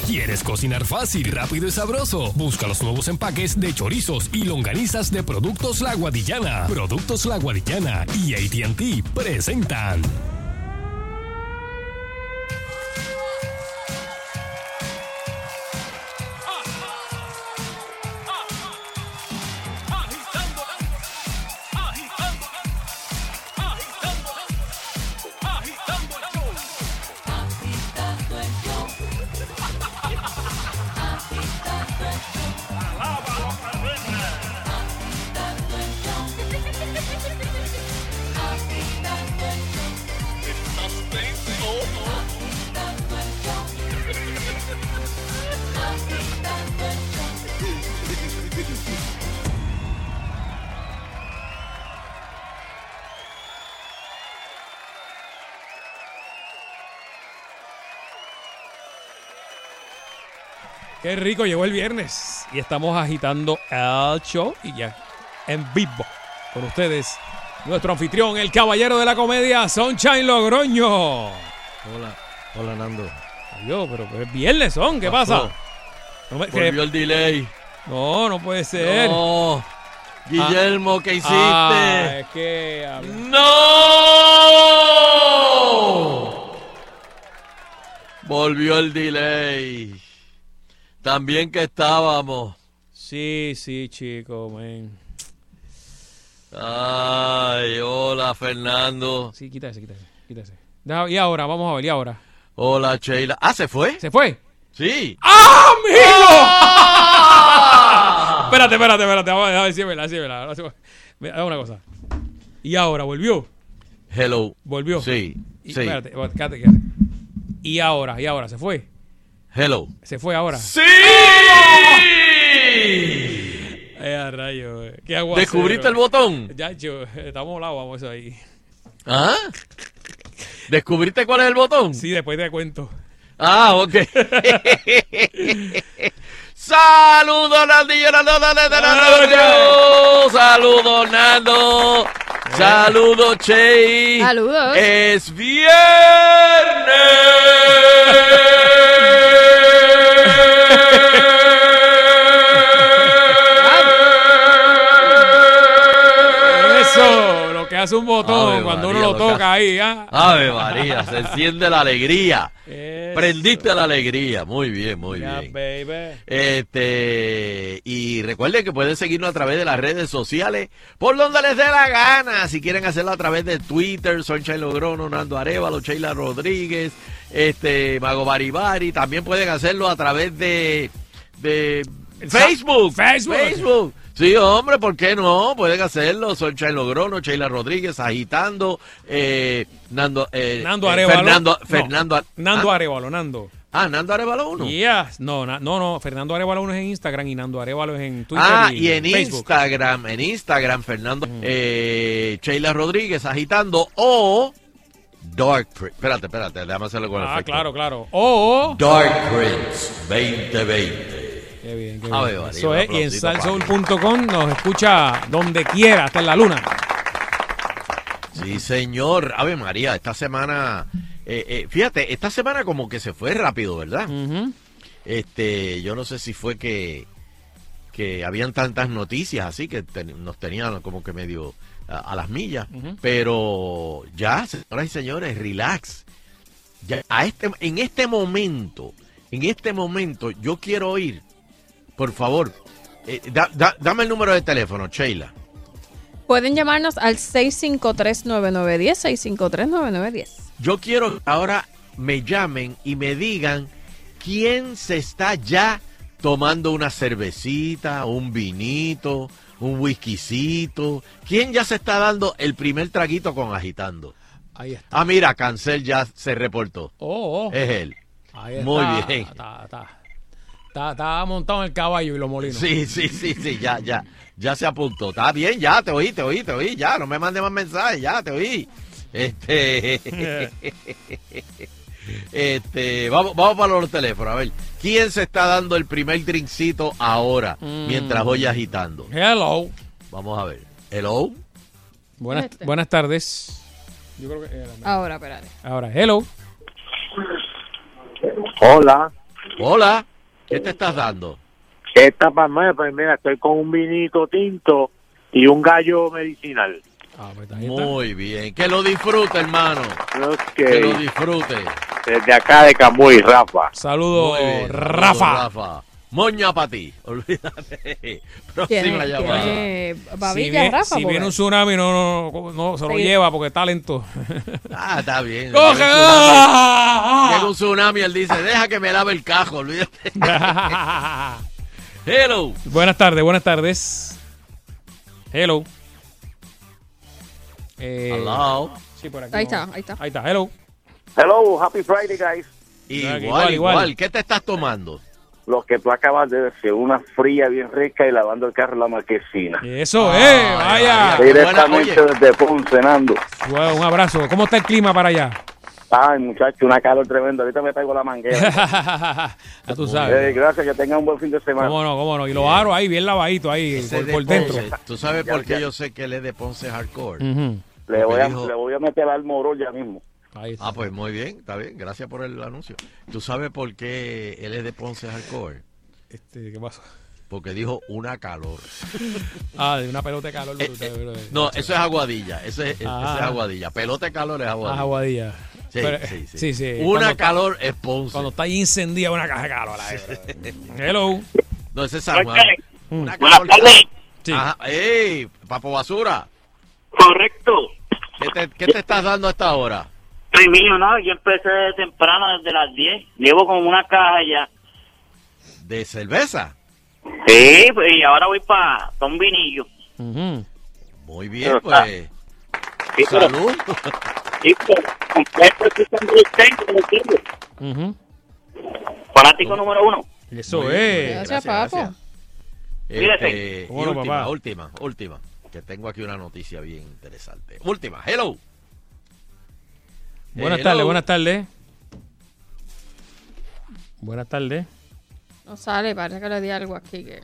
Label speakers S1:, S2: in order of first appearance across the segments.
S1: ¿Quieres cocinar fácil, rápido y sabroso? Busca los nuevos empaques de chorizos y longanizas de Productos La Guadillana. Productos La Guadillana y AT&T presentan...
S2: Qué rico, llegó el viernes y estamos agitando el show y ya en vivo con ustedes nuestro anfitrión, el caballero de la comedia, Sunshine Logroño.
S3: Hola Nando.
S2: Adiós, pero es viernes, Son, ¿qué pasa?
S3: Volvió el delay.
S2: No puede ser.
S3: No, Guillermo, ¿qué hiciste?
S2: Es que...
S3: ¡No! Volvió el delay. También que estábamos.
S2: Sí, chico, man.
S3: Ay, hola, Fernando.
S2: Sí, quítase. Y ahora, vamos a ver, ¿y ahora?
S3: Hola, Sheila. Ah, ¿se fue?
S2: ¿Se fue?
S3: Sí.
S2: ¡Ah, amigo! Espérate. Vamos a ver si es verdad. Dame una cosa. ¿Y ahora volvió?
S3: Hello.
S2: ¿Volvió?
S3: Sí.
S2: Espérate, quédate. ¿Y ahora? ¿Se fue?
S3: Hello.
S2: ¿Se fue ahora?
S3: ¡Sí!
S2: A rayo, qué aguacero.
S3: ¿Descubriste el botón?
S2: Ya, estamos volados, vamos a eso ahí.
S3: ¿Ah? ¿Descubriste cuál es el botón?
S2: Sí, después te cuento.
S3: Ah, ok. Saludos, Nandillo, saludos, Nando. Saludos, Che.
S4: Saludos.
S3: Es viernes.
S2: Eso, lo que hace un botón
S3: Ave
S2: cuando
S3: María,
S2: uno lo toca ahí, ¿ah?
S3: Ave María, se enciende la alegría.
S2: Eso.
S3: Prendiste la alegría. Muy bien,
S2: Ya,
S3: bien.
S2: baby.
S3: Y recuerden que pueden seguirnos a través de las redes sociales por donde les dé la gana. Si quieren hacerlo a través de Twitter, Sunshine Logrono, Nando Arévalo, Sheila Rodríguez, Mago Baribari. También pueden hacerlo a través de Facebook.
S2: Facebook.
S3: Sí, hombre, ¿por qué no? Pueden hacerlo. Sunshine Logrono, Sheila Rodríguez, agitando, Nando
S2: Arévalo.
S3: Fernando.
S2: Nando Arévalo, Nando.
S3: Ah, Nando Arévalo 1.
S2: Yes. No. Fernando Arévalo 1 es en Instagram y Nando Arévalo es en Twitter.
S3: Y en
S2: Facebook.
S3: Instagram, Fernando, Sheila Rodríguez, agitando, o Dark Prince. Espérate, déjame hacerlo con el efecto.
S2: Claro. O
S3: Dark Prince 2020.
S2: Qué bien.
S3: Ave María,
S2: Eso
S3: un
S2: es, y en
S3: aplausito
S2: salsoul.com nos escucha donde quiera, hasta en la luna.
S3: Sí, señor. Ave María, esta semana, fíjate, esta semana como que se fue rápido, ¿verdad?
S2: Uh-huh.
S3: Yo no sé si fue que habían tantas noticias así que nos tenían como que medio a las millas, pero ya, señoras y señores, relax. Ya en este momento yo quiero oír, por favor, dame el número de teléfono, Sheila.
S4: Pueden llamarnos al 653-9910, 653-9910.
S3: Yo quiero que ahora me llamen y me digan quién se está ya tomando una cervecita, un vinito, un whiskycito. ¿Quién ya se está dando el primer traguito con agitando?
S2: Ahí está.
S3: Ah, mira, Cancel ya se reportó. Es él.
S2: Ahí
S3: Muy
S2: está,
S3: bien.
S2: Está montado en el caballo y los molinos.
S3: Sí, ya se apuntó. Está bien, ya te oí, ya, no me mande más mensajes, ya te oí. Vamos para los teléfonos, a ver, ¿quién se está dando el primer drinkcito ahora, mientras voy agitando?
S2: Hello.
S3: Vamos a ver. Hello.
S2: Buenas tardes. Yo creo que
S4: Ahora, espérate.
S2: Ahora, hello.
S5: Hola.
S3: Hola, ¿qué te estás dando?
S5: Esta palma, pues mira, estoy con un vinito tinto y un gallo medicinal.
S2: Pues ahí está.
S3: Muy bien, que lo disfrute, hermano.
S5: Ok.
S3: Que lo disfrute.
S5: Desde acá de Camuy, Rafa.
S2: Saludos,
S3: Muy bien,
S2: Rafa.
S3: Rafa. Moña para ti, olvídate. Próxima
S4: Tiene
S3: llamada.
S4: babilla, Rafa.
S2: Si
S4: porque-
S2: viene un tsunami, no se lo
S4: Sí.
S2: lleva porque está lento.
S3: Ah, está bien.
S2: ¡Coge!
S3: Llega un tsunami, él dice, deja que me lave el cajo, olvídate. Hello.
S2: Buenas tardes. Hello.
S3: Hello.
S2: Sí, por aquí.
S4: Ahí
S2: no.
S4: está.
S2: Ahí está, hello.
S5: Hello, happy Friday, guys.
S3: Igual.
S2: igual.
S3: ¿Qué te estás tomando?
S5: Lo que tú acabas de decir, una fría bien rica y lavando el carro en la marquesina.
S2: Eso
S3: Ay,
S2: vaya.
S3: ay,
S5: Directamente
S3: Buena,
S5: desde Ponce, Nando.
S2: Un abrazo. ¿Cómo está el clima para allá?
S5: Ay, muchacho, una calor tremenda. Ahorita me traigo la manguera.
S2: Ya tú sabes.
S5: Gracias, que tengan un buen fin de semana.
S2: ¿Cómo no? Y los aros ahí bien lavaditos ahí
S3: Ese
S2: por
S3: de
S2: dentro.
S3: Ponce. ¿Tú sabes
S5: Ya,
S3: por qué
S5: ya.
S3: yo sé que él es de Ponce Hardcore?
S2: Ujú.
S5: Le voy a,
S3: dijo-
S5: le voy a meter al moro ya mismo.
S2: Ahí está.
S3: Ah, pues muy bien, está bien. Gracias por el anuncio. ¿Tú sabes por qué él es de Ponce Hardcore?
S2: ¿Qué pasó?
S3: Porque dijo una calor.
S2: De una pelota de calor.
S3: No, eso es aguadilla. Eso es
S2: Ah.
S3: aguadilla. Pelota de calor es aguadilla.
S2: Aguadilla.
S3: Sí,
S2: Pero,
S3: sí.
S2: Cuando
S3: Una
S2: está-
S3: calor es Ponce.
S2: Cuando está ahí encendida una caja de calor. Hello.
S3: No, ese es San Juan. Una
S5: Buenas
S3: calor.
S5: tardes.
S2: Sí.
S3: Ajá. ¡Ey! Papo Basura.
S5: Correcto.
S3: ¿Qué te estás dando a esta hora?
S6: Soy mío, ¿no? Yo empecé temprano desde las 10. Llevo como una caja ya.
S3: ¿De cerveza?
S6: Sí, pues, y ahora voy para un vinillo.
S2: Ujú.
S3: Muy bien, pues.
S5: Sí, pero-
S3: Salud.
S5: Sí, pero completo aquí con Ricén, ¿me entiendes?
S2: Ujú.
S6: Fanático número 1.
S2: Eso
S3: Muy bien, muy
S2: es.
S3: bien,
S4: Gracias, papo.
S6: Cuídate.
S3: Y
S2: Bueno, papá.
S3: última. Que tengo aquí una noticia bien interesante. Última, hello.
S2: Buenas
S3: Hello.
S2: tardes. Buenas tardes.
S4: No sale, parece que le di algo aquí. Que...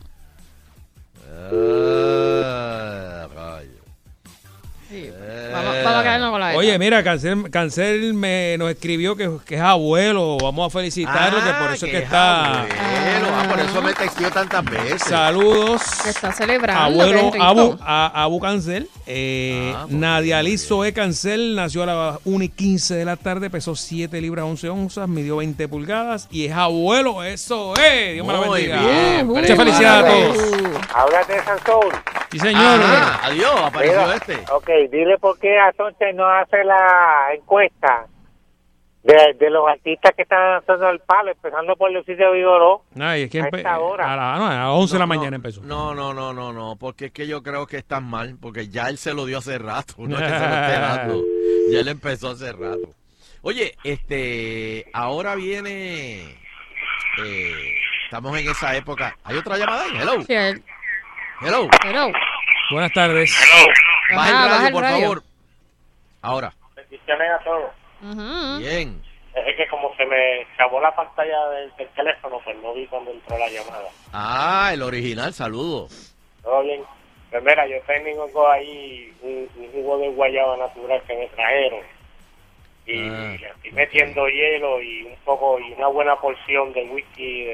S3: Rayo.
S4: Sí. Vamos a quedarnos con la de
S2: Oye,
S4: esta.
S2: mira, Cancel nos escribió que es abuelo. Vamos a felicitarlo, que por eso es que está.
S3: Abuelo. Por eso me textió tantas veces.
S2: Saludos.
S4: Que está celebrando.
S2: Abuelo
S4: qué rico.
S2: Abu Cancel.
S3: Pues
S2: Nadia
S3: muy
S2: Liz Zoe Cancel nació a las 1:15 de la tarde, pesó 7 libras 11 onzas, midió 20 pulgadas y es abuelo. Eso es. Dios me la
S3: Muy
S2: bendiga.
S3: bien,
S2: Muchas felicidades a todos.
S5: Háblate de Sansón.
S2: Sí, señor.
S3: Ajá, adiós, apareció
S5: Mira,
S3: este.
S5: Ok, dile por qué Asonche no hace la encuesta de los artistas que están haciendo el palo, empezando por Lucicio Vigoró.
S2: Ay, es que
S5: A esta hora.
S2: a las 11 de la mañana empezó.
S3: No, porque es que yo creo que están mal, porque ya él se lo dio hace rato, no es que se lo esté dando, ya él empezó hace rato. Oye, ahora viene, estamos en esa época, ¿hay otra llamada ahí? Hello,
S4: Sí, él.
S3: hello,
S4: Hello.
S2: Buenas tardes.
S3: baja el
S4: Ajá,
S3: radio,
S4: baja el
S3: por
S4: radio.
S3: favor. Ahora,
S5: Bendiciones a todos.
S4: Ujú.
S3: bien,
S5: Es que como se me acabó la pantalla del teléfono, pues no vi cuando entró la llamada.
S3: el original, saludo.
S5: Todo bien. Pues mira, yo tengo ahí un jugo de guayaba natural que me trajeron. Y le estoy metiendo hielo y un poco, y una buena porción de whisky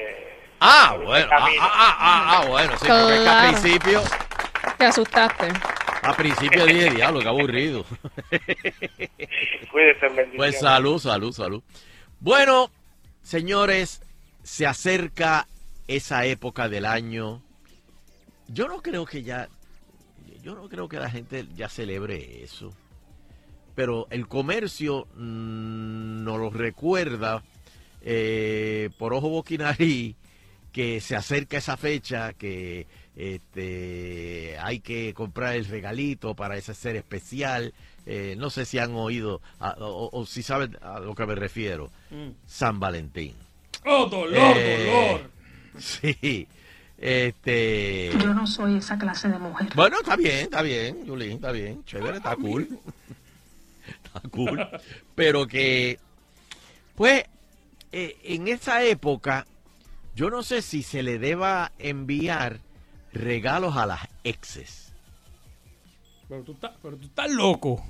S3: Bueno, sí, porque es que
S4: Claro. Te asustaste.
S3: a principio dije, diablo, qué aburrido.
S5: Cuídense, bendiciones.
S3: Pues salud. Bueno, señores, se acerca esa época del año. Yo no creo que la gente ya celebre eso. Pero el comercio nos lo recuerda por ojo, boca y nariz que se acerca esa fecha, que hay que comprar el regalito para ese ser especial. No sé si han oído o si saben a lo que me refiero. San Valentín.
S2: ¡Oh, dolor!
S3: Sí.
S7: Yo no soy esa clase de mujer.
S3: Bueno, está bien, Yulín, está bien. Chévere, está cool. Está cool. Pero que, pues, en esa época, yo no sé si se le deba enviar regalos a las exes.
S2: Pero tú estás loco.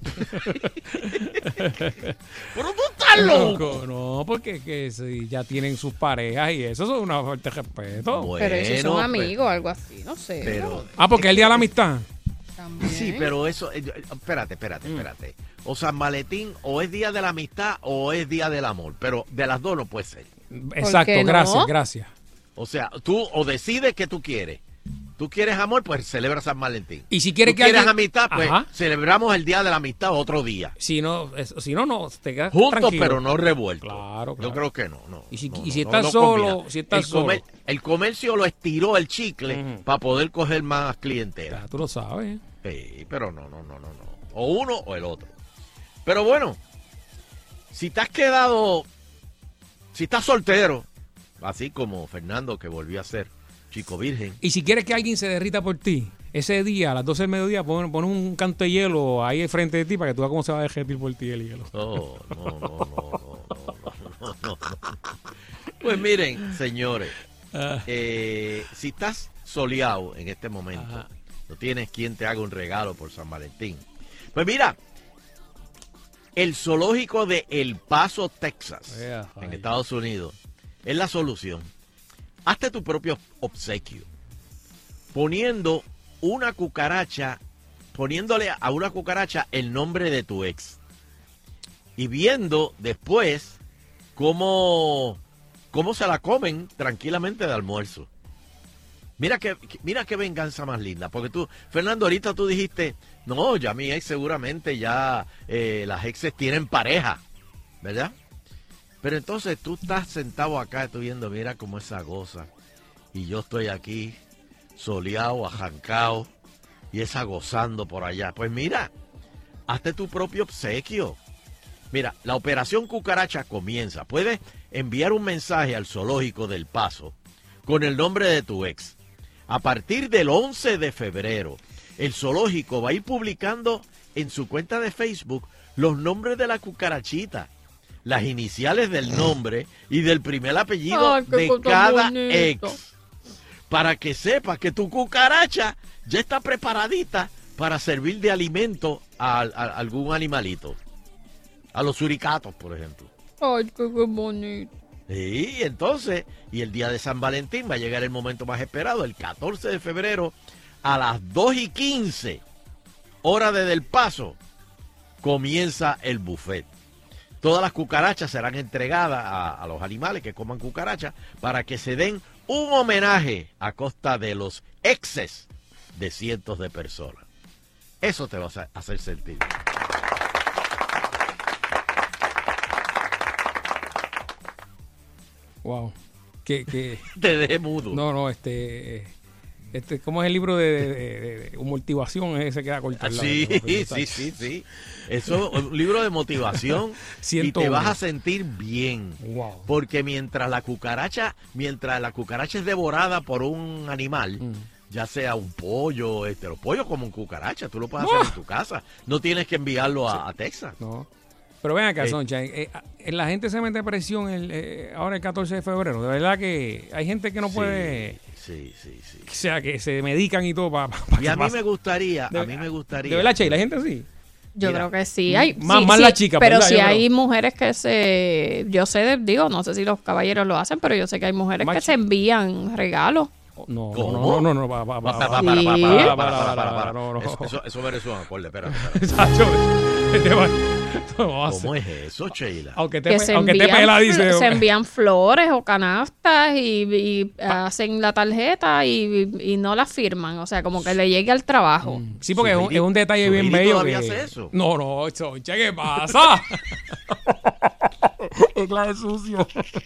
S3: Pero tú estás loco.
S2: No, porque que si ya tienen sus parejas y eso es una falta de respeto.
S3: Bueno,
S4: Pero si son amigos o algo así, no sé.
S3: pero
S2: Porque es el día de la amistad.
S4: También.
S3: sí, pero eso, espérate. O San Valentín o es día de la amistad o es día del amor, pero de las dos no puede ser.
S2: Exacto,
S4: qué no?
S2: gracias.
S3: O sea, tú o decides que tú quieres. Tú quieres amor, pues celebra San Valentín.
S2: Y si quieres
S3: tú
S2: que
S3: quieres
S2: alguien-
S3: amistad, pues
S2: Ajá.
S3: celebramos el día de la amistad otro día.
S2: Si no, no, te quedas
S3: Juntos,
S2: tranquilo.
S3: pero no revueltos.
S2: Claro.
S3: Yo creo que no.
S2: Y si
S3: no,
S2: estás
S3: no
S2: solo,
S3: combina.
S2: si estás
S3: El comercio lo estiró el chicle
S2: Ujú.
S3: para poder coger más clientela.
S2: Ya, tú lo sabes.
S3: Sí, pero no. O uno o el otro. Pero bueno, si te has quedado, si estás soltero, así como Fernando que volvió a ser chico virgen.
S2: Y si quieres que alguien se derrita por ti, ese día, a las 12 del mediodía, pon un canto de hielo ahí frente de ti para que tú veas cómo se va a derretir por ti el hielo.
S3: No. Pues miren, señores, si estás soleado en este momento,
S2: Ajá.
S3: no tienes quien te haga un regalo por San Valentín. Pues mira, el zoológico de El Paso, Texas, en Estados Unidos, es la solución. Hazte tu propio obsequio, poniéndole a una cucaracha el nombre de tu ex y viendo después cómo se la comen tranquilamente de almuerzo. Mira qué venganza más linda, porque tú, Fernando, ahorita tú dijiste, no, ya mi ex seguramente ya las exes tienen pareja, ¿verdad? Pero entonces tú estás sentado acá, tú viendo, mira cómo esa goza, y yo estoy aquí, soleado, ajancado, y esa gozando por allá. Pues mira, hazte tu propio obsequio. Mira, la operación cucaracha comienza. Puedes enviar un mensaje al zoológico del Paso con el nombre de tu ex. A partir del 11 de febrero, el zoológico va a ir publicando en su cuenta de Facebook los nombres de la cucarachita, las iniciales del nombre y del primer apellido
S4: Ay, qué
S3: de
S4: cosa
S3: cada
S4: bonita.
S3: ex, para que sepas que tu cucaracha ya está preparadita para servir de alimento a algún animalito, a los suricatos, por ejemplo.
S4: Ay, qué bonito.
S3: Sí, entonces, y el día de San Valentín va a llegar el momento más esperado, el 14 de febrero, a las 2:15, hora de Del Paso, comienza el buffet. Todas las cucarachas serán entregadas a los animales que coman cucarachas para que se den un homenaje a costa de los exes de cientos de personas. Eso te va a hacer sentir.
S2: Wow. Que
S3: Te dejé mudo.
S2: no, ¿cómo es el libro de motivación? Ese queda corto. al lado,
S3: Sí,
S2: ¿no?
S3: sí. Eso es un libro de motivación y
S2: 101.
S3: te vas a sentir bien.
S2: Wow.
S3: Porque mientras la cucaracha es devorada por un animal, ya sea un pollo, los pollos como un cucaracha, tú lo puedes hacer en tu casa. No tienes que enviarlo a Texas.
S2: No. Pero ven acá, Sunshine, la gente se mete presión ahora el 14 de febrero. De verdad que hay gente que no puede...
S3: Sí.
S2: O sea, que se medican y todo para
S3: Y a mí me gustaría,
S2: De verdad, Sheila, hay gente así.
S4: Yo
S3: Mira,
S4: creo que sí. Hay,
S2: más
S4: sí,
S2: la chica,
S4: pero
S2: ¿verdad?
S4: sí
S2: Yo
S4: hay
S2: creo.
S4: mujeres que no sé si los caballeros lo hacen, pero yo sé que hay mujeres que
S2: Macho.
S4: se envían regalos.
S2: No,
S3: ¿Cómo?
S2: no.
S3: Eso merece un acorde, espérate. ¿Cómo es eso, Sheila?
S2: Aunque
S4: Que se
S2: te
S4: envían,
S2: pela, dice.
S4: se envían flores o canastas y hacen la tarjeta y no la firman. O sea, como que le llegue al trabajo.
S2: Sí, porque
S3: Su
S2: es un detalle bien
S3: Heidi
S2: bello.
S3: todavía
S2: que...
S3: hace eso.
S2: No, Soncha, ¿qué pasa? Es clase sucio.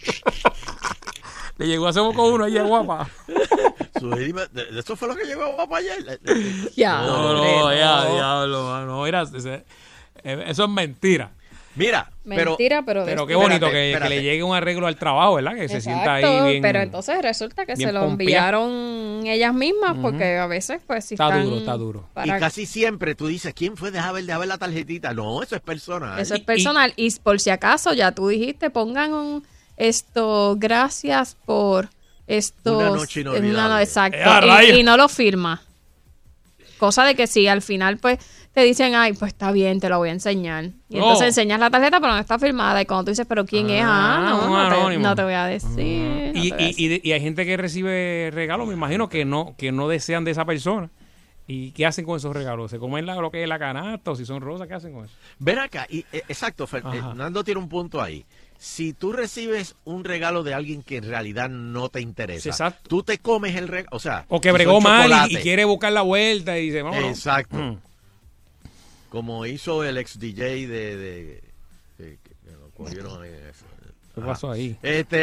S2: Le llegó hace poco uno ella guapa.
S3: ¿Eso fue lo que llegó a guapa ayer?
S4: Ya,
S2: No, ya, diablo, mano. Mira, eso es mentira.
S3: Mira,
S4: mentira, pero
S2: qué bonito
S3: Espérate.
S2: que le llegue un arreglo al trabajo, ¿verdad? Que se sienta ahí
S4: exacto,
S2: bien.
S4: pero entonces resulta que
S2: bien
S4: se lo
S2: pompeada.
S4: enviaron ellas mismas porque a veces pues si
S2: Está
S4: están
S2: duro, está duro.
S3: y casi siempre tú dices, ¿quién fue? Deja ver la tarjetita. No, eso es personal.
S4: eso es personal y por si acaso ya tú dijiste pongan gracias por estos
S3: Una noche inolvidable.
S4: exacto
S2: ¡Rayos!
S4: y no lo firma. cosa de que si al final pues te dicen, ay, pues está bien, te lo voy a enseñar. Y entonces enseñas la tarjeta, pero no está firmada. Y cuando tú dices, pero ¿quién es? No te voy a decir.
S2: Y hay gente que recibe regalos, me imagino que no desean de esa persona. ¿Y qué hacen con esos regalos? ¿Se comen lo que es la canasta o si son rosas? ¿Qué hacen con eso?
S3: Ven acá, exacto, Fernando tiene un punto ahí. Si tú recibes un regalo de alguien que en realidad no te interesa,
S2: exacto,
S3: tú te comes el regalo,
S2: o que bregó mal y quiere buscar la vuelta y dice, vamos.
S3: Exacto. Como hizo el ex DJ de que lo cogieron eso.
S2: ¿Qué pasó ahí?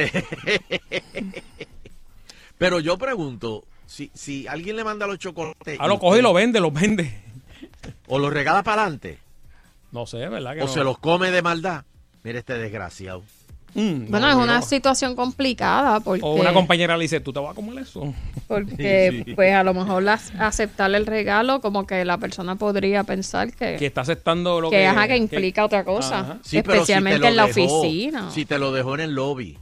S3: Pero yo pregunto, si alguien le manda los chocolates...
S2: lo coge y los vende.
S3: O los regala para adelante.
S2: No sé, ¿verdad?
S3: O se los come de maldad. Mira este desgraciado.
S4: Bueno, es una situación complicada porque...
S2: O una compañera le dice, ¿tú te vas a comer eso?
S4: Porque, pues, a lo mejor aceptar el regalo, como que la persona podría pensar que
S2: está aceptando lo
S4: que implica otra cosa.
S3: Sí,
S4: especialmente en la oficina.
S3: Si te lo dejó en el lobby.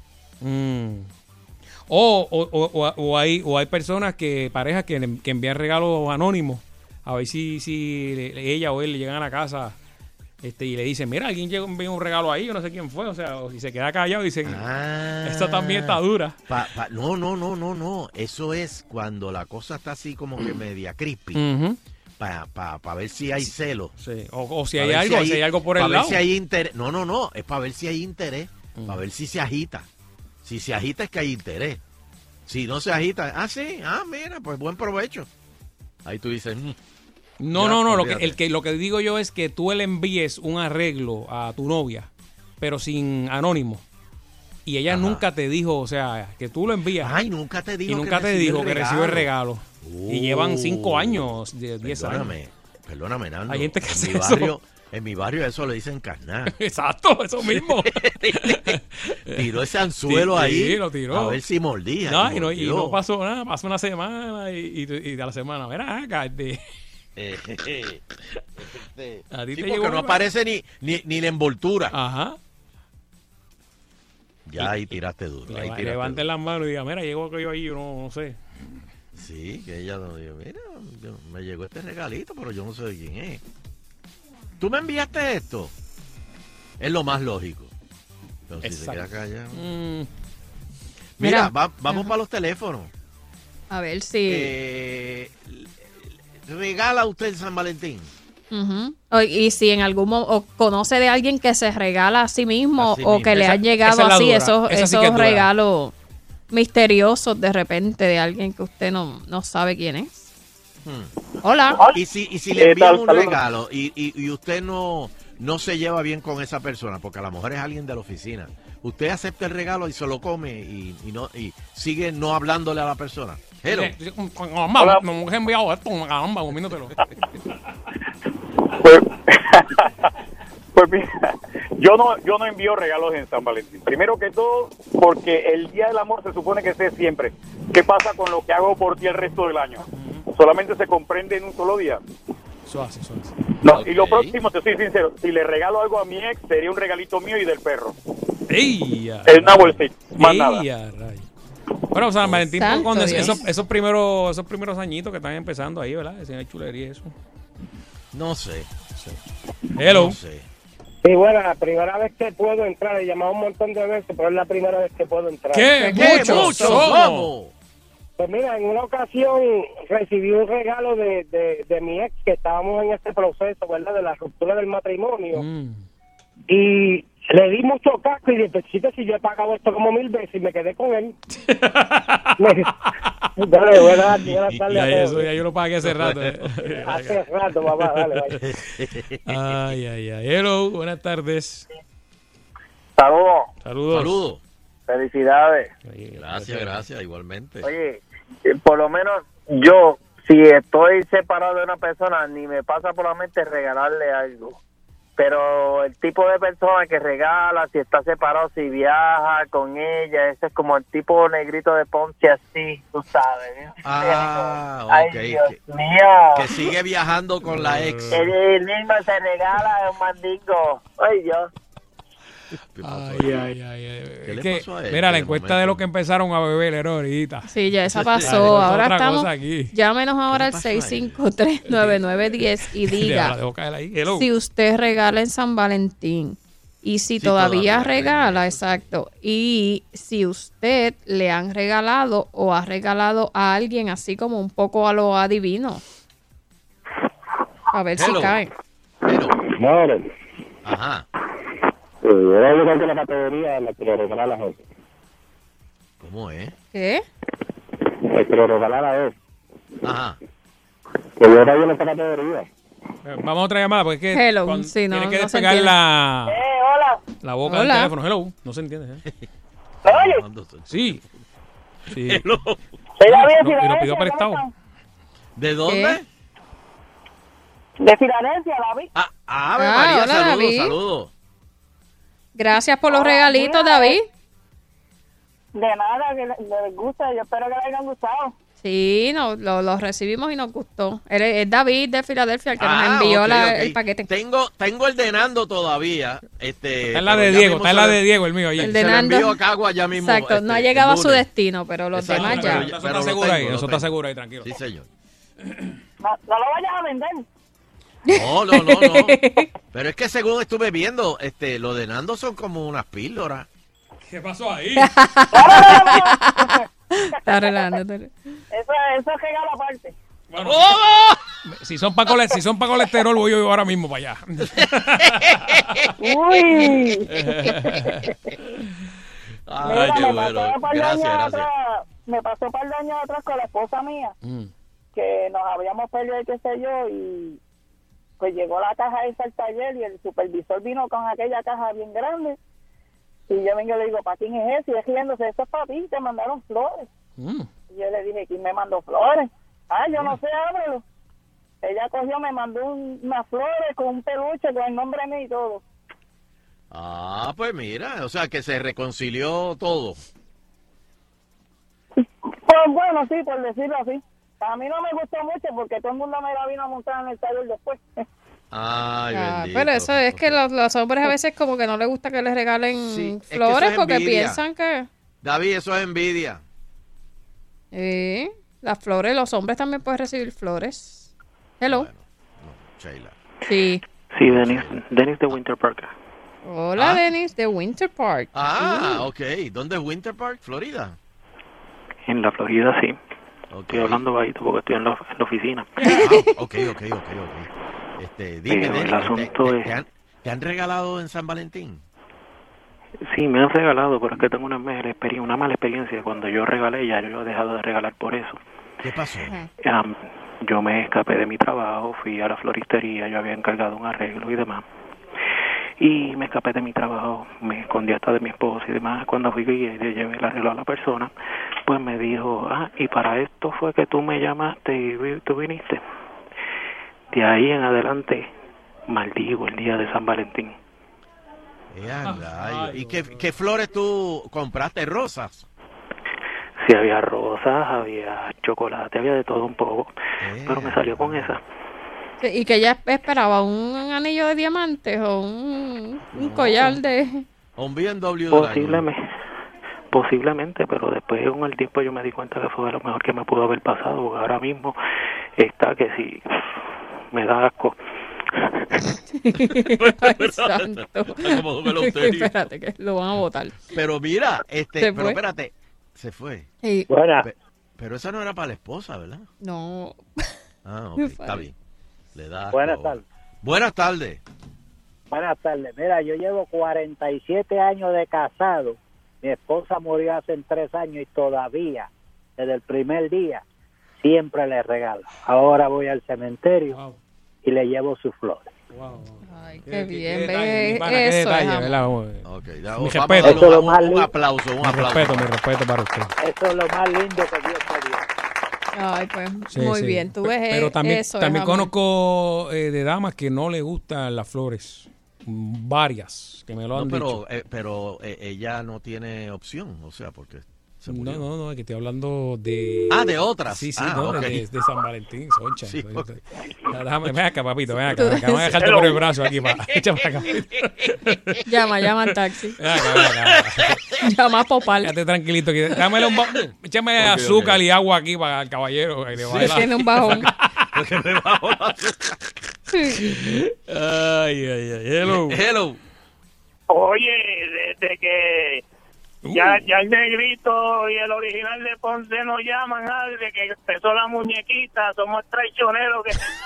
S2: O hay personas parejas que envían regalos anónimos. A ver si ella o él le llegan a la casa... y le dicen, mira, alguien envió un regalo ahí, yo no sé quién fue, o sea, y se queda callado y dicen, esta también está dura.
S3: No, eso es cuando la cosa está así como que media creepy, para ver si hay celos.
S2: Sí. O si hay algo por el lado.
S3: Para ver si hay interés. No, es para ver si hay interés, para ver si se agita. Si se agita es que hay interés. Si no se agita, mira, pues buen provecho. Ahí tú dices,
S2: No, lo que digo yo es que tú le envíes un arreglo a tu novia, pero sin anónimo. Y ella nunca te dijo, o sea, que tú lo envías.
S3: Ay, nunca te dijo.
S2: Y nunca te dijo que recibe el regalo. Y llevan 5 años, 10 años.
S3: Perdóname, Nando.
S2: Hay gente que hace eso.
S3: En mi barrio eso le dicen carnal.
S2: Exacto, eso mismo.
S3: Tiró ese anzuelo ahí.
S2: Lo tiró.
S3: A ver si mordía.
S2: Y no pasó nada. Pasó una semana y de la semana, mira,
S3: a ti te llegó, no aparece ni la envoltura.
S2: Ajá.
S3: Ya ahí tiraste duro.
S2: Levanten las manos y diga, mira, llegó yo ahí, yo no sé.
S3: Sí, que ella nos dijo, mira, me llegó este regalito, pero yo no sé de quién es. ¿Tú me enviaste esto? Es lo más lógico. Pero si se queda callado. Mira, vamos para los teléfonos.
S4: A ver si...
S3: ¿regala usted en San Valentín?
S4: Y si en algún momento conoce de alguien que se regala a sí mismo o que le han llegado así esos regalos misteriosos de repente de alguien que usted no sabe quién es. Hola.
S3: Y si le envían un regalo y usted no se lleva bien con esa persona, porque a lo mejor es alguien de la oficina, usted acepta el regalo y se lo come y sigue no hablándole a la persona. Hello.
S2: Me he enviado esto, comiéndotelo.
S8: Pues mira, yo no envío regalos en San Valentín. Primero que todo, porque el Día del Amor se supone que sea siempre. ¿Qué pasa con lo que hago por ti el resto del año? Solamente se comprende en un solo día.
S2: Eso hace.
S8: No, y lo próximo, te soy sincero, si le regalo algo a mi ex, sería un regalito mío y del perro. Es una bolsita, más nada.
S2: Bueno, San Valentín, cuando esos primeros añitos que están empezando ahí, ¿verdad? Esa chulería y eso.
S3: No sé.
S2: Hello.
S3: No sé.
S5: Sí, bueno, la primera vez que puedo entrar, he llamado un montón de veces, pero es la primera vez que puedo entrar.
S2: ¿Qué? ¡Muchos!
S5: Pues mira, en una ocasión recibí un regalo de mi ex, que estábamos en este proceso, ¿verdad? De la ruptura del matrimonio. Y le di mucho casco y dije, si yo he pagado esto como 1000 veces y me quedé con él. Dale, buenas tardes.
S2: Ya yo lo pagué hace rato.
S5: Hace rato, papá, dale.
S2: Ay. Hello, buenas tardes.
S8: Saludos. Felicidades.
S3: Gracias, igualmente.
S9: Oye, por lo menos yo, si estoy separado de una persona, ni me pasa por la mente regalarle algo. Pero el tipo de persona que regala, si está separado, si viaja con ella, ese es como el tipo negrito de Ponce, así, tú sabes.
S3: Ay,
S9: Dios mío.
S3: Que sigue viajando con la ex.
S9: El mismo se regala un mandingo. Ay, Dios.
S3: ¿Qué le pasó a él?
S2: Mira, la encuesta de lo que empezaron a beber era ahorita.
S4: Sí, ya esa pasó. Ahora estamos. Llámenos ahora al 653-9910 y diga si usted regala en San Valentín. Y si todavía regala, exacto. Y si usted le han regalado o ha regalado a alguien así como un poco a lo adivino. A ver si cae.
S3: Ajá.
S10: Era yo creo que la categoría en la que le regala a la gente.
S3: ¿Cómo es?
S4: ¿Qué?
S10: El que le regala a él.
S3: Ajá.
S10: Que yo era yo en esta categoría.
S2: Vamos a otra llamada, porque es que tiene que despegar la boca del teléfono. Hello, no se entiende. Sí.
S11: Hello.
S2: Y lo pidió prestado.
S3: ¿De dónde?
S11: De Filadelfia, David.
S3: María, saludos.
S4: Gracias por los regalitos, David.
S11: De nada, que les gusta. Yo espero que les hayan gustado.
S4: Sí, los recibimos y nos gustó. Es David de Filadelfia el que nos envió el paquete.
S3: Tengo el de Nando todavía.
S2: Está en la de Diego, el mío.
S4: El de Nando.
S3: Se lo envío a Cagua ya mismo.
S4: Exacto, no ha llegado a su destino, pero los demás ya.
S2: Eso está seguro ahí, eso está seguro ahí, tranquilo.
S3: Sí, señor.
S11: No lo vayas a vender.
S3: No. Pero es que según estuve viendo, lo de Nando son como unas píldoras.
S2: ¿Qué pasó ahí?
S4: Está relajando.
S11: Eso es regalo aparte.
S2: Bueno, si son para colesterol, voy yo ahora mismo para allá.
S11: Uy.
S3: Ay, qué bueno. Gracias.
S11: Me pasó un par de años atrás con la esposa mía, que nos habíamos perdido, qué sé yo, y pues llegó la caja esa al taller y el supervisor vino con aquella caja bien grande. Y yo vengo y le digo, ¿para quién es ese? Y es riéndose, eso es para ti, te mandaron flores. Y yo le dije, ¿quién me mandó flores? Yo no sé, ábrelo. Ella cogió, me mandó unas flores con un peluche, con el nombre mío y todo.
S3: Pues mira, o sea, que se reconcilió todo.
S11: Pues bueno, sí, por decirlo así. A mí no me gustó mucho porque todo el mundo me la vino a montar en el taller después.
S4: Pero eso es que los hombres a veces como que no les gusta que les regalen flores porque piensan que...
S3: David, eso es envidia.
S4: Las flores, los hombres también pueden recibir flores. Hello.
S3: Bueno, Sheila.
S4: Sí,
S12: Denis de Winter Park.
S4: Hola, Denis de Winter Park.
S3: Ok. ¿Dónde es Winter Park? ¿Florida?
S12: En la Florida, sí. Estoy hablando bajito porque estoy en la oficina.
S3: Ok. Dime,
S12: el asunto es...
S3: ¿Te han regalado en San Valentín?
S12: Sí, me han regalado, pero es que tengo una mala experiencia. Cuando yo regalé, ya yo he dejado de regalar por eso.
S3: ¿Qué pasó?
S12: Yo me escapé de mi trabajo, fui a la floristería, yo había encargado un arreglo y demás. Y me escapé de mi trabajo, me escondí hasta de mi esposa y demás. Cuando fui y le llevé el arreglo a la persona, pues me dijo, y para esto fue que tú me llamaste y tú viniste. De ahí en adelante, maldigo el día de San Valentín.
S3: ¿Y qué flores tú compraste? ¿Rosas?
S12: Sí, había rosas, había chocolate, había de todo un poco, pero me salió con esa.
S4: ¿Y que ella esperaba? ¿Un anillo de diamantes o un collar de...?
S3: ¿O un BMW?
S12: Posiblemente, pero después con el tiempo yo me di cuenta que fue lo mejor que me pudo haber pasado, porque ahora mismo está que sí, me da asco.
S4: Ay, santo. Espérate, que lo van a botar.
S3: Pero mira, pero espérate, se fue.
S4: Sí.
S3: Pero esa no era para la esposa, ¿verdad?
S4: No.
S3: Está bien. Le da.
S13: Buenas tardes.
S3: Buenas tardes.
S13: Buenas tardes. Mira, yo llevo 47 años de casado. Mi esposa murió hace 3 años y todavía, desde el primer día, siempre le regalo. Ahora voy al cementerio y le llevo sus flores.
S4: Ay, qué bien.
S2: Mi respeto.
S3: Un aplauso.
S2: Mi respeto para usted.
S13: Eso es lo más lindo que Dios me dio.
S4: Ay, pues muy bien. Tú ves
S2: pero también,
S4: eso.
S2: También conozco de damas que no le gustan las flores. Varias que me lo han dicho.
S3: Pero ella no tiene opción, o sea, porque
S2: No, que estoy hablando de...
S3: de otras.
S2: Sí,
S3: okay.
S2: de San Valentín, Soncha.
S3: Sí, okay.
S2: Ven acá, papito, ven acá. Vamos a dejarte por el brazo aquí. Échame acá.
S4: Llama al taxi. Ven acá. Llama a Popal.
S2: Quédate tranquilito. Échame azúcar y agua aquí para el caballero.
S4: Tiene un bajón.
S2: Ay.
S3: Hello.
S5: Oye, desde que ya el negrito y el original de Ponce nos llaman, desde que empezó la muñequita, somos traicioneros.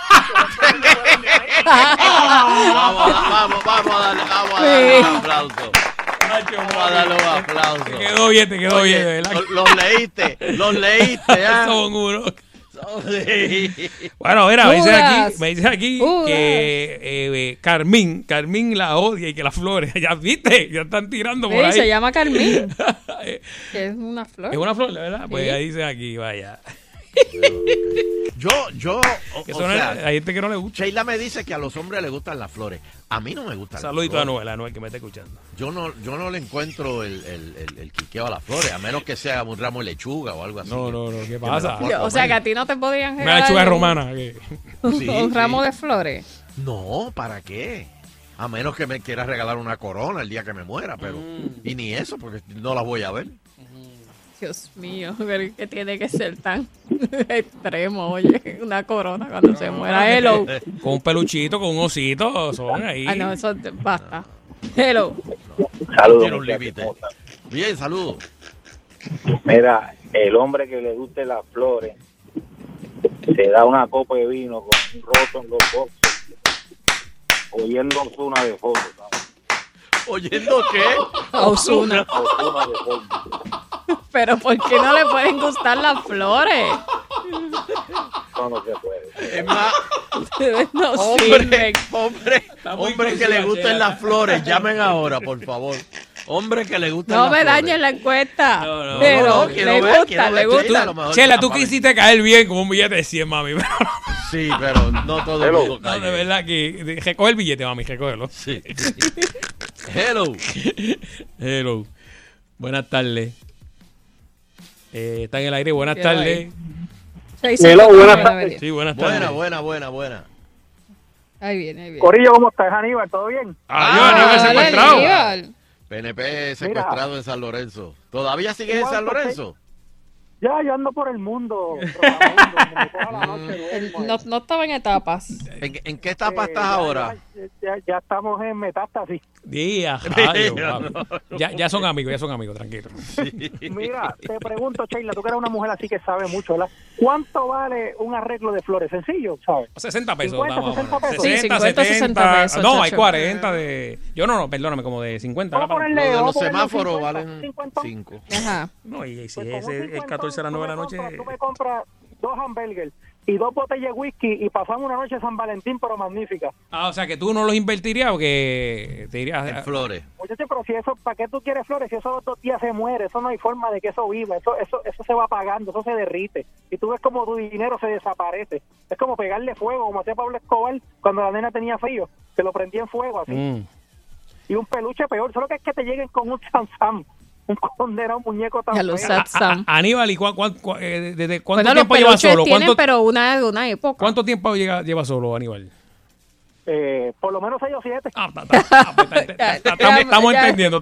S3: Vamos a darle un aplauso. Vamos a darle un aplauso.
S2: Te quedó bien, ¿verdad?
S3: Los leíste.
S2: Son unos. Bueno, mira, me dice aquí que Carmín la odia y que las flores, ya viste, ya están tirando por ahí.
S4: Se llama Carmín. Que es una flor.
S2: Es una flor, ¿verdad? Pues ahí dice aquí, vaya. Hay gente que no le gusta.
S3: Sheila me dice que a los hombres les gustan las flores. A mí no me gustan.
S2: Saludito a Anuel que me está escuchando.
S3: Yo no le encuentro el quiqueo a las flores, a menos que sea un ramo de lechuga o algo así.
S2: No, ¿qué pasa?
S4: O sea, que a ti no te podrían
S2: regalar una lechuga romana.
S4: Un ramo de flores.
S3: No, ¿para qué? A menos que me quieras regalar una corona el día que me muera, pero y ni eso, porque no las voy a ver.
S4: Dios mío, que tiene que ser tan extremo, oye, una corona cuando se muera. Hello.
S2: Con un peluchito, con un osito, son ahí.
S4: No, eso basta. Hello.
S3: Saludos. Tiene un límite. Bien, saludos.
S13: Mira, el hombre que le guste las flores se da una copa de vino con un roto en los boxes, oyendo Ozuna de fondo, ¿sabes?
S3: ¿Oyendo qué?
S4: Ozuna
S13: de fondo.
S4: Pero ¿por qué no le pueden gustar las flores?
S13: No se puede.
S3: Es más, hombre que le gusten las flores, llamen ahora, por favor. Hombre que le gusten las flores.
S4: No me dañen la encuesta.
S3: No,
S4: pero le gusta.
S2: Chela, tú quisiste caer bien con un billete de 100, mami.
S3: Sí, pero no todo el mundo cae.
S2: No, de verdad que recoge el billete, mami, recógelo.
S3: Sí.
S2: Hello. Buenas tardes. Está en el aire. Buenas tardes.
S14: Hello, buenas tardes.
S2: Sí, buenas tardes.
S3: Buena.
S4: Ahí viene.
S14: Corillo, ¿cómo estás, Aníbal? ¿Todo bien?
S2: Aníbal secuestrado.
S3: PNP secuestrado en San Lorenzo. ¿Todavía sigues en San Lorenzo?
S14: Ya, yo ando por el mundo.
S4: No estaba en etapas.
S3: ¿En qué etapa estás ahora?
S14: Ya estamos en metástasis.
S2: Ya son amigos, tranquilo.
S3: Sí.
S14: Mira, te pregunto, Sheila, tú que eres una mujer así que sabe mucho, ¿verdad? ¿Cuánto vale un arreglo de flores? Sencillo, ¿sabes?
S2: 60 pesos.
S14: 60 pesos.
S4: 60 pesos.
S2: No, hay 40 de... Perdóname, como de 50.
S3: Los de los semáforos valen 5.
S4: Ajá.
S2: No, y si es el 14 a las 9 de la noche...
S14: Tú me compras 2 hamburgues y 2 botellas de whisky y pasamos una noche de San Valentín, pero magnífica.
S2: O sea, que tú no los invertirías o que te irías
S3: en flores.
S14: Oye, pero si eso, ¿para qué tú quieres flores? Si eso los 2 días se muere, eso no hay forma de que eso viva, eso se va apagando, eso se derrite. Y tú ves como tu dinero se desaparece. Es como pegarle fuego, como hacía Pablo Escobar cuando la nena tenía frío, que lo prendía en fuego así. Y un peluche peor, solo que es que te lleguen con un Sam. Un condenado muñeco tan feo.
S2: Aníbal, ¿y desde cuánto tiempo lleva solo?
S4: Pero una época.
S2: ¿Cuánto tiempo lleva solo, Aníbal?
S14: Por lo menos 6 o 7.
S2: Estamos entendiendo.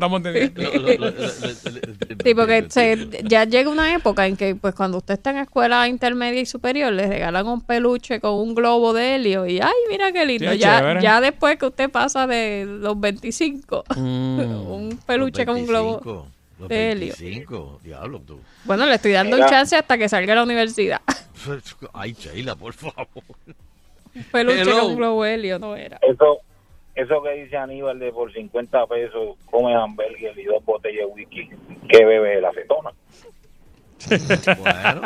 S4: Sí, porque ya llega una época en que pues cuando usted está en escuela intermedia y superior le regalan un peluche con un globo de helio y ¡ay, mira qué lindo!
S2: Sí,
S4: ya después que usted pasa de los 25, un peluche con un globo de helio.
S3: 25, diablo tú.
S4: Bueno, le estoy dando un chance hasta que salga a la universidad.
S3: Ay, Sheila, por favor.
S4: Un peluche con un globo de helio no era.
S13: Eso que dice Aníbal de por 50 pesos come hamburgues y 2 botellas de whisky, ¿qué bebe la acetona?
S3: Bueno.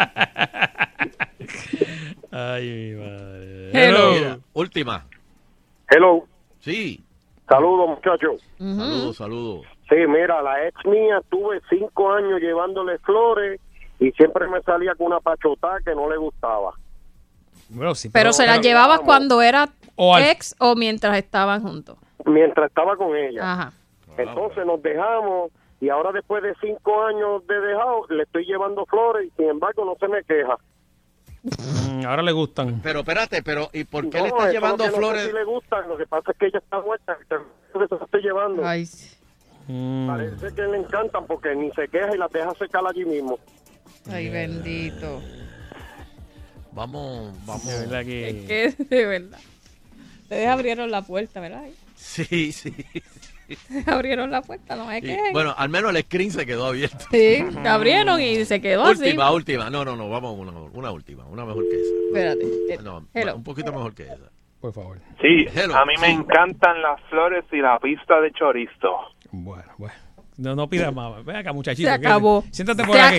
S2: Ay, mi madre.
S3: Hello. Mira, última.
S15: Hello.
S3: Sí.
S15: Saludos, muchachos.
S3: Saludos.
S15: Sí, mira, la ex mía tuve 5 años llevándole flores y siempre me salía con una pachotá que no le gustaba.
S2: Bueno, sí,
S4: pero se la llevabas cuando era ex o mientras estaban juntos.
S15: Mientras estaba con ella.
S4: Ajá.
S15: Entonces nos dejamos y ahora después de 5 años de dejado le estoy llevando flores y sin embargo no se me queja.
S2: Ahora le gustan.
S3: Pero espérate, ¿y por qué le estás llevando flores?
S15: No sé si le gustan, lo que pasa es que ella está muerta, por eso estoy llevando.
S4: Ay.
S15: Parece que le encantan porque ni se queja y las deja secar allí mismo.
S4: Ay, bendito.
S3: Vamos.
S2: De verdad que...
S4: Es que, de verdad. Ustedes abrieron la puerta, ¿verdad?
S3: Sí.
S4: Abrieron la puerta, no es que...
S3: Bueno, al menos el screen se quedó abierto.
S4: Sí, abrieron y se quedó así.
S3: Última. No, vamos una última, una mejor que esa.
S4: Espérate.
S3: No, un poquito mejor que esa.
S2: Por favor.
S16: Sí, a mí me encantan las flores y la pista de chorizo.
S2: Bueno. No pidas más. Ven acá, muchachito.
S4: Se acabó.
S2: Siéntate por aquí.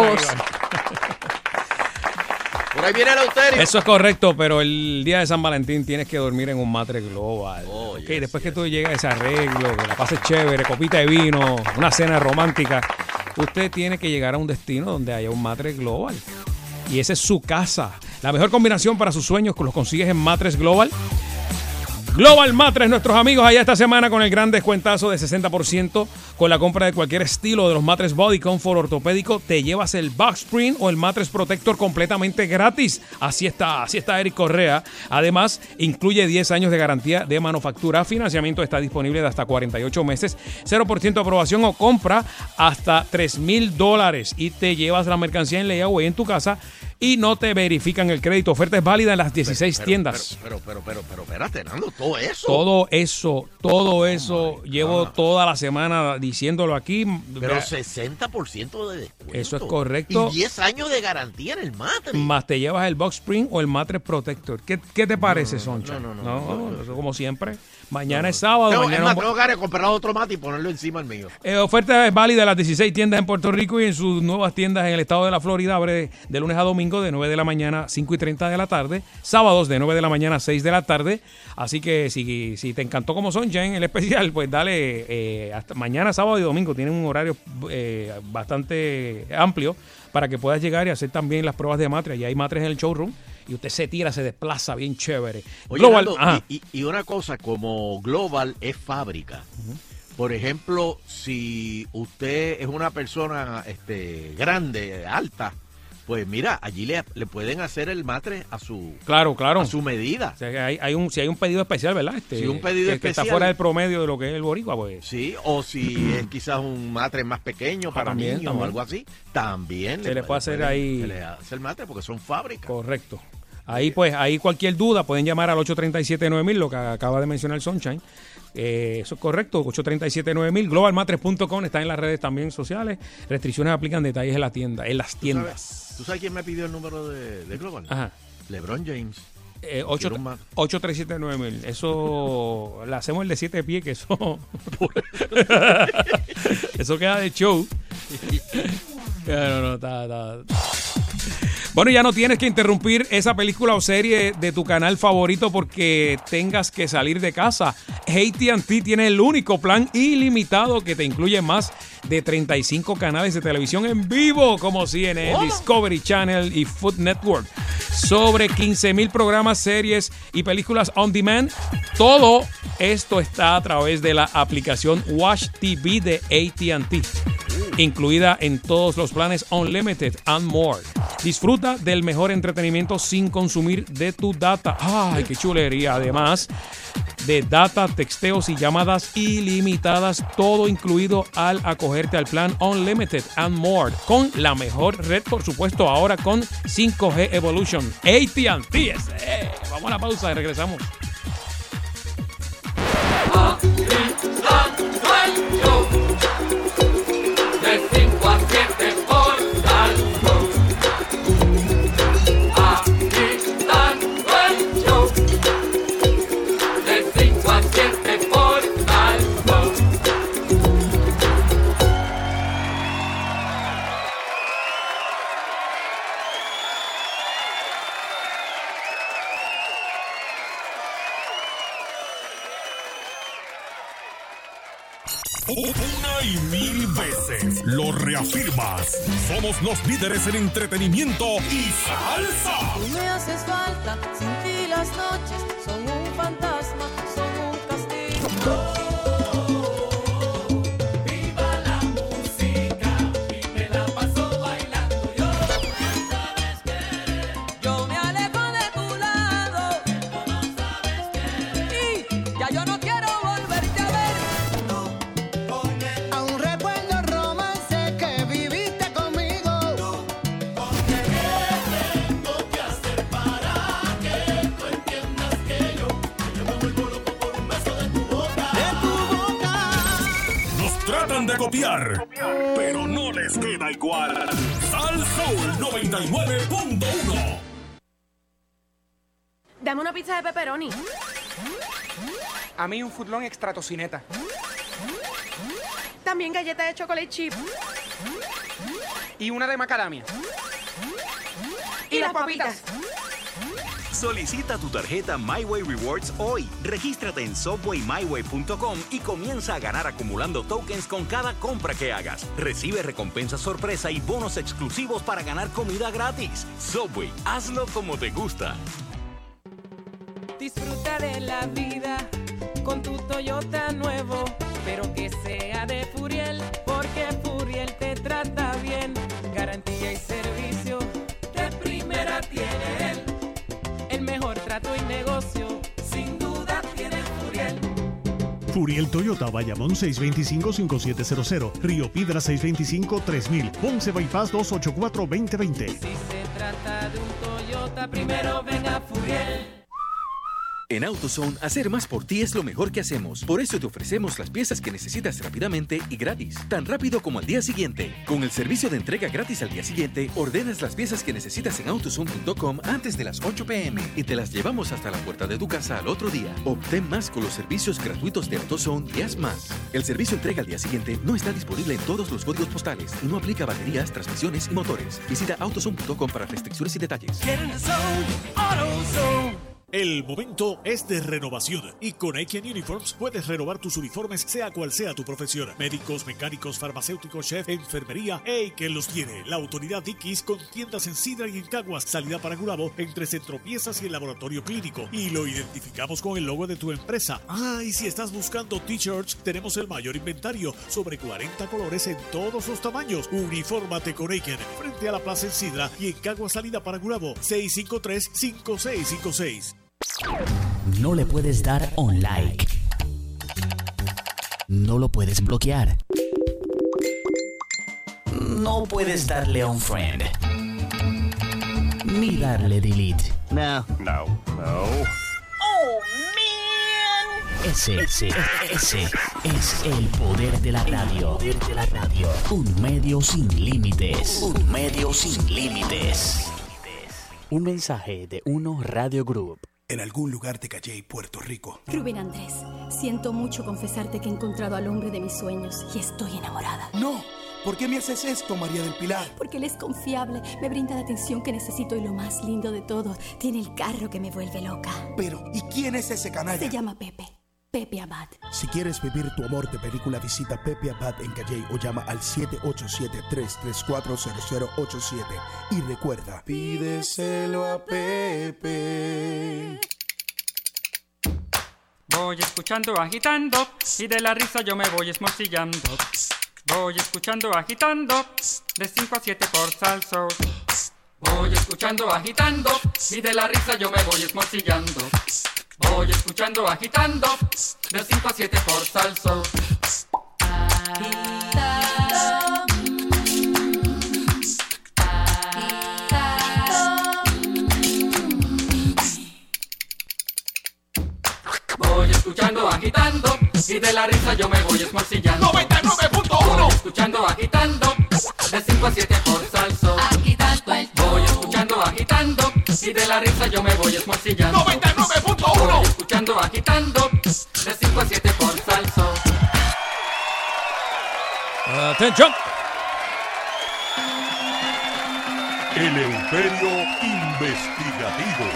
S3: Por ahí viene el Eleuterio.
S2: Eso es correcto, pero el día de San Valentín tienes que dormir en un matre global. Después que tú llegas a ese arreglo, que la pases chévere, copita de vino, una cena romántica, usted tiene que llegar a un destino donde haya un matre global. Y esa es su casa. La mejor combinación para sus sueños los consigues en Matres Global. Global Matres, nuestros amigos allá esta semana con el gran descuentazo de 60% con la compra de cualquier estilo de los matres Body Comfort ortopédico. Te llevas el Box Spring o el Matres Protector completamente gratis. Así está Eric Correa. Además, incluye 10 años de garantía de manufactura. Financiamiento está disponible de hasta 48 meses. 0% de aprobación o compra hasta $3,000 y te llevas la mercancía en layaway en tu casa y no te verifican el crédito. Oferta es válida en las 16 tiendas.
S3: Pero, espérate, Nando, todo eso. Llevo toda la semana diciéndolo aquí.
S2: Pero
S3: 60% de descuento.
S2: Eso es correcto.
S3: Y 10 años de garantía en el Matres.
S2: Más te llevas el Box Spring o el Matres Protector. ¿Qué te parece, Soncha?
S3: No,
S2: eso como siempre. Mañana es sábado.
S3: Tengo que comprar otro mate y ponerlo encima del mío.
S2: Oferta es válida en las 16 tiendas en Puerto Rico y en sus nuevas tiendas en el estado de la Florida. Abre de lunes a domingo de 9 de la mañana a 5:30 de la tarde. Sábados de 9 de la mañana a 6 de la tarde. Así que si te encantó como Soncha en el especial, pues dale hasta mañana, sábado y domingo. Tienen un horario bastante amplio para que puedas llegar y hacer también las pruebas de matres. Y hay matres en el showroom. Y usted se desplaza bien chévere.
S3: Oye, Global, Nando, y una cosa, como Global es fábrica. Por ejemplo, si usted es una persona grande, alta, pues mira, allí le pueden hacer el matre a su a su medida.
S2: O sea, si hay un pedido especial, ¿verdad?
S3: Si un pedido especial.
S2: Que está fuera del promedio de lo que es el boricua, pues.
S3: Sí, o si es quizás un matre más pequeño para niños o algo así, también
S2: se le puede hacer ahí.
S3: Se le hace el matre porque son fábricas.
S2: Correcto. Ahí cualquier duda pueden llamar al 837-9000, lo que acaba de mencionar Sunshine. Eso es correcto, 837-9000. Globalmatres.com está en las redes también sociales. Restricciones aplican, detalles en las tiendas.
S3: ¿Tú sabes quién me pidió el número de Global?
S2: Ajá.
S3: LeBron James.
S2: 837-9000. Eso le hacemos el de 7 pies, que eso eso queda de show. Está. Bueno, ya no tienes que interrumpir esa película o serie de tu canal favorito porque tengas que salir de casa. AT&T tiene el único plan ilimitado que te incluye más de 35 canales de televisión en vivo como CNN, Discovery Channel y Food Network. Sobre 15,000 programas, series y películas on demand. Todo esto está a través de la aplicación Watch TV de AT&T, incluida en todos los planes Unlimited and More. Disfruta del mejor entretenimiento sin consumir de tu data. ¡Ay, qué chulería! Además de data, texteos y llamadas ilimitadas, todo incluido al acogerte al plan Unlimited and More, con la mejor red, por supuesto, ahora con 5G Evolution. AT&T. Vamos a la pausa y regresamos.
S17: De 5 a 7 por Salvo. Agitando el show. De 5 a 7 por Salvo.
S1: Una y mil veces lo reafirmas. Somos los líderes en entretenimiento y salsa.
S18: Tú me haces falta, sin ti las noches son un fantasma, son un castigo.
S17: ¡Viva la música!
S19: de copiar, pero no les queda igual. Sal Soul 99.1.
S20: Dame una pizza de pepperoni.
S21: A mí un footlong extra tocineta.
S20: También galleta de chocolate chip.
S21: Y una de macadamia. Y las papitas.
S22: Solicita tu tarjeta MyWay Rewards hoy. Regístrate en subwaymyway.com y comienza a ganar acumulando tokens con cada compra que hagas. Recibe recompensas sorpresa y bonos exclusivos para ganar comida gratis. Subway, hazlo como te gusta.
S18: Disfruta de la vida con tu Toyota nuevo, pero que sea de Furiel, porque Furiel te trata bien. Garantía y servicio de primera tiene él. El mejor trato y negocio, sin duda tiene Furiel.
S23: Furiel Toyota, Bayamón 625-5700, Río Piedra 625-3000, Ponce Bypass 284-2020.
S18: Si se trata de un Toyota, primero ven a Furiel.
S24: En AutoZone, hacer más por ti es lo mejor que hacemos. Por eso te ofrecemos las piezas que necesitas rápidamente y gratis. Tan rápido como al día siguiente. Con el servicio de entrega gratis al día siguiente, ordenas las piezas que necesitas en AutoZone.com antes de las 8 p.m. y te las llevamos hasta la puerta de tu casa al otro día. Obtén más con los servicios gratuitos de AutoZone y haz más. El servicio entrega al día siguiente no está disponible en todos los códigos postales y no aplica a baterías, transmisiones y motores. Visita AutoZone.com para restricciones y detalles.
S23: El momento es de renovación y con Aiken Uniforms puedes renovar tus uniformes sea cual sea tu profesión. Médicos, mecánicos, farmacéuticos, chef, enfermería, Aiken los tiene. La autoridad Dickies con tiendas en Sidra y en Caguas, salida para Gurabo, entre Centro Piezas y el laboratorio clínico. Y lo identificamos con el logo de tu empresa. Ah, y si estás buscando t-shirts, tenemos el mayor inventario, sobre 40 colores en todos los tamaños. Unifórmate con Aiken, frente a la plaza en Sidra y en Caguas, salida para Gurabo, 653-5656.
S25: No le puedes dar un like. No lo puedes bloquear. No puedes darle a un friend. Ni darle delete. No.
S18: Oh, man.
S25: Ese es el poder de la radio. Un medio sin límites. Un mensaje de Uno Radio Group.
S26: En algún lugar de Calley, Puerto Rico.
S27: Rubén Andrés, siento mucho confesarte que he encontrado al hombre de mis sueños y estoy enamorada.
S26: No, ¿por qué me haces esto, María del Pilar?
S27: Porque él es confiable, me brinda la atención que necesito y lo más lindo de todo, tiene el carro que me vuelve loca.
S26: Pero, ¿y quién es ese canalla?
S27: Se llama Pepe Abad.
S26: Si quieres vivir tu amor de película, visita Pepe Abad en Calley o llama al 787-334-0087. Y recuerda, pídeselo a Pepe.
S28: Voy escuchando, agitando, y de la risa yo me voy esmorcillando. Voy escuchando, agitando, de 5 a 7 por Sal Soul. Voy escuchando, agitando, y de la risa yo me voy esmorcillando. Voy escuchando, agitando, de 5 a 7 por Sal Soul. Voy escuchando, agitando, y de la risa yo me voy esmorcillando.
S17: 99.1.
S28: Voy escuchando, agitando, de 5 a 7 por Sal Soul. Voy escuchando, agitando, y de la risa yo me voy esmorcillando.
S17: 99.1.
S28: Voy escuchando, agitando, de 5 a 7 por Sal Soul.
S2: ¡Atención!
S19: El Imperio Investigativo.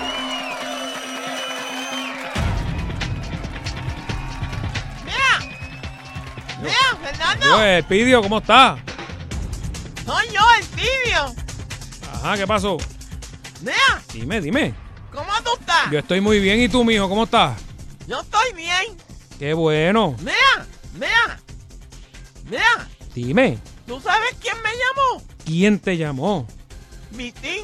S29: Mira, Fernando.
S2: Yo, Pidio, ¿cómo estás?
S29: Soy yo, el Pidio.
S2: Ajá, ¿qué pasó?
S29: Mira.
S2: Dime.
S29: ¿Cómo tú estás?
S2: Yo estoy muy bien. ¿Y tú, mijo, cómo estás?
S29: Yo estoy bien.
S2: Qué bueno.
S29: Mira.
S2: Dime.
S29: ¿Tú sabes quién me llamó?
S2: ¿Quién te llamó?
S29: Vitín.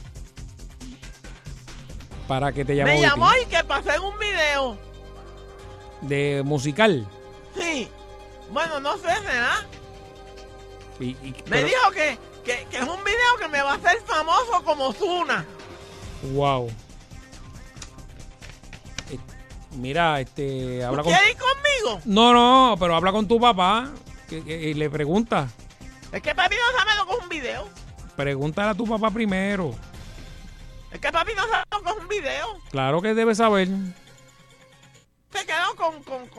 S2: ¿Para qué te llamó?
S29: Me llamó
S2: Vitín?
S29: y que pasé un video.
S2: ¿De musical?
S29: Sí. Bueno, no sé, ¿verdad?
S2: Pero...
S29: Me dijo que es un video que me va a hacer famoso como Ozuna.
S2: Wow. Mira, habla con...
S29: ¿Quieres ir conmigo?
S2: No, pero habla con tu papá. Y le pregunta.
S29: Es que papi no sabe lo que es un video.
S2: Pregúntale a tu papá primero.
S29: Es que papi no sabe lo que es un video.
S2: Claro que debe saber.
S29: Se quedó con.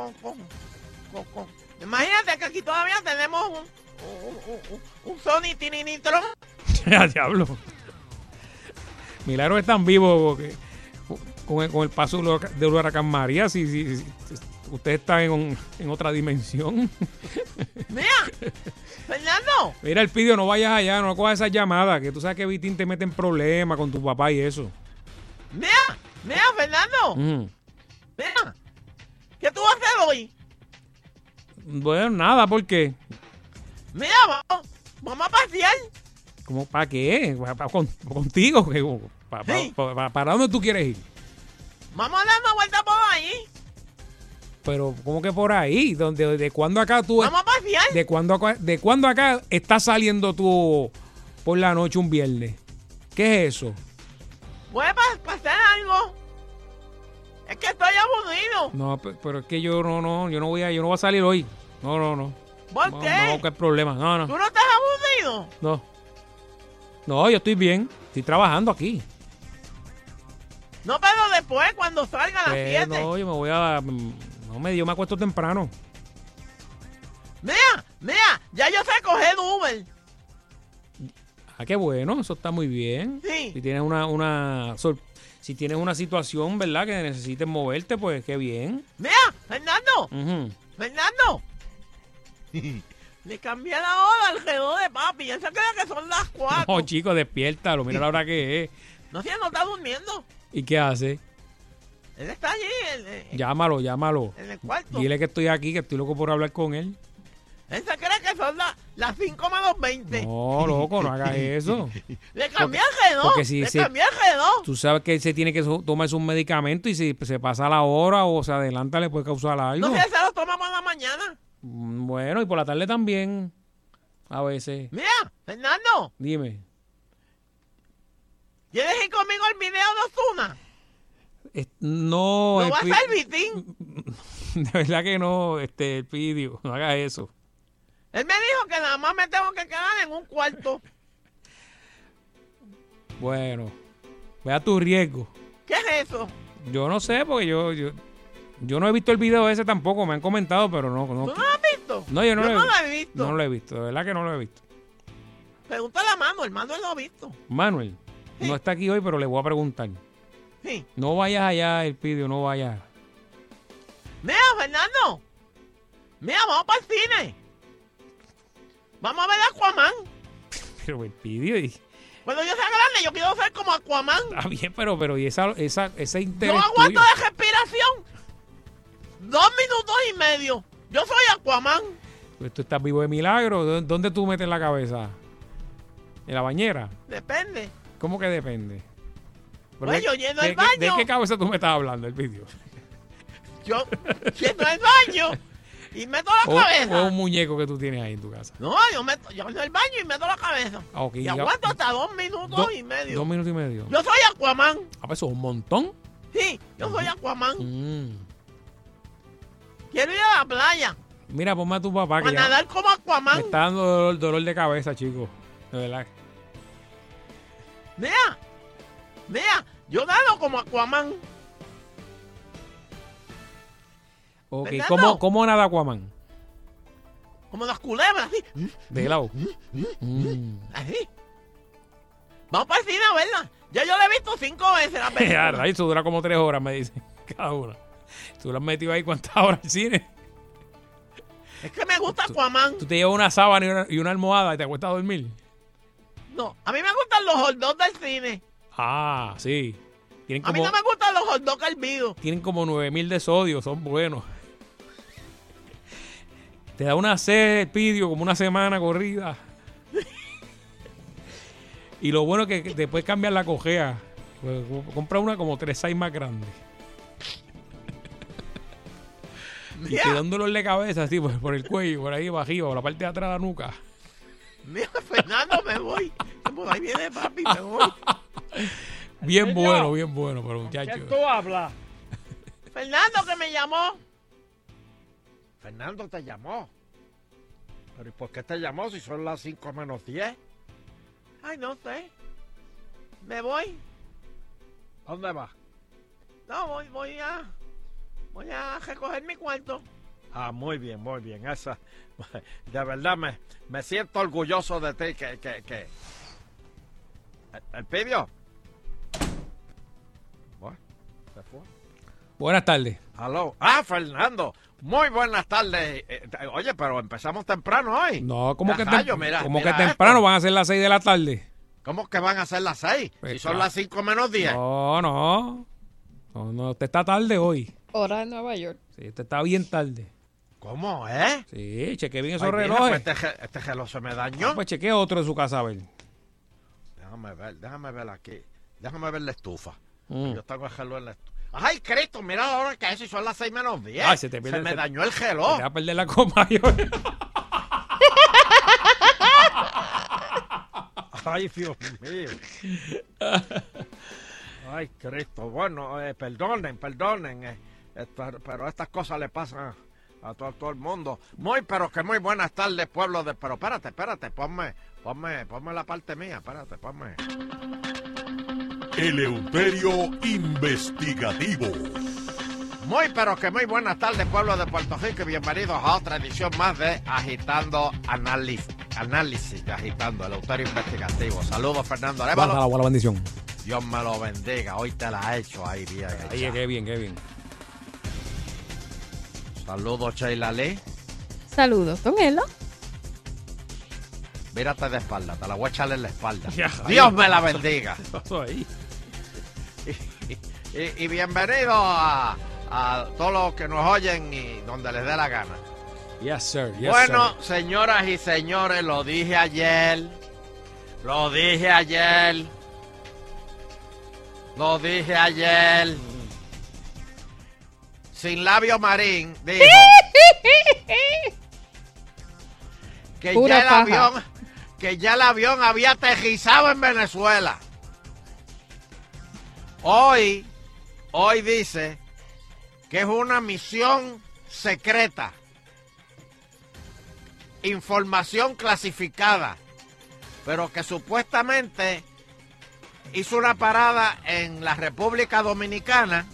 S29: Imagínate que aquí todavía tenemos un Sony Tininitron.
S2: Ya, diablo. Milagro es tan vivo que con el paso del huracán María, si usted está en otra dimensión.
S29: Mira, Fernando.
S2: Mira, Elpidio, no vayas allá, no cojas esas llamadas, que tú sabes que Vitín te mete en problemas con tu papá y eso.
S29: Mira, Fernando. Mira, ¿qué tú vas a hacer hoy?
S2: Bueno, nada, ¿por qué?
S29: Mira, vamos a pasear.
S2: ¿Cómo? ¿Para qué? ¿Contigo? ¿Para dónde tú quieres ir?
S29: Vamos a dar una vuelta por ahí.
S2: Pero, ¿cómo que por ahí? ¿De cuándo acá tú...
S29: Vamos a pasear.
S2: ¿De cuándo acá estás saliendo tú por la noche un viernes? ¿Qué es eso?
S29: Voy a pasar algo. Es que estoy aburrido.
S2: No, pero es que yo no voy a salir hoy. No.
S29: ¿Por qué?
S2: No, ¿qué problema? No.
S29: ¿Tú no estás aburrido?
S2: No, yo estoy bien. Estoy trabajando aquí.
S29: No, pero después, cuando salga a las 7.
S2: No, yo me voy a... yo me acuesto temprano.
S29: Mira, ya yo sé coger Uber.
S2: Ah, qué bueno, eso está muy bien.
S29: Sí.
S2: Si tienes si tienes una situación, ¿verdad?, que necesites moverte, pues qué bien.
S29: Mira, Fernando. Fernando. Le cambié la hora al reloj de papi. Ya se cree que son las 4.
S2: No, chico, despiértalo. Mira la hora que es.
S29: No, si él no está durmiendo.
S2: ¿Y qué hace?
S29: Él está allí.
S2: Llámalo.
S29: En el cuarto.
S2: Dile que estoy aquí, que estoy loco por hablar con él.
S29: Él se cree que son las 5 menos 20.
S2: No, loco, no hagas eso.
S29: Le cambié el reloj. Cambié el reloj.
S2: Tú sabes que él se tiene que tomar sus medicamentos y si se pasa la hora o se adelanta le puede causar algo.
S29: No sé, se lo toma por la mañana.
S2: Bueno, y por la tarde también. A veces.
S29: Mira, Fernando.
S2: Dime.
S29: ¿Quieres ir conmigo al video de Ozuna?
S2: No.
S29: ¿No va a ser Vitín?
S2: De verdad que no, Elpidio. No hagas eso.
S29: Él me dijo que nada más me tengo que quedar en un cuarto.
S2: Bueno, ve a tu riesgo.
S29: ¿Qué es eso?
S2: Yo no sé, porque yo no he visto el video ese tampoco, me han comentado, pero no.
S29: ¿Tú no lo has visto?
S2: No, yo no
S29: lo he visto.
S2: No lo he visto, de verdad que no lo he visto.
S29: Pregúntale a Manuel lo ha visto.
S2: Manuel, sí. No está aquí hoy, pero le voy a preguntar.
S29: Sí.
S2: No vayas allá, Elpidio, no vayas.
S29: Mira, Fernando. Mira, vamos para el cine. Vamos a ver a Aquaman.
S2: Pero Elpidio...
S29: Cuando yo sea grande, yo quiero ser como Aquaman.
S2: Está bien, pero y ese interés
S29: yo aguanto
S2: tuyo.
S29: de respiración 2 minutos y medio. Yo soy Aquaman.
S2: Pues tú estás vivo de milagro. ¿Dónde tú metes la cabeza? ¿En la bañera?
S29: Depende.
S2: ¿Cómo que depende?
S29: Pues yo lleno el baño.
S2: ¿De qué cabeza tú me estás hablando, Elpidio?
S29: Yo lleno el baño y meto la cabeza.
S2: ¿O un muñeco que tú tienes ahí en tu casa?
S29: No, yo en el baño y meto la cabeza.
S2: Okay,
S29: y aguanto hasta 2 minutos y medio.
S2: 2 minutos y medio.
S29: Yo soy Aquaman.
S2: Ah, pues eso es un montón.
S29: Sí, yo soy Aquaman. Quiero ir a la playa.
S2: Mira, ponme a tu papá.
S29: Para nadar como Aquaman.
S2: Me está dando dolor de cabeza, chico. De verdad.
S29: Mira, yo nado como Aquaman.
S2: Ok, ¿cómo nada Aquaman?
S29: Como las culebras, así.
S2: De lado.
S29: Así. Vamos para el cine a verla. Ya yo la he visto 5 veces la película.
S2: Eso dura como 3 horas, me dicen. Cada una. ¿Tú lo has metido ahí cuántas horas al cine?
S29: Es que me gusta Aquaman.
S2: ¿Tú te llevas una sábana y una almohada y te acuestas a dormir?
S29: No, a mí me gustan los hot dogs del cine.
S2: Ah, sí.
S29: A mí no me gustan los hot dogs hervidos.
S2: Tienen como 9,000 de sodio, son buenos. Te da una sed, Elpidio, como una semana corrida. Y lo bueno es que después cambiar la cojea. Pues, compra una como 3 size más grande. Y te da un dolor de cabeza así por el cuello, por ahí arriba, por la parte de atrás de la nuca.
S29: Mira, Fernando, me voy. Por ahí viene papi, me voy.
S2: Bien bueno, pero muchacho.
S29: ¿Qué tú hablas? Fernando, que me llamó. Fernando te llamó.
S5: ¿Pero y por qué te llamó si son las 5 menos 10?
S29: Ay, no sé. Me voy.
S5: ¿A dónde vas?
S29: No, voy a recoger mi cuarto.
S5: Ah, muy bien, muy bien. Esa, de verdad me siento orgulloso de ti. Que. ¿El pidió? Bueno, se fue.
S2: Buenas tardes.
S5: Aló. Ah, Fernando. Muy buenas tardes. Oye, pero empezamos temprano hoy.
S2: No, ¿cómo que
S5: mira
S2: temprano? Van a ser las 6 de la tarde.
S5: ¿Cómo que van a ser las 6?
S2: Pues
S5: si son las 5 menos 10.
S2: No, usted está tarde hoy.
S4: Hora de Nueva York.
S2: Sí, usted está bien tarde.
S5: ¿Cómo,
S2: Sí, chequeé bien esos
S5: Ay,
S2: relojes.
S5: Pues este reloj se me dañó.
S2: Pues chequeé otro de su casa, a ver.
S5: Déjame ver aquí. Déjame ver la estufa. Yo tengo el reloj en la estufa. ¡Ay, Cristo! Mira ahora que eso son las 6 menos 10.
S2: Ay,
S5: se me dañó el reloj.
S2: Te va a perder la copa.
S5: Ay, Dios mío. Ay, Cristo. Bueno, perdonen. Pero estas cosas le pasan a todo el mundo. Pero muy buenas tardes, pueblo de... Pero espérate. Ponme la parte mía. Espérate, ponme.
S19: Eleuterio Investigativo.
S5: Muy buenas tardes, pueblo de Puerto Rico, y bienvenidos a otra edición más de Agitando Análisis de Agitando, Eleuterio Investigativo. Saludos, Fernando Arévalo.
S2: Buena bendición.
S5: Dios me lo bendiga. Hoy te la he hecho ahí bien.
S2: Ahí, qué bien.
S5: Saludos, Sheila Lee.
S4: Saludos, don Elo.
S5: Mírate de espalda, te la voy a echarle en la espalda. Dios me la bendiga.
S2: Ahí.
S5: Y bienvenido a todos los que nos oyen y donde les dé la gana.
S2: Yes, sir.
S5: Bueno, señoras y señores, lo dije ayer. Sin Labio Marín dijo que ya el avión había aterrizado en Venezuela. Hoy dice que es una misión secreta, información clasificada, pero que supuestamente hizo una parada en la República Dominicana.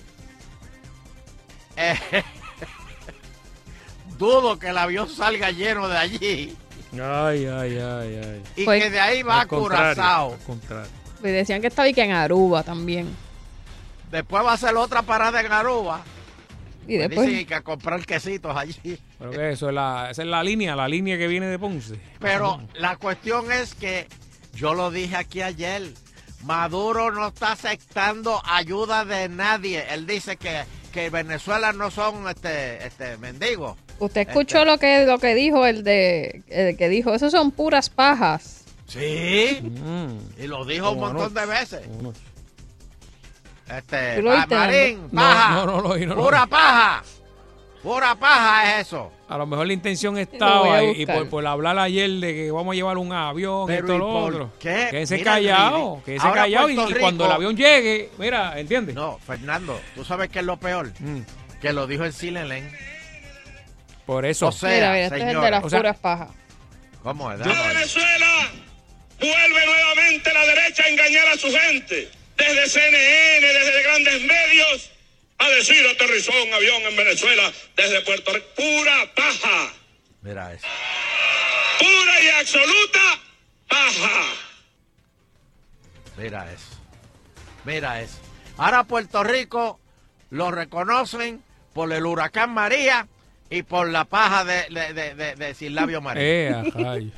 S5: Dudo que el avión salga lleno de allí.
S2: Ay.
S5: Y pues, que de ahí va a Curazao.
S4: Me decían que estaba y que en Aruba también.
S5: Después va a hacer otra parada en Aruba.
S4: Y después
S5: dicen que a comprar quesitos allí.
S2: Pero que eso esa es la línea que viene de Ponce.
S5: Pero la cuestión es que yo lo dije aquí ayer. Maduro no está aceptando ayuda de nadie. Él dice que Venezuela no son mendigos.
S4: ¿Usted escuchó lo que dijo el que dijo, esos son puras pajas?
S5: Sí. Y lo dijo un montón de veces. Marín, paja.
S2: No,
S5: pura paja. Pura paja es eso.
S2: A lo mejor la intención estaba y por hablar ayer de que vamos a llevar un avión, pero esto, lo otro.
S5: ¿Qué?
S2: Quédese callado y cuando el avión llegue, mira, ¿entiendes?
S5: No, Fernando, ¿tú sabes qué es lo peor? Que lo dijo el Silenen.
S2: Por eso.
S5: O sea,
S4: mira, este es el de las puras pajas.
S5: ¿Cómo es?
S6: Venezuela vuelve nuevamente la derecha a engañar a su gente. Desde CNN, desde grandes medios, a decir aterrizó un avión en Venezuela desde Puerto Rico. Pura paja.
S5: Mira eso.
S6: Pura y absoluta paja.
S5: Mira eso. Ahora Puerto Rico lo reconocen por el huracán María y por la paja de Sin Labio Marín.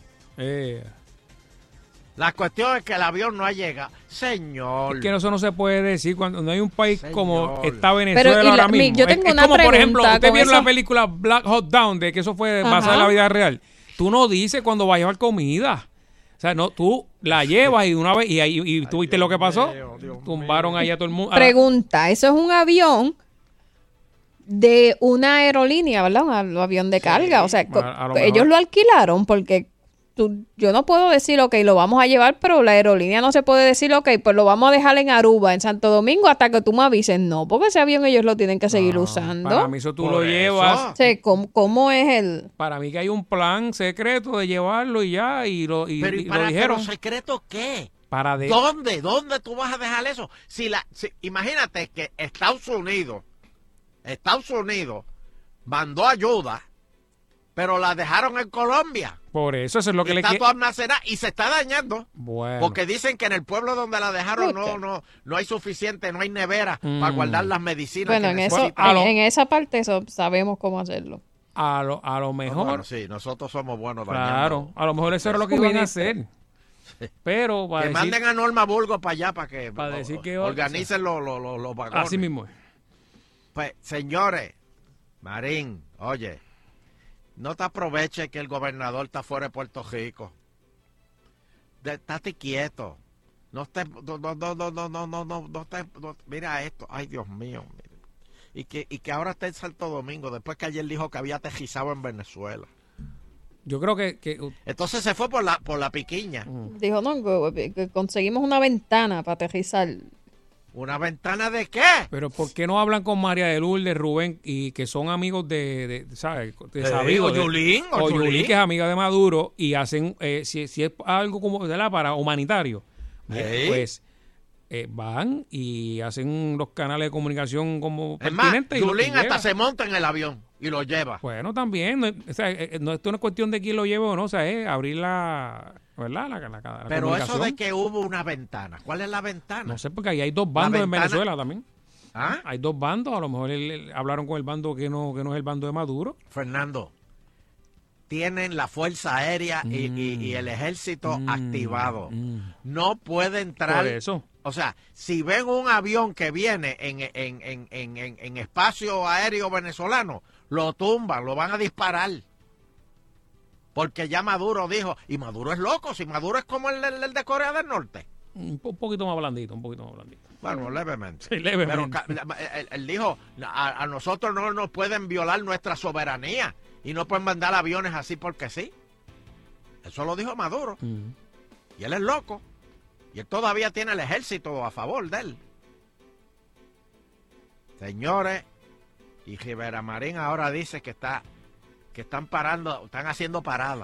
S5: La cuestión es que el avión no llega. Señor.
S2: Es que eso no se puede decir cuando no hay un país como está Venezuela ahora mismo.
S4: Yo tengo una
S2: como,
S4: pregunta.
S2: Por ejemplo, usted vieron la película Black Hawk Down, de que eso fue basado en la vida real. Tú no dices cuando va a llevar comida. O sea, no, tú la llevas y una vez, y tú viste lo que pasó. Tumbaron ahí a todo el mundo.
S4: Pregunta, ¿eso es un avión de una aerolínea, verdad? Un avión de carga. O sea, ellos lo alquilaron porque yo no puedo decir, ok, lo vamos a llevar, pero la aerolínea no se puede decir, ok, pues lo vamos a dejar en Aruba, en Santo Domingo, hasta que tú me avises. No, porque ese avión ellos lo tienen que seguir usando.
S2: Para mí eso tú lo llevas.
S4: Sí, ¿cómo es el...?
S2: Para mí que hay un plan secreto de llevarlo y ya, y lo dijeron.
S5: ¿Pero secreto qué? ¿Dónde tú vas a dejar eso? Imagínate que Estados Unidos mandó ayuda, pero la dejaron en Colombia.
S2: Por eso es lo que le
S5: está toda almacenada y se está dañando.
S2: Bueno.
S5: Porque dicen que en el pueblo donde la dejaron no hay suficiente, no hay nevera para guardar las medicinas.
S4: Bueno, en esa parte eso sabemos cómo hacerlo.
S2: A lo mejor.
S5: Bueno, sí, nosotros somos buenos.
S2: Claro, a lo mejor eso era lo que iban a hacer. Pero
S5: que manden a Norma Burgos para allá para que
S2: decir que
S5: organicen los vagones.
S2: Así mismo es.
S5: Pues, señores, Marín, oye, no te aproveches que el gobernador está fuera de Puerto Rico. Estate quieto. No estés, mira esto. Ay, Dios mío. Y que ahora está en Santo Domingo, después que ayer dijo que había aterrizado en Venezuela.
S2: Yo creo que
S5: entonces se fue por la piquiña.
S4: Dijo, no, que conseguimos una ventana para aterrizar.
S5: ¿Una ventana de qué?
S2: Pero ¿por qué no hablan con María de Lourdes, Rubén, y que son amigos ¿sabes? De Sabido,
S5: o Yulín,
S2: que es amiga de Maduro, y hacen, si es algo como, ¿verdad? Para humanitario, pues van y hacen los canales de comunicación como
S5: pertinentes. Es más, Yulín hasta se monta en el avión y lo lleva.
S2: Bueno, también, esto no es cuestión de quién lo lleve o no, o sea, es abrir la... ¿verdad? La
S5: pero eso de que hubo una ventana, ¿cuál es la ventana?
S2: No sé, porque ahí hay dos bandos en Venezuela también. ¿Ah? Hay dos bandos, a lo mejor hablaron con el bando que no es el bando de Maduro.
S5: Fernando, tienen la Fuerza Aérea y el Ejército activado. No puede entrar.
S2: Por eso.
S5: O sea, si ven un avión que viene en espacio aéreo venezolano, lo tumban, lo van a disparar. Porque ya Maduro dijo, y Maduro es loco, si Maduro es como el de Corea del Norte.
S2: Un poquito más blandito.
S5: Bueno, levemente.
S2: Sí, levemente.
S5: Pero él dijo, a nosotros no nos pueden violar nuestra soberanía y no pueden mandar aviones así porque sí. Eso lo dijo Maduro. Y él es loco. Y él todavía tiene el ejército a favor de él. Señores, y Rivera Marín ahora dice que están haciendo paradas.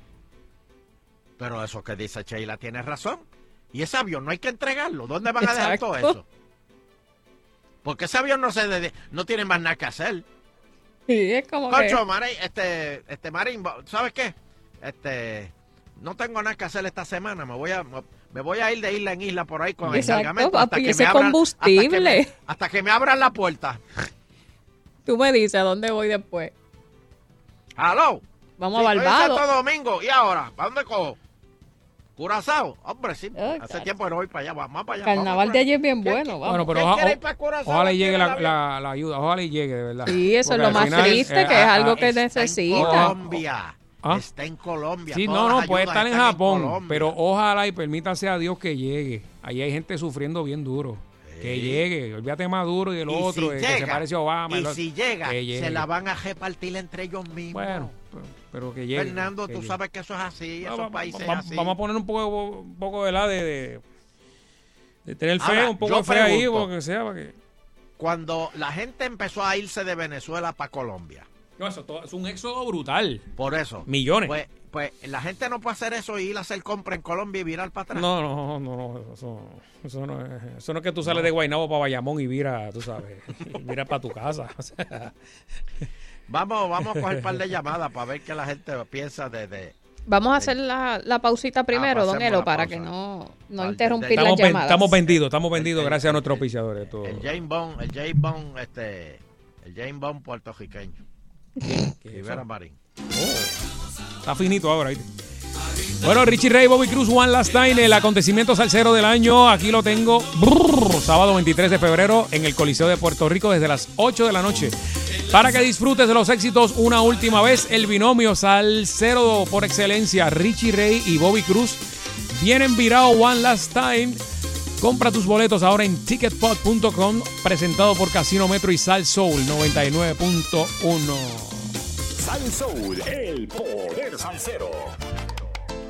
S5: Pero eso que dice Sheila tiene razón. Y ese avión no hay que entregarlo. ¿Dónde van a dejar todo eso? Porque ese avión no tiene más nada que hacer.
S4: Sí, es como
S5: Concho, Marín, Marín, ¿sabes qué? No tengo nada que hacer esta semana. Me voy a ir de isla en isla por ahí con el cargamento hasta que me abran
S4: combustible.
S5: Hasta que me abran la puerta.
S4: Tú me dices a dónde voy después.
S5: ¡Aló!
S4: Vamos a Barbados.
S5: Santo Domingo. ¿Y ahora? ¿Para dónde cojo? ¿Curazao? Hombre, sí. Hace tiempo que no voy para allá. Vamos para allá.
S4: Carnaval de ayer es bien bueno.
S2: Bueno, pero ojalá llegue la ayuda. Ojalá llegue, de verdad.
S4: Sí, eso es lo más triste, que es algo que necesita.
S5: Colombia. Está en Colombia.
S2: Sí, no, puede estar en Japón. Pero ojalá y permítase a Dios que llegue. Ahí hay gente sufriendo bien duro. Que llegue, olvídate Maduro y el otro, que se parece a Obama.
S5: Y si llega, se la van a repartir entre ellos mismos.
S2: Bueno, pero que llegue.
S5: Fernando, tú sabes que eso es así, esos países así.
S2: Vamos a poner un poco de tener fe, un poco de fe ahí, o que sea. Para que...
S5: Cuando la gente empezó a irse de Venezuela para Colombia.
S2: No, eso es un éxodo brutal.
S5: Por eso.
S2: Millones.
S5: Pues la gente no puede hacer eso y ir a hacer compra en Colombia y virar para atrás.
S2: No, eso no es que tú sales de Guaynabo para Bayamón y vira, tú sabes, vira para tu casa. O sea.
S5: Vamos a coger un par de llamadas para ver qué la gente piensa de
S4: Vamos a hacer la pausita primero, don Elo, para que no interrumpir las llamadas.
S2: Estamos vendidos gracias a nuestros auspiciadores.
S5: El James Bond puertorriqueño. Rivera Marín.
S2: Está finito ahora, ¿viste? Bueno, Richie Ray, Bobby Cruz, One Last Time, el acontecimiento salsero del año. Aquí lo tengo. Sábado 23 de febrero en el Coliseo de Puerto Rico desde las 8 de la noche. Para que disfrutes de los éxitos una última vez, el binomio salsero por excelencia, Richie Ray y Bobby Cruz, vienen virado One Last Time. Compra tus boletos ahora en ticketpot.com, presentado por Casino Metro y Sal Soul 99.1.
S19: Sal Soul, el poder salsero.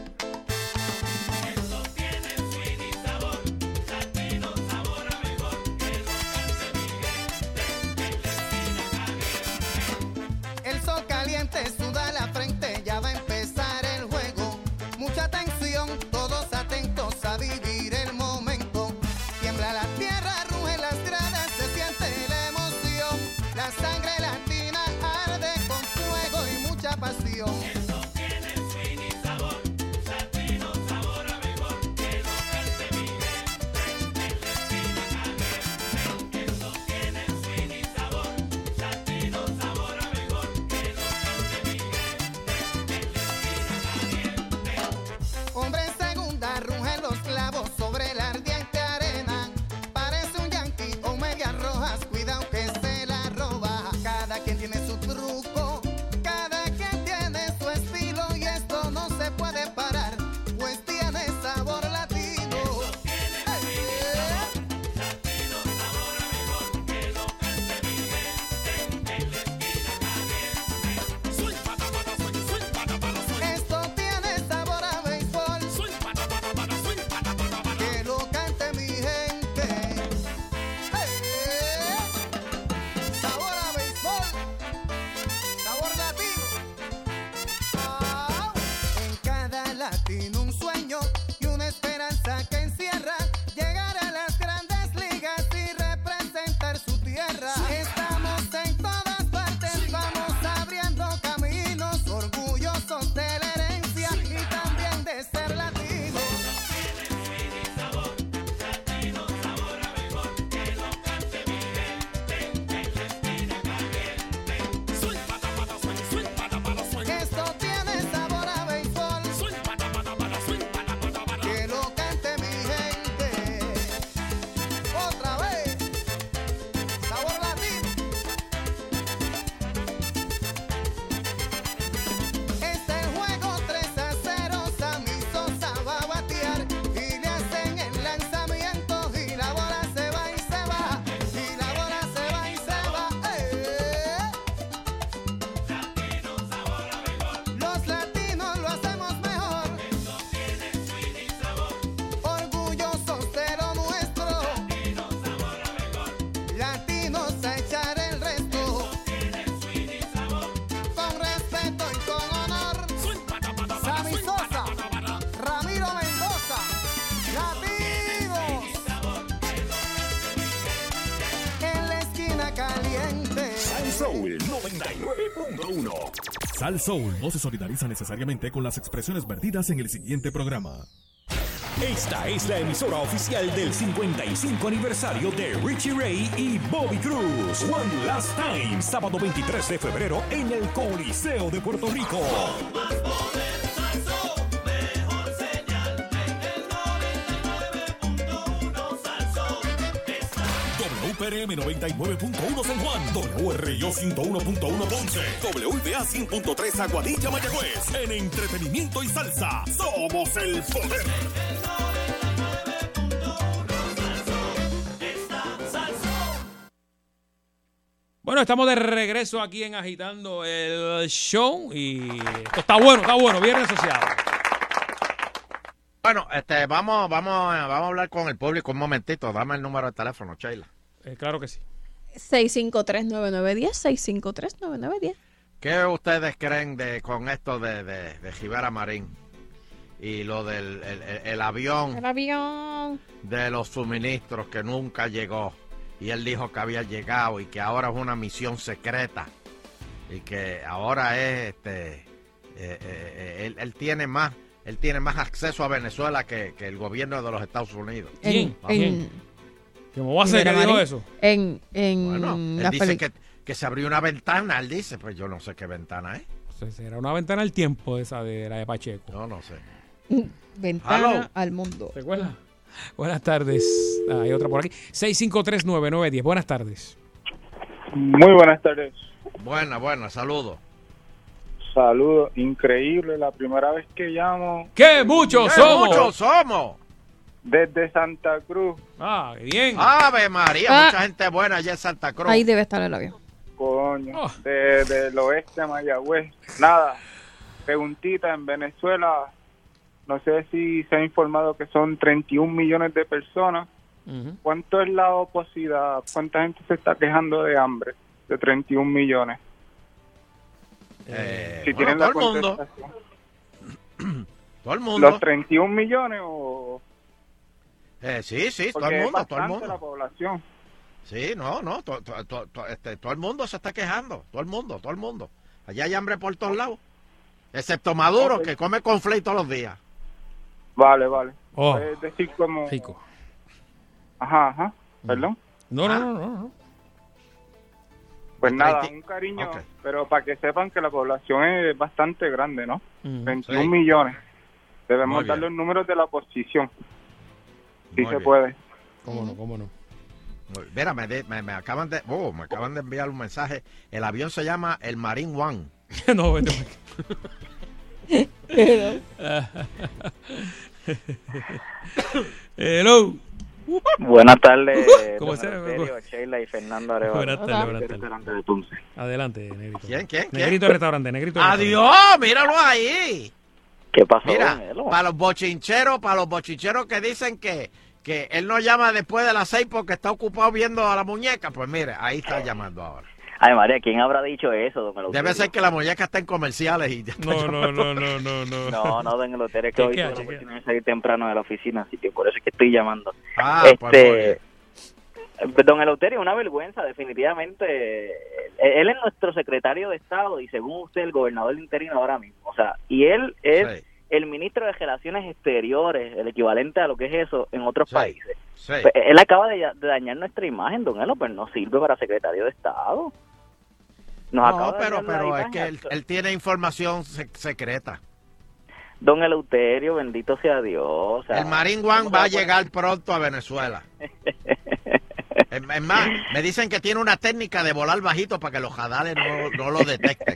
S19: Soul 99.1.
S23: Sal Soul no se solidariza necesariamente con las expresiones vertidas en el siguiente programa.
S19: Esta es la emisora oficial del 55 aniversario de Richie Ray y Bobby Cruz. One Last Time, sábado 23 de febrero en el Coliseo de Puerto Rico.
S23: WPRM 99.1 San Juan, WRIO 101.1 Ponce, WIBA 100.3 Aguadilla Mayagüez. En entretenimiento y salsa, somos el poder.
S2: Bueno, estamos de regreso aquí en Agitando el Show y esto está bueno, viernes asociado.
S5: Bueno, vamos a hablar con el público un momentito. Dame el número de teléfono, Sheila.
S2: Claro que sí.
S4: 653-9910, 653-9910.
S5: ¿Qué ustedes creen con esto de Rivera Marín y lo del el avión?
S4: El avión.
S5: De los suministros que nunca llegó. Y él dijo que había llegado y que ahora es una misión secreta. Y que ahora es él tiene más acceso a Venezuela que el gobierno de los Estados Unidos.
S2: ¿Quién? ¿Cómo va a ser que dijo eso?
S4: Bueno,
S5: él dice que se abrió una ventana. Él dice, pues yo no sé qué ventana es.
S2: Será una ventana al tiempo esa de la de Pacheco.
S5: No sé.
S4: Ventana al mundo.
S2: ¿Te acuerdas? Buenas tardes. Hay otra por aquí. 653-9910. Buenas tardes.
S7: Muy buenas tardes.
S5: Buena, saludos.
S7: Saludos, increíble, la primera vez que llamo.
S2: ¡Qué muchos somos!
S5: ¡Muchos somos!
S7: Desde Santa Cruz.
S2: Ah, bien.
S5: ¡Ave María! Mucha gente buena allá en Santa Cruz.
S4: Ahí debe estar el avión.
S7: Coño, del oeste de Mayagüez. Nada, preguntita, en Venezuela, no sé si se ha informado que son 31 millones de personas. ¿Cuánto es la oposición? ¿Cuánta gente se está quejando de hambre? De 31 millones. Si tienen la contestación.
S5: Todo el mundo.
S7: ¿Los 31 millones o...?
S5: Sí, todo el mundo, todo el mundo.
S7: La población.
S5: Sí, todo el mundo se está quejando, todo el mundo. Allá hay hambre por todos lados, excepto Maduro, que come conflicto todos los días.
S7: Vale. Es decir, como...
S2: Rico.
S7: Ajá. ¿Perdón?
S2: No.
S7: Pues nada, un cariño, pero para que sepan que la población es bastante grande, ¿no? 21 millones. Debemos dar los números de la oposición. Sí se puede.
S2: ¿Cómo no?
S5: Mira, me acaban de enviar un mensaje. El avión se llama el Marine One.
S2: No, vete. Hello.
S8: Buenas tardes.
S2: ¿Cómo se llama?
S8: Sheila y Fernando Arevalo.
S2: Buenas tardes.
S8: Restaurante de Tunce.
S2: Adelante, Negrito.
S5: ¿Quién?
S2: Negrito Restaurante,
S5: ¡Adiós! Míralo ahí.
S8: ¿Qué pasó?
S5: Mira, para los bochincheros que dicen que él no llama después de las 6 porque está ocupado viendo a la muñeca, pues mire, ahí está llamando ahora.
S8: Ay, María, ¿quién habrá dicho eso, don Eleuterio?
S5: Debe ser que la muñeca está en comerciales y ya está.
S2: No.
S8: No, don Eleuterio, es que hoy tuve la oportunidad de salir temprano de la oficina, así que por eso es que estoy llamando.
S5: Pues
S8: don Eleuterio, una vergüenza, definitivamente. Él es nuestro secretario de Estado y según usted, el gobernador interino ahora mismo. O sea, y él es el ministro de Relaciones Exteriores, el equivalente a lo que es eso en otros países. Pues, él acaba de dañar nuestra imagen, don Elo, pues no sirve para secretario de Estado.
S5: Pero es que él tiene información secreta.
S8: Don Eleuterio, bendito sea Dios. O sea,
S5: el Marine One va a llegar pronto a Venezuela. Es más, me dicen que tiene una técnica de volar bajito para que los radares no lo detecten.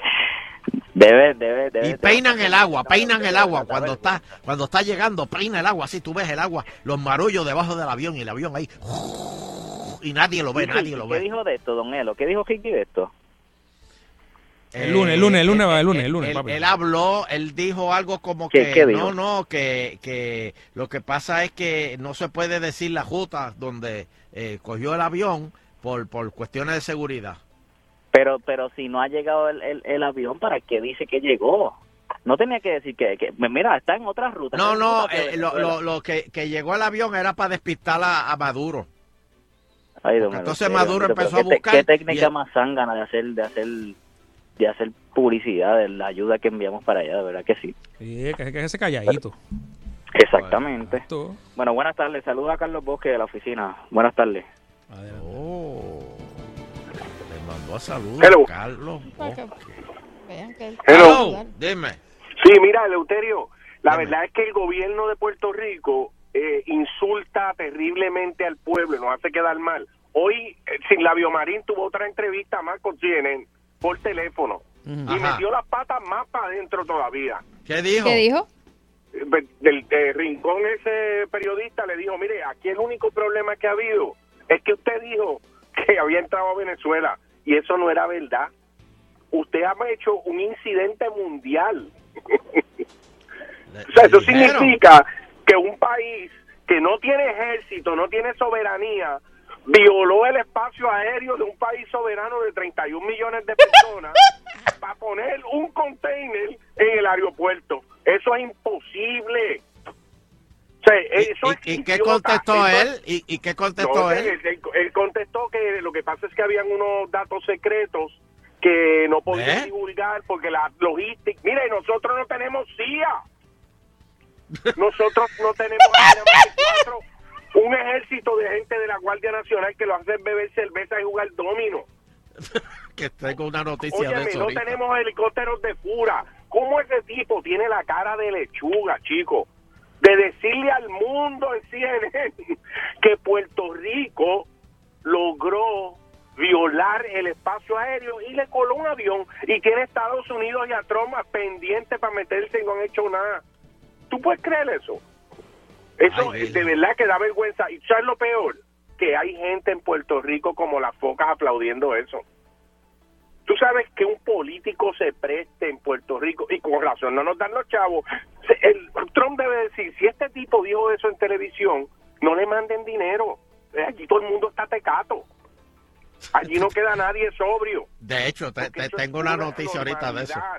S8: Debe.
S5: Y peinan el agua. Cuando está llegando, peina el agua. Así tú ves el agua, los marullos debajo del avión y el avión ahí. Y nadie lo ve.
S8: ¿Qué dijo de esto, don Elo? ¿Qué dijo Ricky de esto?
S2: El lunes, papi.
S5: Él habló, él dijo algo como
S8: ¿Qué dijo?
S5: que lo que pasa es que no se puede decir la ruta donde cogió el avión por cuestiones de seguridad.
S8: Pero si no ha llegado el avión, ¿para qué dice que llegó? No tenía que decir que mira, está en otra ruta.
S5: Lo que llegó el avión era para despistar a Maduro.
S8: Ay, don
S5: entonces
S8: Eleuterio,
S5: Maduro empezó a buscar...
S8: ¿Qué técnica más zángana de hacer publicidad de la ayuda que enviamos para allá? De verdad que sí.
S2: Sí, que ese calladito.
S8: Exactamente. Bueno, buenas tardes. Saludos a Carlos Bosque de la oficina. Buenas tardes.
S5: Le mandó a saludar
S3: Hello.
S5: a Carlos Bosque.
S3: Hello.
S5: Dime.
S3: Sí, mira, Eleuterio, la verdad es que el gobierno de Puerto Rico insulta terriblemente al pueblo y nos hace quedar mal. Hoy, Sin Labio Marín tuvo otra entrevista más con CNN por teléfono y metió las patas más para adentro todavía.
S5: ¿Qué dijo?
S4: ¿Qué dijo?
S3: Del rincón ese periodista le dijo, mire, aquí el único problema que ha habido es que usted dijo que había entrado a Venezuela y eso no era verdad. Usted ha hecho un incidente mundial. O sea, eso significa que un país que no tiene ejército, no tiene soberanía, violó el espacio aéreo de un país soberano de 31 millones de personas para poner un container en el aeropuerto. Eso es imposible. O sea, eso es
S5: ¿Y qué contestó él? ¿Y qué contestó él?
S3: Él contestó que lo que pasa es que habían unos datos secretos que no podían divulgar porque la logística... Mire, nosotros no tenemos CIA. Nosotros no tenemos un ejército de gente de la Guardia Nacional que lo hace beber cerveza y jugar domino.
S5: Que tengo una noticia
S3: Óyeme,
S5: de eso
S3: no
S5: ahorita.
S3: tenemos helicópteros de fura. ¿Cómo ese tipo tiene la cara de lechuga, chico? De decirle al mundo en CNN que Puerto Rico logró violar el espacio aéreo y le coló un avión y tiene Estados Unidos y a Trump pendiente para meterse y no han hecho nada. ¿Tú puedes creer eso? Eso de verdad que da vergüenza. Y ¿sabes lo peor? Que hay gente en Puerto Rico como las focas aplaudiendo eso. Tú sabes que un político se preste en Puerto Rico, y con razón no nos dan los chavos. Trump debe decir, si este tipo dijo eso en televisión, no le manden dinero. Aquí todo el mundo está tecato. Allí no queda nadie sobrio.
S5: De hecho, tengo una noticia ahorita de eso.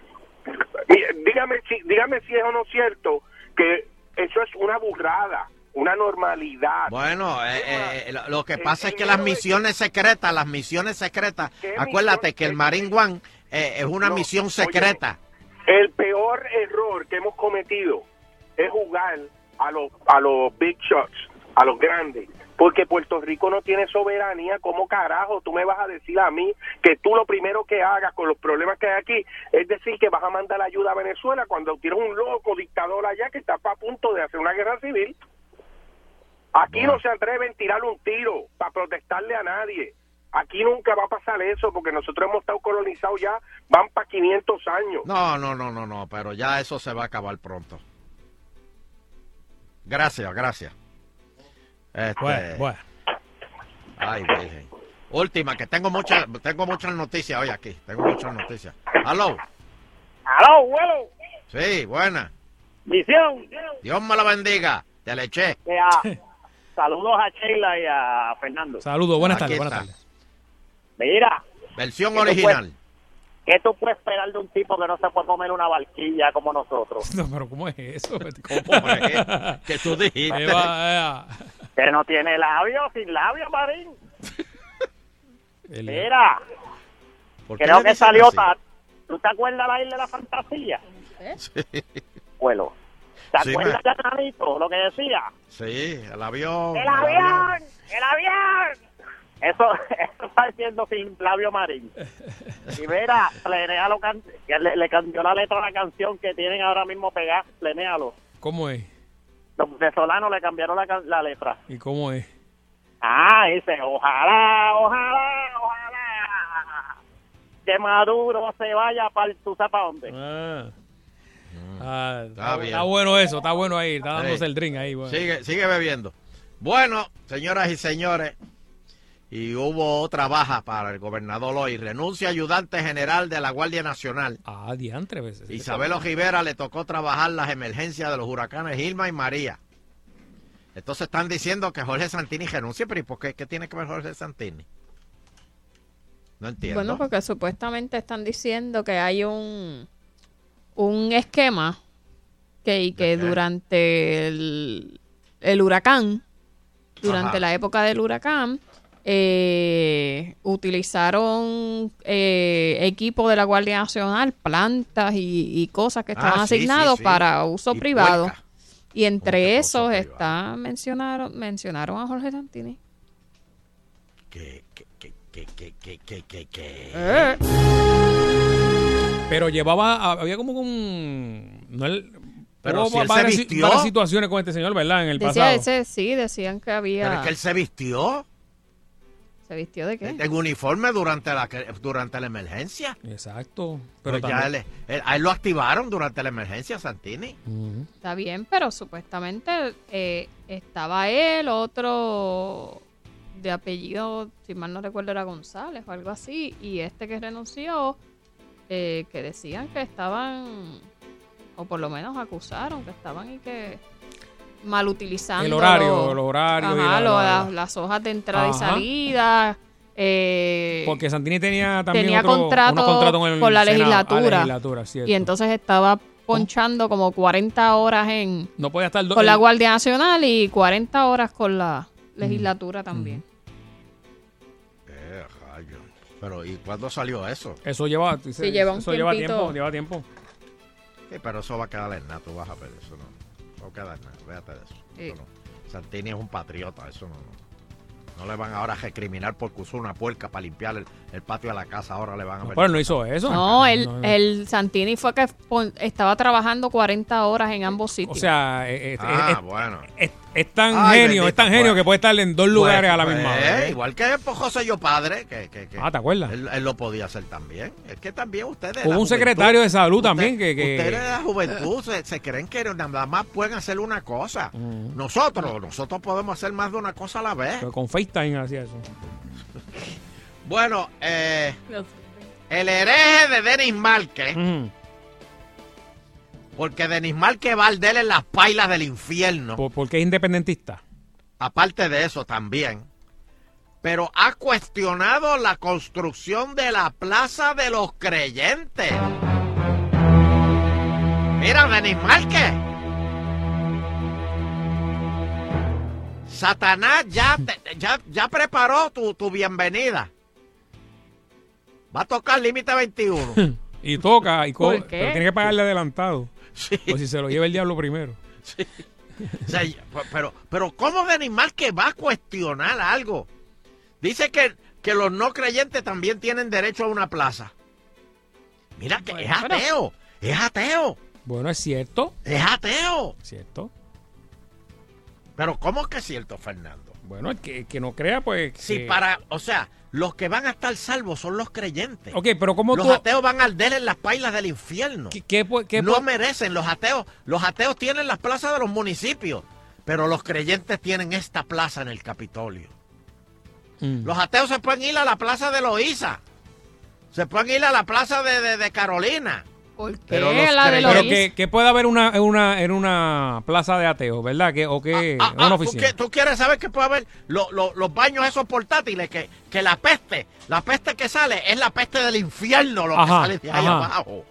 S3: Dígame si es o no cierto que eso es una burrada, una normalidad.
S5: Bueno, lo que pasa es que las misiones secretas, acuérdate que el Marine One es una misión secreta.
S3: Óyeme, el peor error que hemos cometido es jugar a los big shots, a los grandes. Porque Puerto Rico no tiene soberanía. ¿Cómo carajo tú me vas a decir a mí que tú lo primero que hagas con los problemas que hay aquí es decir que vas a mandar ayuda a Venezuela cuando tienes un loco dictador allá que está a punto de hacer una guerra civil? Aquí no se atreven a tirarle un tiro para protestarle a nadie. Aquí nunca va a pasar eso porque nosotros hemos estado colonizados ya, van para 500 años.
S5: No, pero ya eso se va a acabar pronto. Gracias.
S2: Bueno.
S5: Ay, virgen. Última, que tengo muchas noticias hoy aquí. ¿Aló?
S3: ¡Aló, abuelo!
S5: Sí, buena.
S3: Misión.
S5: Dios me la bendiga. Te le eché.
S3: Saludos a Sheila y a Fernando.
S2: Saludos, buenas tardes.
S3: Mira.
S5: Versión original.
S3: ¿Qué tú puedes esperar de un tipo que no se puede comer una barquilla como nosotros?
S2: No, pero ¿cómo es eso?
S5: ¿Cómo es? ¿Qué tú dijiste?
S3: Que no tiene labios, sin labios, Marín. Mira, creo que salió ¿tú te acuerdas la isla de la fantasía?
S5: Sí.
S3: Bueno, ¿te acuerdas de Nanito, lo que decía?
S5: Sí, el avión.
S3: ¡El avión! Eso está diciendo sin labio Marín. Y mira, plenéalo, le cambió la letra a la canción que tienen ahora mismo pegada, plenéalo.
S2: ¿Cómo es?
S3: Los venezolanos le cambiaron la letra.
S2: ¿Y cómo es?
S3: Dice, ojalá que Maduro se vaya para tú sabes para dónde.
S5: Está bien.
S2: Está bueno eso, está bueno ahí, está dándose el drink ahí. Bueno.
S5: Sigue bebiendo. Bueno, señoras y señores, y hubo otra baja para el gobernador hoy. Renuncia ayudante general de la Guardia Nacional.
S2: Diantre veces.
S5: Isabel Ojivera le tocó trabajar las emergencias de los huracanes Irma y María. Entonces están diciendo que Jorge Santini renuncie, pero ¿y por qué? ¿Qué tiene que ver Jorge Santini? No entiendo.
S4: Bueno, porque supuestamente están diciendo que hay un esquema que durante el huracán, durante la época del huracán, utilizaron equipo de la Guardia Nacional, plantas y cosas que estaban asignados para uso privado. Puerca. Y entre esos mencionaron a Jorge Santini.
S5: ¿Qué?
S2: Pero había como un...
S5: Pero si él se vistió.
S2: Varias situaciones con este señor, ¿verdad? En el pasado.
S4: Decían que había...
S5: Pero es que él se vistió.
S4: ¿Se vistió de qué?
S5: En uniforme durante la emergencia.
S2: Exacto.
S5: Pero ya a él lo activaron durante la emergencia, Santini.
S4: Está bien, pero supuestamente estaba él, otro de apellido, si mal no recuerdo, era González o algo así, y este que renunció, que decían que estaban, o por lo menos acusaron que estaban y que mal utilizando
S2: los horarios,
S4: las hojas de entrada y salida.
S2: Porque Santini tenía también
S4: unos contratos con la legislatura, y entonces estaba ponchando como 40 horas
S2: no podía estar
S4: con la Guardia Nacional y 40 horas con la legislatura también.
S5: Pero ¿y cuándo salió eso?
S2: Eso lleva tiempo.
S5: Sí, pero eso va a quedar en nada, tú vas a ver, eso no va a quedar nada, véate de eso. Sí. No. Santini es un patriota, eso no le van ahora a recriminar porque usó una puerca para limpiar el patio de la casa, ahora le van a ver.
S2: Pero no hizo eso.
S4: No, el Santini fue que estaba trabajando 40 horas en ambos sitios.
S2: O sea,
S5: bueno.
S2: Es tan genio que puede estar en dos lugares a la misma vez.
S5: Igual que José Yo Padre, que
S2: ¿te acuerdas?
S5: Él lo podía hacer también. Es que también ustedes...
S2: Hubo un secretario de salud también que...
S5: Ustedes de la juventud se creen que nada más pueden hacer una cosa. Nosotros podemos hacer más de una cosa a la vez.
S2: Pero con FaceTime hacía eso.
S5: Bueno, el hereje de Denis Márquez... Porque Denis Márquez va al en las pailas del infierno.
S2: Porque es independentista.
S5: Aparte de eso también. Pero ha cuestionado la construcción de la Plaza de los Creyentes. Mira, Denis Márquez. Satanás ya preparó tu bienvenida. Va a tocar Límite 21.
S2: Y toca, pero tiene que pagarle adelantado. Sí. O si se lo lleva el diablo primero.
S5: Sí. O sea, pero ¿cómo Denis Márquez va a cuestionar algo? Dice que los no creyentes también tienen derecho a una plaza. Mira que es ateo. Es ateo.
S2: Bueno, es cierto.
S5: Es ateo.
S2: Cierto.
S5: Pero ¿cómo que es cierto, Fernando?
S2: Bueno, el que no crea, pues...
S5: Sí, los que van a estar salvos son los creyentes.
S2: Ok, pero ¿cómo
S5: los ateos van a arder en las pailas del infierno.
S2: ¿Qué
S5: no merecen los ateos. Los ateos tienen las plazas de los municipios, pero los creyentes tienen esta plaza en el Capitolio. Los ateos se pueden ir a la plaza de Loíza. Se pueden ir a la plaza de Carolina.
S4: ¿Por qué?
S5: Pero
S2: que puede haber en una plaza de ateos, ¿verdad? Una oficina.
S5: ¿Tú quieres saber que puede haber los baños esos portátiles? Que la peste que sale es la peste del infierno, lo que sale de ahí abajo.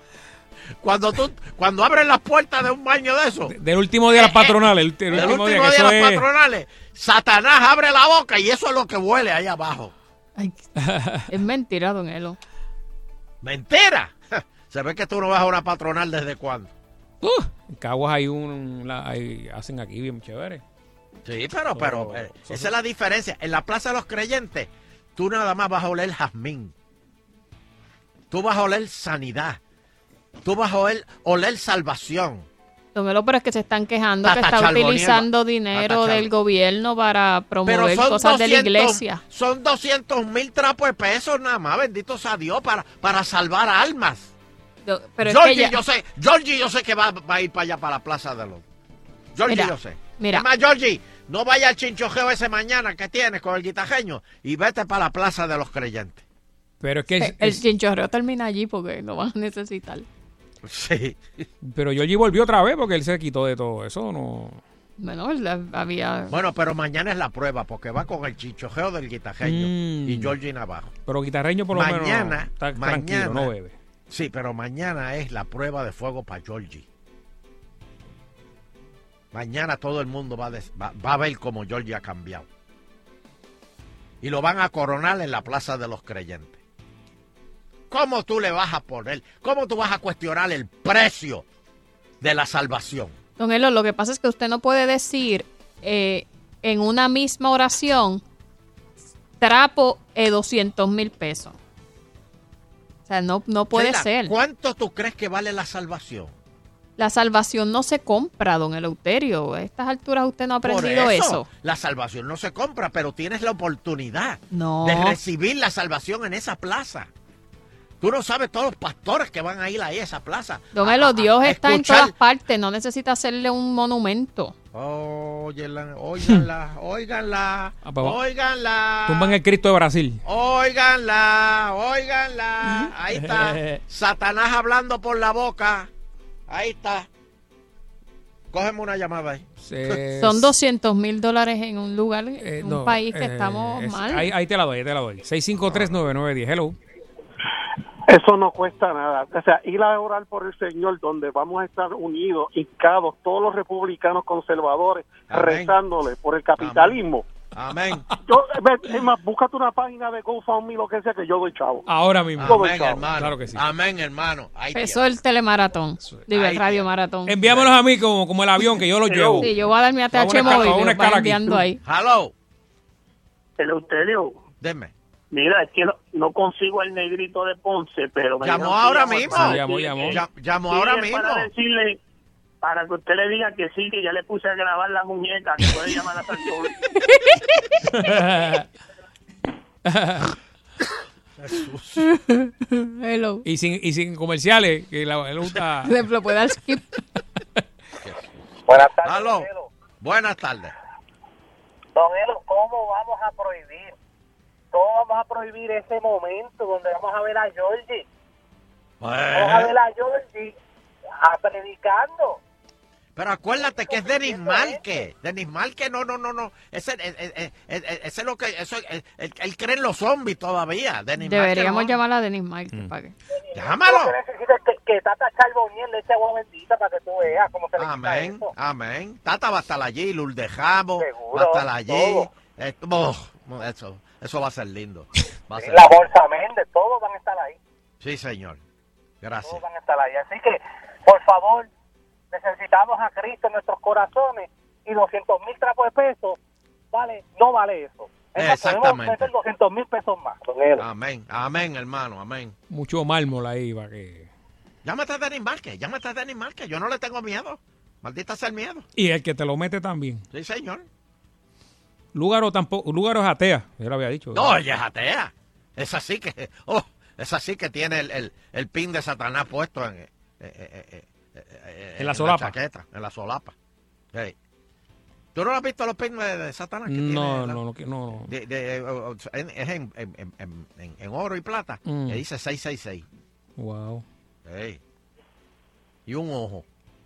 S5: Cuando abres las puertas de un baño de esos.
S2: Del último día de las patronales.
S5: Del último día de las patronales, Satanás abre la boca y eso es lo que huele ahí abajo.
S4: Ay, es mentira, don Elo.
S5: ¿Mentira? Se ve que tú no vas a una patronal ¿desde cuándo?
S2: En Caguas hacen aquí bien chévere.
S5: Sí, pero esa es la diferencia. En la Plaza de los Creyentes, tú nada más vas a oler jazmín. Tú vas a oler sanidad. Tú vas a oler salvación.
S4: Don Elo, pero es que se están quejando que está utilizando dinero del gobierno para promover cosas de la iglesia.
S5: Son 200,000 trapos de pesos nada más, bendito sea Dios, para salvar almas.
S4: Pero
S5: Georgie, yo sé que va a ir para allá, para la plaza de los... Georgie, yo sé.
S4: Mira.
S5: Es más, Georgie, no vaya al chinchojeo ese mañana que tienes con el guitajeño y vete para la plaza de los creyentes.
S2: Pero es que...
S4: El chinchorreo termina allí porque lo van a necesitar.
S5: Sí.
S2: Pero Georgie volvió otra vez porque él se quitó de todo eso, ¿no?
S4: Bueno, había...
S5: Bueno, pero mañana es la prueba porque va con el chinchojeo del guitajeño y Georgie Navarro.
S2: Pero guitarreño por lo menos está tranquilo, no bebe.
S5: Sí, pero mañana es la prueba de fuego para Georgie. Mañana todo el mundo va a ver cómo Georgie ha cambiado. y lo van a coronar en la Plaza de los Creyentes. ¿Cómo tú le vas a poner? ¿Cómo tú vas a cuestionar el precio de la salvación?
S4: Don Elo, lo que pasa es que usted no puede decir en una misma oración trapo 200,000 pesos. O sea, no puede
S5: Sheila,
S4: ser.
S5: ¿cuánto tú crees que vale la salvación?
S4: La salvación no se compra, don Eleuterio. A estas alturas usted no ha aprendido
S5: Por
S4: eso.
S5: La salvación no se compra, pero tienes la oportunidad
S4: No.
S5: de recibir la salvación en esa plaza. Tú no sabes todos los pastores que van a ir ahí a esa plaza.
S4: Don Elo, Dios está en
S5: escuchar.
S4: todas partes. No necesita hacerle un monumento.
S5: Óiganla,
S2: pues va.
S5: óiganla.
S2: Tumban el Cristo de Brasil.
S5: Óiganla. Ahí está. Satanás hablando por la boca. Ahí está. Cógeme una llamada ahí.
S4: Son $200,000 en un lugar, en un país que estamos mal.
S2: Ahí te la doy. 6539910. Hello.
S1: Eso no cuesta nada. O sea, ir a orar por el Señor, donde vamos a estar unidos, hincados, todos los republicanos conservadores,
S5: Amén.
S1: Rezándole por el capitalismo.
S5: Amén.
S1: Es más, búscate una página de GoFundMe, lo que sea, que yo doy chavo.
S2: Ahora mismo.
S1: Yo doy
S5: Amén,
S1: chavo.
S5: hermano.
S2: Claro que sí.
S5: Amén, hermano. Ahí
S4: Eso es el telemaratón. Digo, el radio maratón.
S2: Enviámonos a mí como el avión, que yo los llevo.
S4: Sí, yo voy a dar mi ATH móvil y los va enviando ahí.
S5: Hello.
S9: Eleuterio.
S5: Deme.
S9: Mira, es que no consigo el negrito de Ponce, pero...
S5: Llamó ahora mismo.
S9: Llamó
S5: ahora mismo.
S9: Para decirle, para que usted le diga que sí, que ya le puse a grabar la muñeca, que puede llamar a Santos.
S4: Hello.
S2: Y sin comerciales, que él gusta.
S4: Lo puede dar skip.
S9: Buenas tardes.
S5: Aló. Buenas tardes.
S9: Don Elo, ¿cómo vamos a prohibir? ¿Cómo vamos a prohibir ese momento donde vamos a ver a Georgie? Vamos a ver a Georgie predicando.
S5: Pero acuérdate que es Denis Márquez. Denis Márquez, no. Ese es lo que... Él cree en los zombies todavía.
S4: Deberíamos llamar a Denis Márquez para que...
S5: Llámalo.
S9: Lo que necesita es que Tata Charbonnier le eche agua bendita para que tú veas cómo se le quita
S5: Amén,
S9: eso.
S5: amén. Tata va a estar allí, Lourdes Jabo
S9: Seguro,
S5: va a estar allí.
S9: todo.
S5: Eso va a ser lindo. Va a ser
S9: La
S5: lindo.
S9: Bolsa Méndez, todos van a estar ahí.
S5: Sí, señor. Gracias.
S9: Todos van a estar ahí. Así que, por favor, necesitamos a Cristo en nuestros corazones y 200,000 trapos de peso, vale, no vale eso.
S5: Exactamente.
S9: Podemos meter 200,000 pesos más. Don Elo.
S5: Amén, amén, hermano, amén.
S2: Mucho mármol ahí para que...
S5: Llámate a Denis Márquez, yo no le tengo miedo. Maldita sea el miedo.
S2: Y el que te lo mete también.
S5: Sí, señor.
S2: Lúgaro es atea, yo lo había dicho.
S5: No, ella es atea. Es así que tiene el pin de Satanás puesto en
S2: la solapa.
S5: chaqueta, en la solapa. Hey. ¿Tú no has visto los pins de Satanás? Que
S2: No.
S5: Es en oro y plata. Que dice 666.
S2: Wow.
S5: Hey. Y un ojo.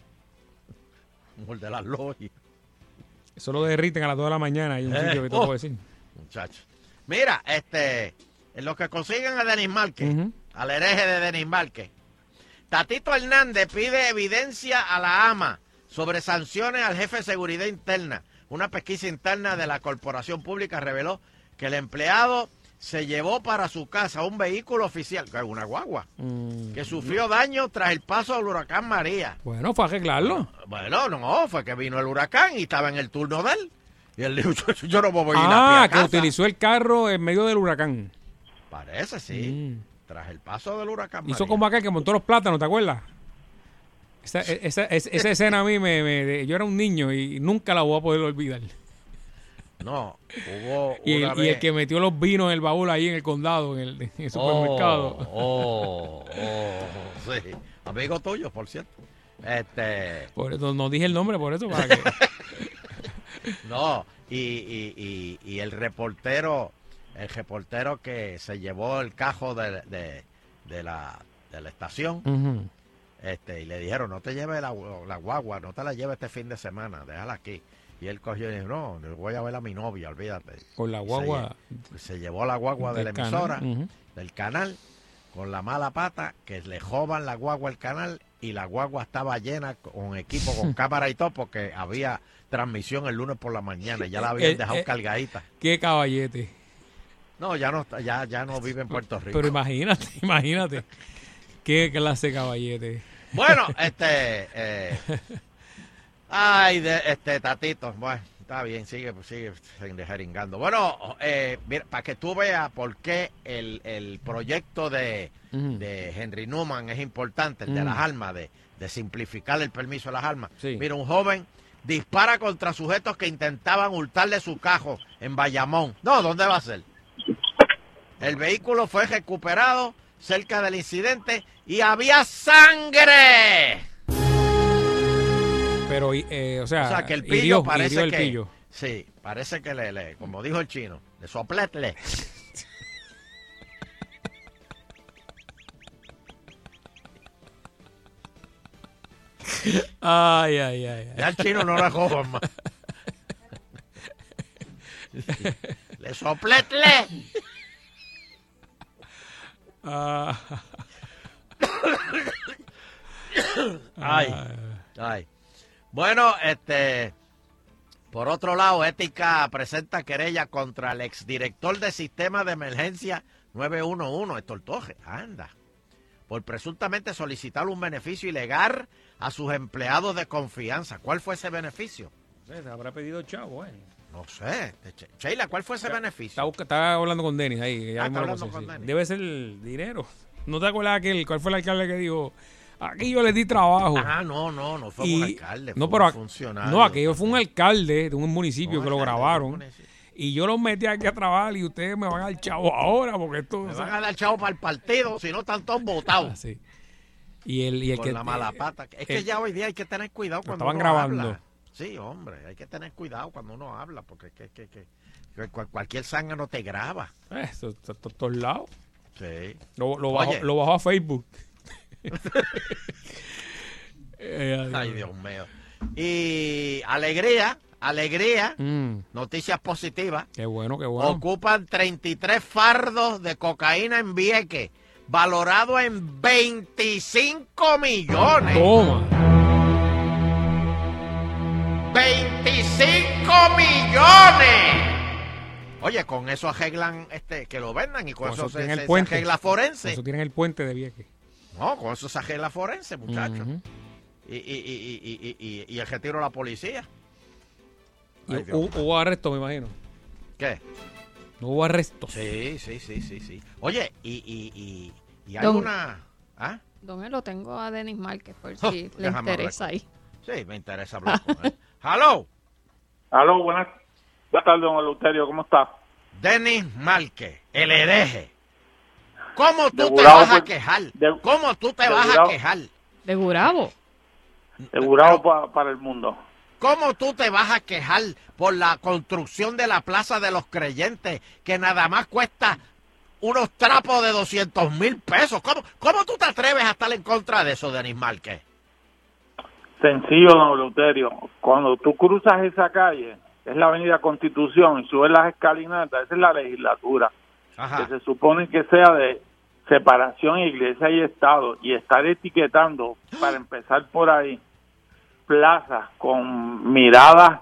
S5: Un de las logias.
S2: Eso lo derriten a las 2 de la mañana. Hay un sitio que te puedo decir.
S5: Muchachos. Mira, en lo que consiguen a Denis Márquez, al hereje de Denis Márquez, Tatito Hernández pide evidencia a la AMA sobre sanciones al jefe de seguridad interna. Una pesquisa interna de la corporación pública reveló que el empleado se llevó para su casa un vehículo oficial, una guagua, que sufrió daño tras el paso del huracán María.
S2: Bueno, fue a arreglarlo.
S5: Bueno, no, fue que vino el huracán y estaba en el turno de él. Y él dijo, yo no me voy a ir a pie a casa.
S2: Que utilizó el carro en medio del huracán.
S5: Parece, sí. Tras el paso del huracán
S2: Hizo
S5: María.
S2: como aquel que montó los plátanos, ¿te acuerdas? Esa escena a mí yo era un niño y nunca la voy a poder olvidar.
S5: No, hubo
S2: y el que metió los vinos en el baúl ahí en el condado, en el supermercado.
S5: Sí. Amigo tuyo, por cierto.
S2: Por eso, no dije el nombre, por eso. Para que...
S5: No, y el reportero que se llevó el cajo de la estación, y le dijeron, no te lleves la guagua, no te la lleves este fin de semana, déjala aquí. Y él cogió y dijo, no voy a ver a mi novia, olvídate.
S2: Con la guagua.
S5: Se llevó la guagua de la emisora,
S2: canal.
S5: del canal, con la mala pata, que le joban la guagua al canal, y la guagua estaba llena con equipo, con cámara y todo, porque había transmisión el lunes por la mañana, y ya la habían dejado cargadita.
S2: Qué caballete.
S5: No, ya no vive en Puerto Rico.
S2: Pero imagínate. Qué clase de caballete.
S5: Bueno, Tatito, bueno, está bien, sigue jeringando. Bueno, mira, para que tú veas por qué el proyecto de Henry Newman es importante, el de las armas, de simplificar el permiso de las armas.
S2: Sí.
S5: Mira, un joven dispara contra sujetos que intentaban hurtarle su cajo en Bayamón. No, ¿dónde va a ser? El vehículo fue recuperado cerca del incidente y había sangre.
S2: Pero, o sea
S5: que el pillo parece
S2: el
S5: que...
S2: pillo.
S5: Sí, parece que le como dijo el chino, le sopletle.
S2: Ay.
S5: Ya el chino no la coja más. Le sopletle. Ay. Bueno, por otro lado, Ética presenta querella contra el exdirector del Sistema de Emergencia 911, Héctor Torres, por presuntamente solicitar un beneficio ilegal a sus empleados de confianza. ¿Cuál fue ese beneficio?
S2: Se habrá pedido chavo,
S5: No sé. Sheila, ¿cuál fue ese beneficio?
S2: Estaba hablando con Denis ahí.
S5: Está hablando con Denis.
S2: Debe ser el dinero. ¿No te acuerdas cuál fue el alcalde que dijo? Aquí yo le di trabajo.
S5: No fue un alcalde, fue
S2: un
S5: funcionario.
S2: No, aquello fue un alcalde de un municipio que lo grabaron. Y yo los metí aquí a trabajar y ustedes me van a dar chavo ahora porque esto...
S5: Me van a dar chavo para el partido, si no están todos votados.
S2: Sí. Y el
S5: con la mala pata. Es que ya hoy día hay que tener cuidado cuando
S2: estaban
S5: uno
S2: grabando.
S5: Habla. Sí, hombre, hay que tener cuidado cuando uno habla porque cualquier zángano te graba.
S2: Eso está a todos lados.
S5: Sí.
S2: Lo bajó a Facebook.
S5: Ay, Dios mío. Y alegría, noticias positivas.
S2: Qué bueno.
S5: Ocupan 33 fardos de cocaína en Vieques, valorado en 25 millones.
S2: Toma.
S5: 25 millones. Oye, con eso arreglan que lo vendan y con eso se arregla forense.
S2: Eso tienen el puente de Vieques.
S5: No, con eso se arregla forense, muchachos. Y el retiro a la policía.
S2: Hubo arresto, me imagino.
S5: ¿Qué?
S2: No hubo arresto.
S5: Sí. Oye, y hay una... ¿Ah?
S4: Don lo tengo a Denis Márquez por si le interesa ahí.
S5: Sí, me interesa hablar con él. ¡Aló!
S7: Buenas tardes, don Eleuterio, ¿cómo está?
S5: Denis Márquez, el hereje. ¿Cómo tú te vas a quejar? ¿Cómo tú te vas a quejar?
S4: De Gurabo.
S7: De Gurabo para el mundo.
S5: ¿Cómo tú te vas a quejar por la construcción de la Plaza de los Creyentes, que nada más cuesta unos trapos de 200,000 pesos? ¿Cómo tú te atreves a estar en contra de eso, Denis Márquez?
S7: Sencillo, don Eleuterio. Cuando tú cruzas esa calle, es la avenida Constitución, y subes las escalinatas, esa es la legislatura.
S5: Ajá.
S7: Que se supone que sea de separación iglesia y Estado, y estar etiquetando, para empezar por ahí, plazas con miradas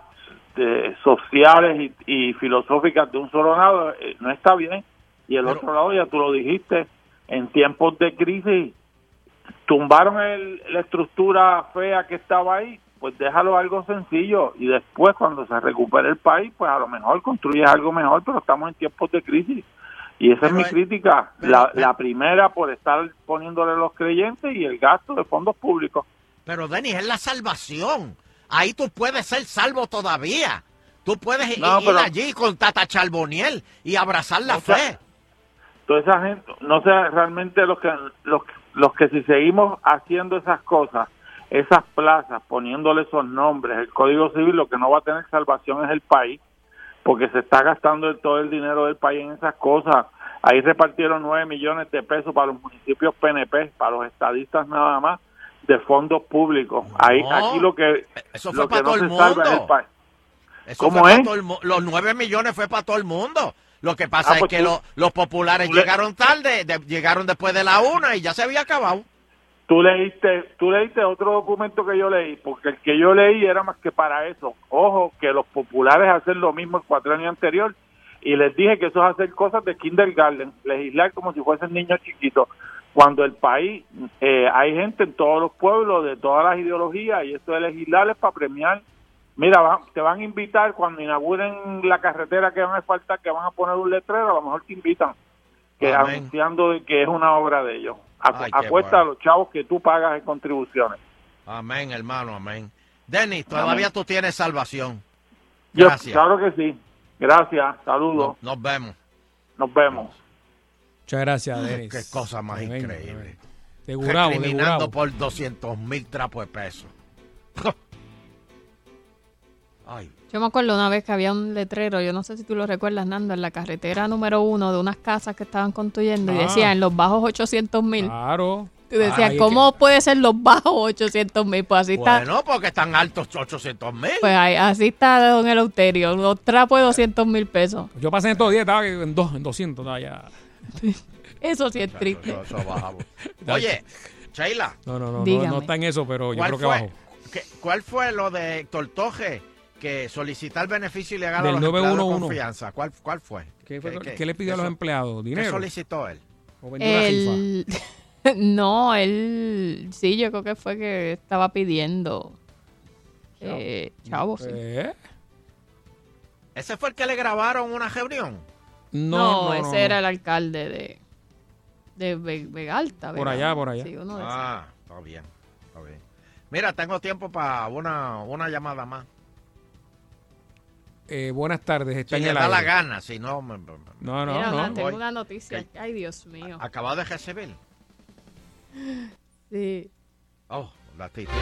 S7: sociales y filosóficas de un solo lado, no está bien. Y el otro lado, ya tú lo dijiste, en tiempos de crisis tumbaron la estructura fea que estaba ahí, pues déjalo algo sencillo y después cuando se recupere el país, pues a lo mejor construyes algo mejor, pero estamos en tiempos de crisis. Y esa es mi crítica, la primera por estar poniéndole los creyentes y el gasto de fondos públicos.
S5: Pero Denis, es la salvación. Ahí tú puedes ser salvo todavía. Tú puedes ir allí con Tata Charboniel y abrazar la fe.
S7: Toda esa gente, no sé realmente los que si seguimos haciendo esas cosas, esas plazas, poniéndole esos nombres, el Código Civil, lo que no va a tener salvación es el país, porque se está gastando todo el dinero del país en esas cosas. Ahí repartieron 9 millones de pesos para los municipios PNP, para los estadistas nada más, de fondos públicos. Aquí lo que
S5: eso fue
S7: lo
S5: para
S7: que
S5: todo
S7: no
S5: el
S7: se salva es el
S5: mundo.
S7: país.
S5: Eso
S7: ¿Cómo
S5: fue
S7: es?
S5: para todo los 9 millones fue para todo el mundo. Lo que pasa
S7: pues
S5: es que los populares llegaron tarde, llegaron después de la 1 y ya se había acabado.
S7: Tú leíste otro documento que yo leí, porque el que yo leí era más que para eso. Ojo, que los populares hacen lo mismo el cuatrienio anterior
S10: Y les dije que eso es hacer cosas de kindergarten, legislar como si fuesen niños chiquitos. Cuando el país, hay gente en todos los pueblos, de todas las ideologías, y esto de legislar es para premiar. Mira, te van a invitar cuando inauguren la carretera que van a asfaltar, que van a poner un letrero, a lo mejor te invitan, que anunciando de que es una obra de ellos. Apuesta a los chavos que tú pagas en contribuciones.
S5: Amén, hermano, amén. Denis, todavía tú tienes salvación.
S10: Gracias. Claro que sí. Gracias, saludos.
S5: Nos vemos.
S10: Nos vemos.
S2: Muchas gracias, Denis.
S5: Qué cosa más increíble.
S2: De Gurabo,
S5: recriminando por 200,000 trapos de peso.
S4: Ay. Yo me acuerdo una vez que había un letrero, yo no sé si tú lo recuerdas, Nando, en la carretera número 1 de unas casas que estaban construyendo y decía en los bajos 800,000.
S2: Claro.
S4: Tú decías, ¿cómo puede ser los bajos 800,000? Pues así está.
S5: Bueno, porque están altos 800,000.
S4: Pues así está don Eleuterio, los trapos de 200,000 pesos.
S2: Yo pasé en estos días, estaba en 200, estaba ya.
S4: Eso sí es triste.
S5: Eso bajamos. Oye, Sheila.
S2: No está en eso, pero yo creo que bajó.
S5: ¿Cuál fue lo de Héctor Toje? Que solicitar beneficio ilegal
S2: del
S5: a los empleados de
S2: 911.
S5: Confianza. ¿Cuál fue?
S2: ¿Qué le pidió a los empleados? ¿Dinero?
S5: ¿Qué solicitó él?
S2: ¿O vendió una rifa?
S4: No, él... Sí, yo creo que fue que estaba pidiendo... Chavo, sí.
S5: ¿Ese fue el que le grabaron una reunión?
S4: No, ese era el alcalde de Vegalta.
S2: Por allá.
S4: Sí, uno de
S5: está bien. Mira, tengo tiempo para una llamada más.
S2: Buenas tardes, está
S5: en
S2: el
S5: aire.
S2: aire.
S5: Da la gana, si no...
S4: No. Tengo una noticia. Ay, Dios mío.
S5: ¿Acabado de recibir?
S4: Sí.
S5: Oh, la tita.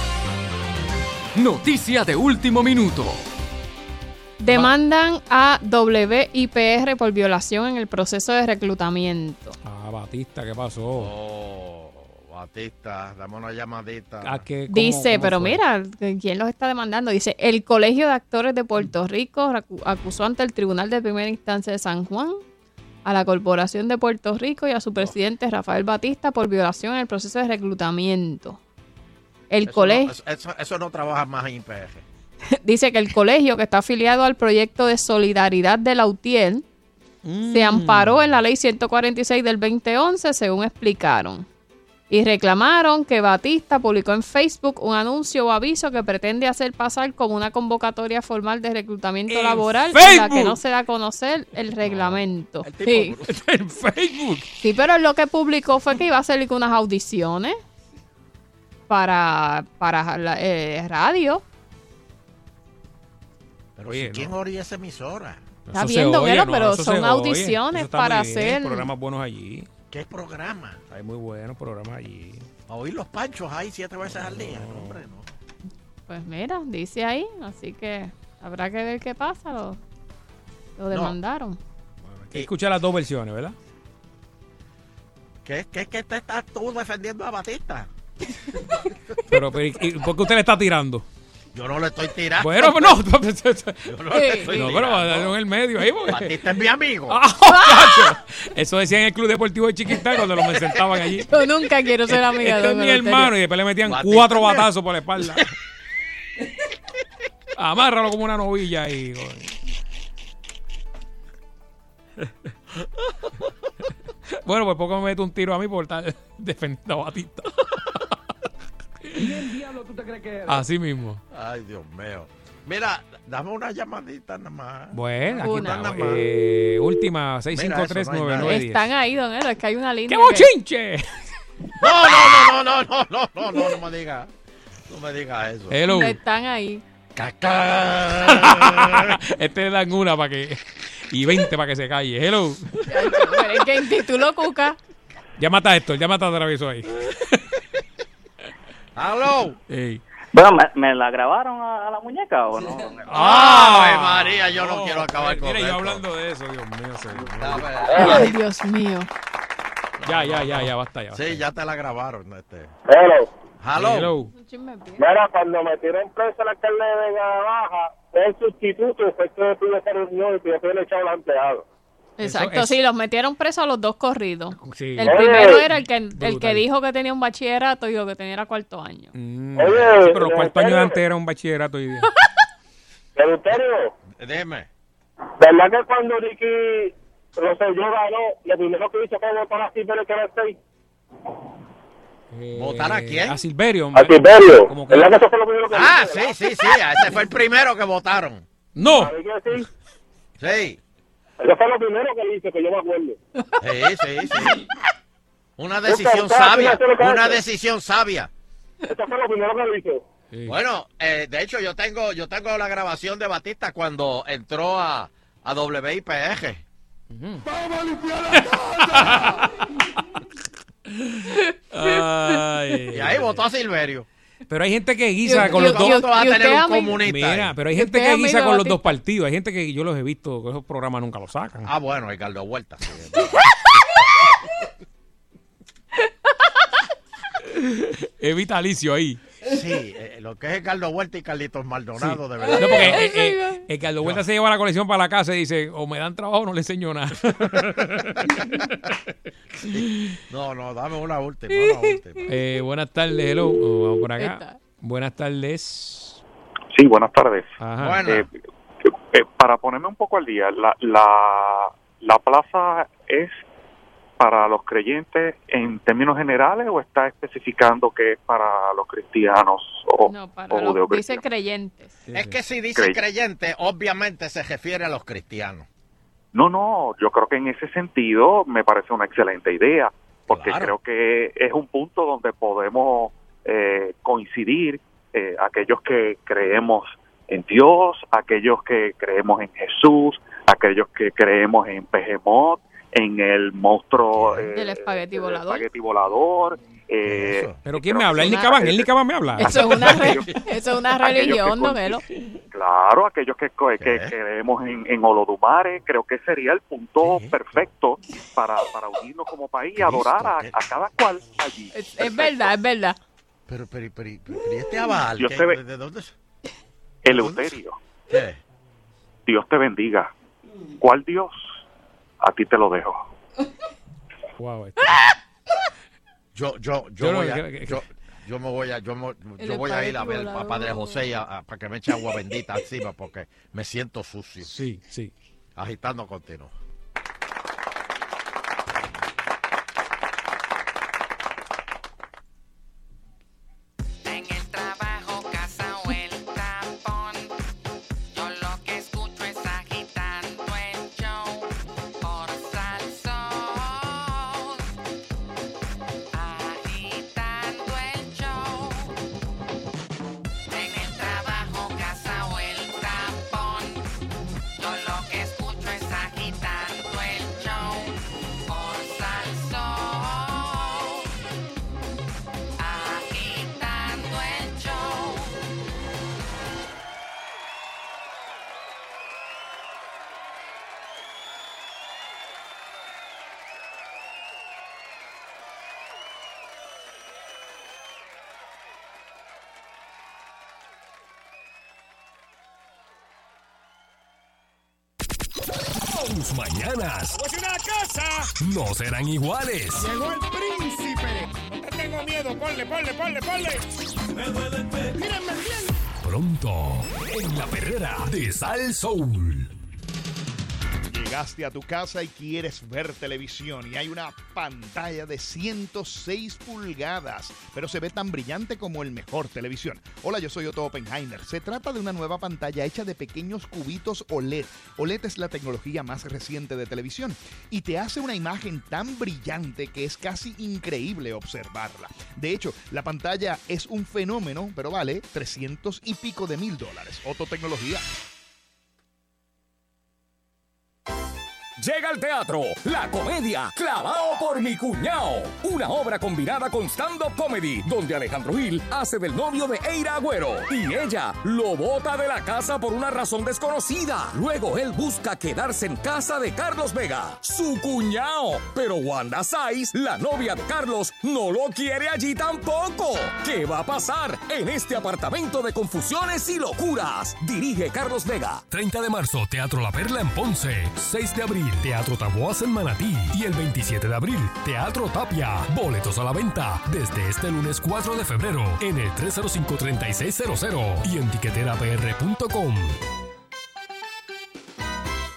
S22: Noticia de último minuto.
S4: Demandan a WIPR por violación en el proceso de reclutamiento.
S2: Batista, ¿qué pasó?
S5: Batista, dame una llamadita.
S4: Dice, pero fue? Mira, ¿quién los está demandando? Dice, el Colegio de Actores de Puerto Rico acusó ante el Tribunal de Primera Instancia de San Juan a la Corporación de Puerto Rico y a su presidente Rafael Batista por violación en el proceso de reclutamiento.
S5: Eso no trabaja más en IPR.
S4: Dice que el colegio, que está afiliado al proyecto de solidaridad de Lautier, se amparó en la ley 146 del 2011, según explicaron. Y reclamaron que Batista publicó en Facebook un anuncio o aviso que pretende hacer pasar como una convocatoria formal de reclutamiento laboral en la que no se da a conocer el reglamento.
S2: Sí. En Facebook.
S4: Sí, pero lo que publicó fue que iba a hacer unas audiciones para la radio.
S5: Pero oye, ¿quién oye esa emisora?
S4: Está viendo, pero son audiciones para hacer...
S2: Hay programas buenos allí.
S5: ¿Qué programa?
S2: Hay muy buenos programas allí.
S5: A oír los panchos ahí 7 veces al día. No, hombre, no.
S4: Pues mira, dice ahí, así que habrá que ver qué pasa. Lo demandaron.
S2: Bueno, hay que escuchar las dos versiones, ¿verdad?
S5: ¿Qué te estás tú defendiendo a Batista?
S2: pero ¿y por qué usted le está tirando?
S5: Yo no le estoy tirando.
S2: Bueno, pues no.
S5: Yo no le estoy tirando.
S2: Pero va a dar en el medio ahí. Porque...
S5: Batista es mi amigo.
S2: Eso decía en el Club Deportivo de Chiquistán cuando me sentaban allí.
S4: Yo nunca quiero ser amiga
S2: de mi hermano. Y después le metían Batista 4 batazos por la espalda. Amárralo como una novilla ahí. Bueno, pues poco me mete un tiro a mí por estar defendiendo a Batista.
S5: ¿Quién diablo tú te crees que eres?
S2: Así mismo.
S5: Ay, Dios mío. Mira, dame una llamadita nada más.
S2: Bueno, aquí está. Última, 653-9910.
S4: Están ahí, don Elo, es que hay una línea.
S2: ¡Qué bochinche!
S5: No me digas. No me digas eso.
S2: Hello.
S4: Están ahí.
S2: Este le dan una para que... Y 20 para que se calle. Hello.
S4: Es que en título Cuca.
S2: Llámate a Héctor, llámate a Traviso ahí.
S5: ¡Aló!
S2: Hey.
S8: Bueno, ¿me la grabaron a la muñeca o no?
S5: ¡Ay, María! Yo no quiero acabar con
S2: esto.
S5: Mira,
S2: yo hablando de eso, Dios mío.
S4: Ay, Dios mío.
S2: Ya, basta ya.
S5: Sí, ya te la grabaron.
S10: Hello. Mira, cuando metieron preso al alcalde de Vega Baja, el sustituto fue que tuve esa reunión y que yo le echado a los empleados.
S4: Exacto, sí, los metieron presos a los dos corridos. Sí. El primero era el que dijo que tenía un bachillerato y lo que tenía era cuarto año.
S2: Pero cuarto año antes era un bachillerato hoy día.
S10: Eleuterio.
S5: Dime.
S3: ¿Verdad que cuando Ricky Rosselló ganó, lo primero que hizo fue votar a Silverio que era el 6?
S5: ¿Votar a quién?
S2: A Silverio.
S3: A Silverio.
S2: Como que...
S3: ¿Verdad que eso fue lo primero que
S5: hizo? Sí. Ese fue el primero que votaron.
S2: ¡No!
S5: Sí.
S3: Eso fue lo primero que hizo, que yo me acuerdo.
S5: Sí. Una decisión sabia. Una decisión sabia.
S3: Eso fue lo primero que hizo.
S5: Sí. Bueno, de hecho yo tengo la grabación de Batista cuando entró a WIPR.
S3: ¡Vamos a limpiar la
S2: casa!
S5: Y ahí votó a Silverio.
S2: Pero hay gente que guisa con los dos.
S5: ¿Cómo tú vas a tener un comunista?
S2: Mira, pero hay gente que guisa con los dos partidos. Hay gente que yo los he visto, que esos programas nunca los sacan.
S5: Ah, bueno, Ricardo Huerta.
S2: Es vitalicio ahí.
S5: Sí, lo que es Ricardo Huerta y Carlitos Maldonado, de verdad.
S2: No, porque Ricardo Huerta se lleva la colección para la casa y dice, o me dan trabajo o no le enseño nada.
S5: Sí. No, dame una última.
S2: Buenas tardes, hello. Vamos por acá. Buenas tardes.
S11: Sí, buenas tardes.
S2: Ajá.
S11: Para ponerme un poco al día, la plaza es para los creyentes en términos generales o está especificando que es para los cristianos o judeocristianos?
S4: Dice creyentes.
S5: Es que si dice creyente, obviamente se refiere a los cristianos.
S11: No, yo creo que en ese sentido me parece una excelente idea, porque creo que es un punto donde podemos coincidir, aquellos que creemos en Dios, aquellos que creemos en Jesús, aquellos que creemos en Behemoth, en el monstruo
S4: del espagueti
S11: volador.
S2: ¿Pero quién me habla? ¿El Nicabán me habla?
S4: Eso es una religión, don Elo.
S11: Claro, aquellos que creemos en Olodumare, creo que sería el punto perfecto para unirnos como país y adorar a cada cual allí.
S4: Es verdad.
S5: Pero ¿y este aval? ¿De dónde es?
S11: Eleuterio.
S5: ¿Qué?
S11: Dios te bendiga. ¿Cuál Dios? A ti te lo dejo.
S2: Wow.
S5: Yo voy a ir a ver a Padre José para que me eche agua bendita encima porque me siento sucio.
S2: Sí.
S5: Agitando continuo.
S19: Tus mañanas no serán iguales.
S12: Llegó el príncipe. No te tengo miedo. Ponle. Me duele el pecho. Mírenme bien.
S19: Pronto, en la perrera de Sal Soul.
S12: Llegaste a tu casa y quieres ver televisión y hay una pantalla de 106 pulgadas, pero se ve tan brillante como el mejor televisión. Hola, yo soy Otto Oppenheimer. Se trata de una nueva pantalla hecha de pequeños cubitos OLED. OLED es la tecnología más reciente de televisión y te hace una imagen tan brillante que es casi increíble observarla. De hecho, la pantalla es un fenómeno, pero vale $300 y pico de $1,000. Otto Tecnología.
S19: Llega al teatro la comedia Clavao por mi cuñao, una obra combinada con stand-up comedy donde Alejandro Gil hace del novio de Eira Agüero y ella lo bota de la casa por una razón desconocida. Luego él busca quedarse en casa de Carlos Vega, su cuñao, pero Wanda Saiz, la novia de Carlos, no lo quiere allí tampoco. ¿Qué va a pasar en este apartamento de confusiones y locuras? Dirige Carlos Vega. 30 de marzo, Teatro La Perla en Ponce. 6 de abril, Teatro Taboas en Manatí. Y el 27 de abril, Teatro Tapia. Boletos a la venta desde este lunes 4 de febrero en el 305-3600 y en tiqueterapr.com.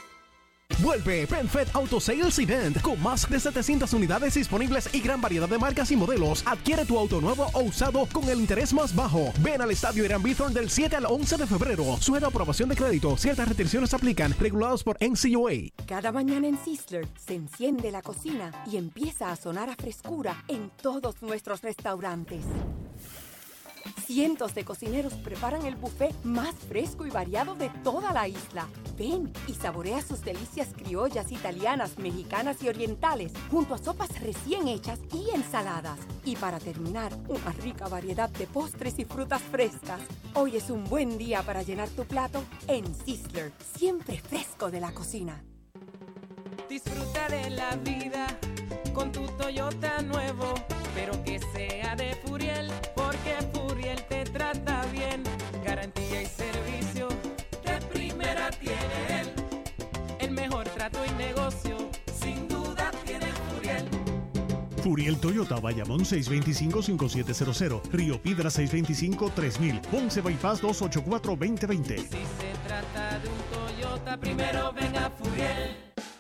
S26: Vuelve PenFed Auto Sales Event con más de 700 unidades disponibles y gran variedad de marcas y modelos. Adquiere tu auto nuevo o usado con el interés más bajo. Ven al Estadio Irán Bithorn del 7 al 11 de febrero. Sujeto a aprobación de crédito. Ciertas restricciones aplican. Regulados por NCUA.
S13: Cada mañana en Sizzler se enciende la cocina y empieza a sonar a frescura en todos nuestros restaurantes. Cientos de cocineros preparan el buffet más fresco y variado de toda la isla. Ven y saborea sus delicias criollas, italianas, mexicanas y orientales, junto a sopas recién hechas y ensaladas. Y para terminar, una rica variedad de postres y frutas frescas. Hoy es un buen día para llenar tu plato en Sizzler, siempre fresco de la cocina.
S14: Disfruta de la vida con tu Toyota nuevo, pero que sea de Furiel, porque Furiel te trata bien. Garantía y servicio de primera tiene él. El mejor trato y negocio, sin duda tiene Furiel.
S23: Furiel Toyota, Bayamón 625-5700, Río Piedra 625-3000, Ponce Bypass 284-2020.
S14: Si se trata de un Toyota, primero venga Furiel.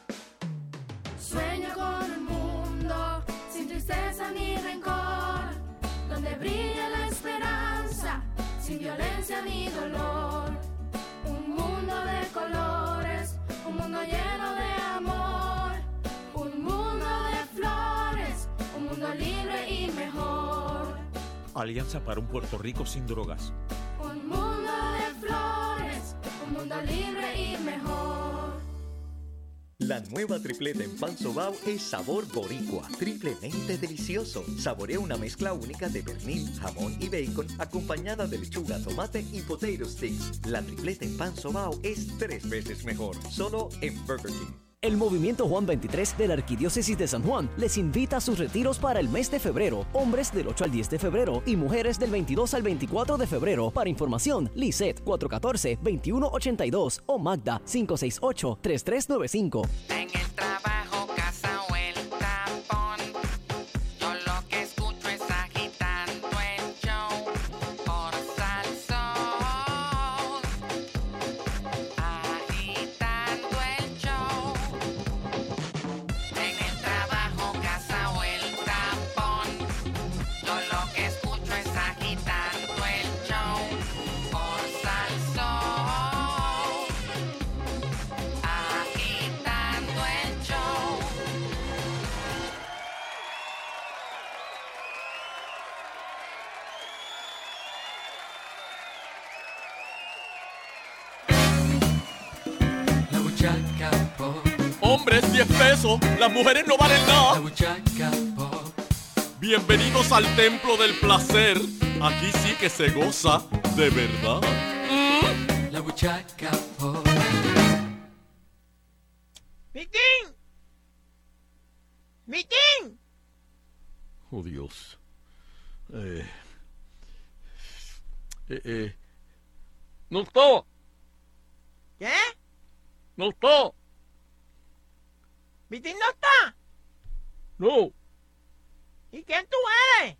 S15: Sueño con un mundo sin tristeza ni rencor, donde brille la esperanza, sin violencia ni dolor. Un mundo de colores, un mundo lleno de amor, un mundo de flores, un mundo libre y mejor.
S16: Alianza para un Puerto Rico sin drogas.
S15: Un mundo de flores, un mundo libre y mejor.
S18: La nueva tripleta en pan sobao es sabor boricua, triplemente delicioso. Saborea una mezcla única de pernil, jamón y bacon, acompañada de lechuga, tomate y potato sticks. La tripleta en pan sobao es 3 veces mejor, solo en Burger King.
S20: El Movimiento Juan 23 de la Arquidiócesis de San Juan les invita a sus retiros para el mes de febrero. Hombres del 8 al 10 de febrero y mujeres del 22 al 24 de febrero. Para información, Lisette 414-2182 o Magda 568-3395.
S14: En el trabajo, casa o el tapón, yo lo que escucho es agitando el show por Salsón. Agitando el show. En el trabajo, casa o el tapón, yo lo que escucho es agitando el show por Salsón. Agitando el show. La buchaca pop.
S21: Hombres, 10 pesos. Las mujeres no valen nada.
S14: La buchaca pop.
S21: Bienvenidos al templo del placer. Aquí sí que se goza de verdad.
S14: La buchaca pop.
S29: ¡Mitín! ¡Mitín!
S21: Oh, Dios. No está.
S29: ¿Qué?
S21: No está.
S29: ¿Mitín no está?
S21: No.
S29: ¿Y quién tú eres?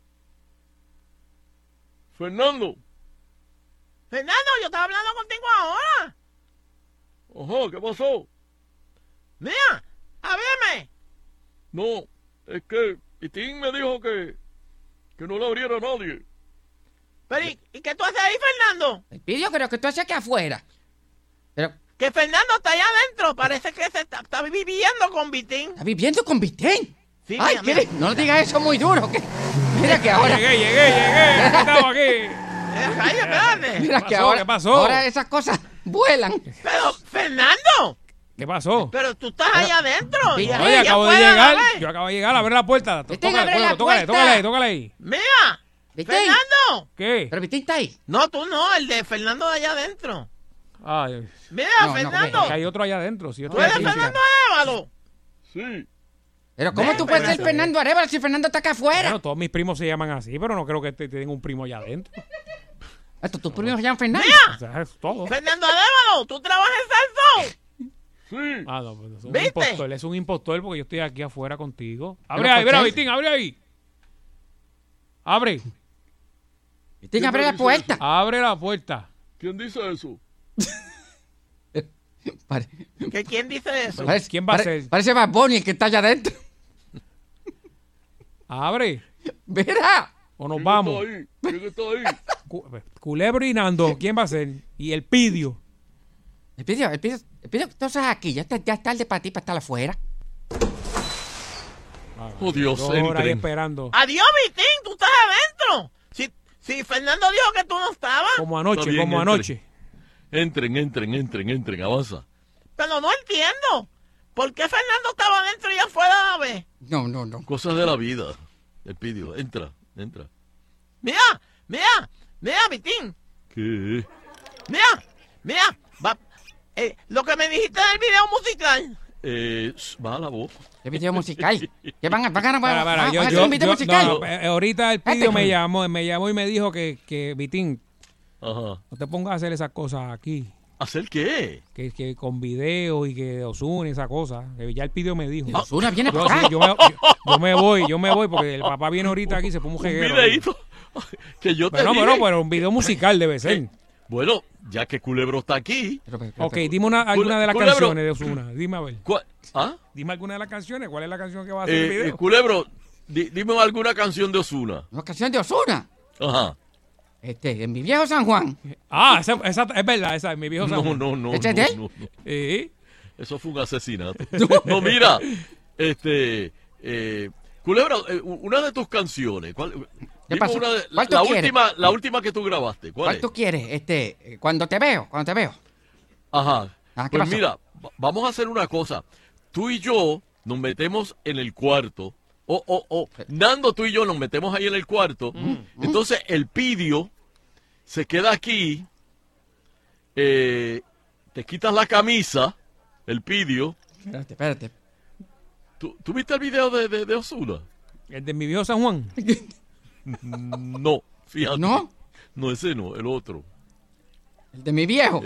S21: Fernando.
S29: Fernando, yo estaba hablando contigo ahora.
S21: Ajá, ¿qué pasó?
S29: Mira, háblame.
S21: No, es que Pitín me dijo que no le abriera a nadie.
S29: Pero, ¿y qué tú haces ahí, Fernando?
S14: Yo creo que tú haces aquí afuera. Pero,
S29: Que Fernando está allá adentro. Parece que se está viviendo con Vitín.
S14: ¿estás viviendo con Vitén?
S29: Sí,
S14: Ay,
S29: mira, mira.
S14: no digas eso muy duro. Mira que ahora...
S2: Llegué. Estamos aquí.
S29: Espérate.
S14: Mira que
S2: ¿Qué pasó?
S14: ahora,
S2: ¿Qué pasó?
S14: ahora esas cosas vuelan.
S29: Pero, Fernando,
S2: ¿Qué pasó?
S29: pero tú estás allá adentro. y
S2: Oye,
S29: allá
S2: acabo de
S29: afuera,
S2: llegar.
S29: ¿sabes?
S2: Yo acabo de llegar. Abre la puerta.
S14: Vitín, abre la
S2: Tócale
S14: puerta.
S2: ahí.
S29: Mira,
S14: Vitín.
S29: Fernando.
S2: ¿Qué?
S14: Pero Vitín está ahí.
S29: No, tú no, el de Fernando de allá adentro.
S2: Ay,
S29: Mira,
S14: No,
S29: Fernando.
S2: que hay otro allá adentro. Si yo
S29: ¿Tú
S2: estoy
S29: eres
S2: aquí.
S29: Fernando Évalo?
S21: Sí.
S14: Pero ¿cómo tú puedes ser Fernando Arevalo si Fernando está acá afuera?
S2: Bueno, todos mis primos se llaman así, pero no creo que tengan un primo allá adentro.
S14: ¿Tus primos se llaman Fernando?
S2: O sea, es todo.
S29: Fernando Arevalo, ¿tú trabajas en Salsón?
S21: Sí.
S2: Ah, no, pues es un
S29: ¿Viste?
S2: impostor. Es un impostor porque yo estoy aquí afuera contigo. Abre
S14: Pero
S2: ahí,
S14: ¿por
S2: mira,
S14: qué?
S2: Vitín, abre ahí. Abre.
S14: Vitín, abre la puerta.
S2: Abre la puerta.
S21: ¿Quién dice eso?
S29: ¿Quién dice eso?
S2: ¿Quién va a ser?
S1: Parece Bad Bunny el que está allá adentro.
S2: Abre.
S1: Mira.
S2: O nos vamos.
S12: ¿Quién está ahí?
S2: Culebro y Nando. ¿Quién va a ser? Y el Pidio.
S1: El Pidio, entonces aquí, ya es tarde para ti para estar afuera.
S12: Oh, Dios,
S2: ahí esperando.
S29: Adiós, Vitín, tú estás adentro. Si Fernando dijo que tú no estabas.
S2: Como anoche,
S12: bien,
S2: anoche.
S12: Entren, avanza.
S29: Pero no entiendo. ¿Por qué Fernando estaba adentro y afuera a la vez?
S1: No.
S12: Cosas de la vida. El Pidio, entra.
S29: Mira, Vitín.
S12: ¿Qué?
S29: Mira. Lo que me dijiste del video musical.
S12: Baja la voz.
S1: ¿Qué video musical? ¿Qué van a
S2: hacer
S1: un video musical?
S2: Ahorita el Pidio me llamó y me dijo que Vitín,
S12: ajá,
S2: no te pongas a hacer esas cosas aquí.
S12: ¿Hacer qué?
S2: Que con video y que Ozuna y esa cosa. Que ya el Pidio me dijo.
S1: Ozuna viene para acá.
S2: Yo me voy porque el papá viene ahorita aquí y se pone un jeguero.
S12: Un videíto. Que yo te dije.
S2: Pero un video musical debe ser.
S12: Bueno, ya que Culebro está aquí.
S2: Ok, dime alguna de las canciones de Ozuna. Dime a ver.
S12: ¿Ah?
S2: Dime alguna de las canciones. ¿Cuál es la canción que va a hacer el video?
S12: Culebro, dime alguna canción de Ozuna.
S1: ¿Una canción de Ozuna?
S12: Ajá.
S1: En mi viejo San Juan.
S2: Esa es verdad, esa es mi viejo San Juan.
S12: No.
S1: ¿Ese es de él?
S2: ¿Sí?
S12: Eso fue un asesinato. No, mira. Culebro, una de tus canciones.
S1: ¿Qué pasó?
S12: La última que tú grabaste. ¿Cuál
S1: tú quieres? Cuando te veo.
S12: Ajá.
S1: ¿Qué
S12: Pues
S1: pasó?
S12: mira, vamos a hacer una cosa. Tú y yo nos metemos en el cuarto. Nando, tú y yo nos metemos ahí en el cuarto. Entonces el Pidio se queda aquí. Te quitas la camisa. El Pidio.
S1: Espérate.
S12: ¿Tú viste el video de Ozuna?
S2: ¿El de mi viejo San Juan?
S12: No, fíjate.
S1: ¿No?
S12: No, ese no, el otro.
S1: ¿El de mi viejo?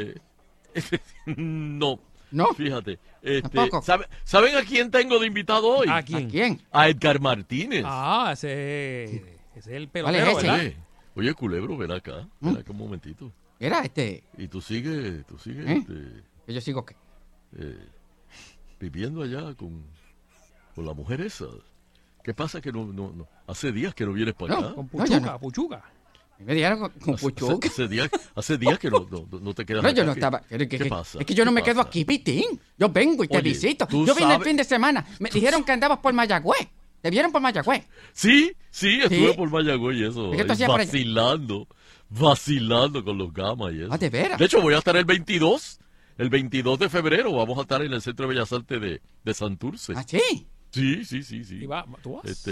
S12: No.
S1: ¿No?
S12: Fíjate.
S1: ¿Tampoco?
S12: ¿Saben a quién tengo de invitado hoy?
S2: ¿A quién?
S12: A Edgar Martínez.
S2: Ese es el pelotero,
S1: ¿Cuál es ese?
S2: ¿verdad?
S12: Oye, Culebro, ven acá un momentito.
S1: Era
S12: Y tú sigues,
S1: ¿Que yo sigo qué?
S12: viviendo allá con la mujer esa. ¿Qué pasa que no hace días que no vienes para acá?
S2: Con Puchuca.
S1: Me dijeron con Puchuca.
S12: Hace días que no te quedas acá.
S1: Yo no estaba.
S12: ¿Qué pasa?
S1: Es que yo no me quedo aquí, Pitín. Yo vengo y te visito. Yo vine el fin de semana. Me dijeron que andabas por Mayagüez. ¿Te vieron por Mayagüez?
S12: Sí, estuve por Mayagüez y eso.
S1: ¿Qué tú hacías por allá?
S12: Vacilando con los gamas y eso.
S1: ¿De veras?
S12: De hecho, voy a estar el 22 de febrero. Vamos a estar en el Centro de Bellas Artes de Santurce.
S1: ¿Ah, sí?
S12: Sí.
S2: ¿Y tú vas?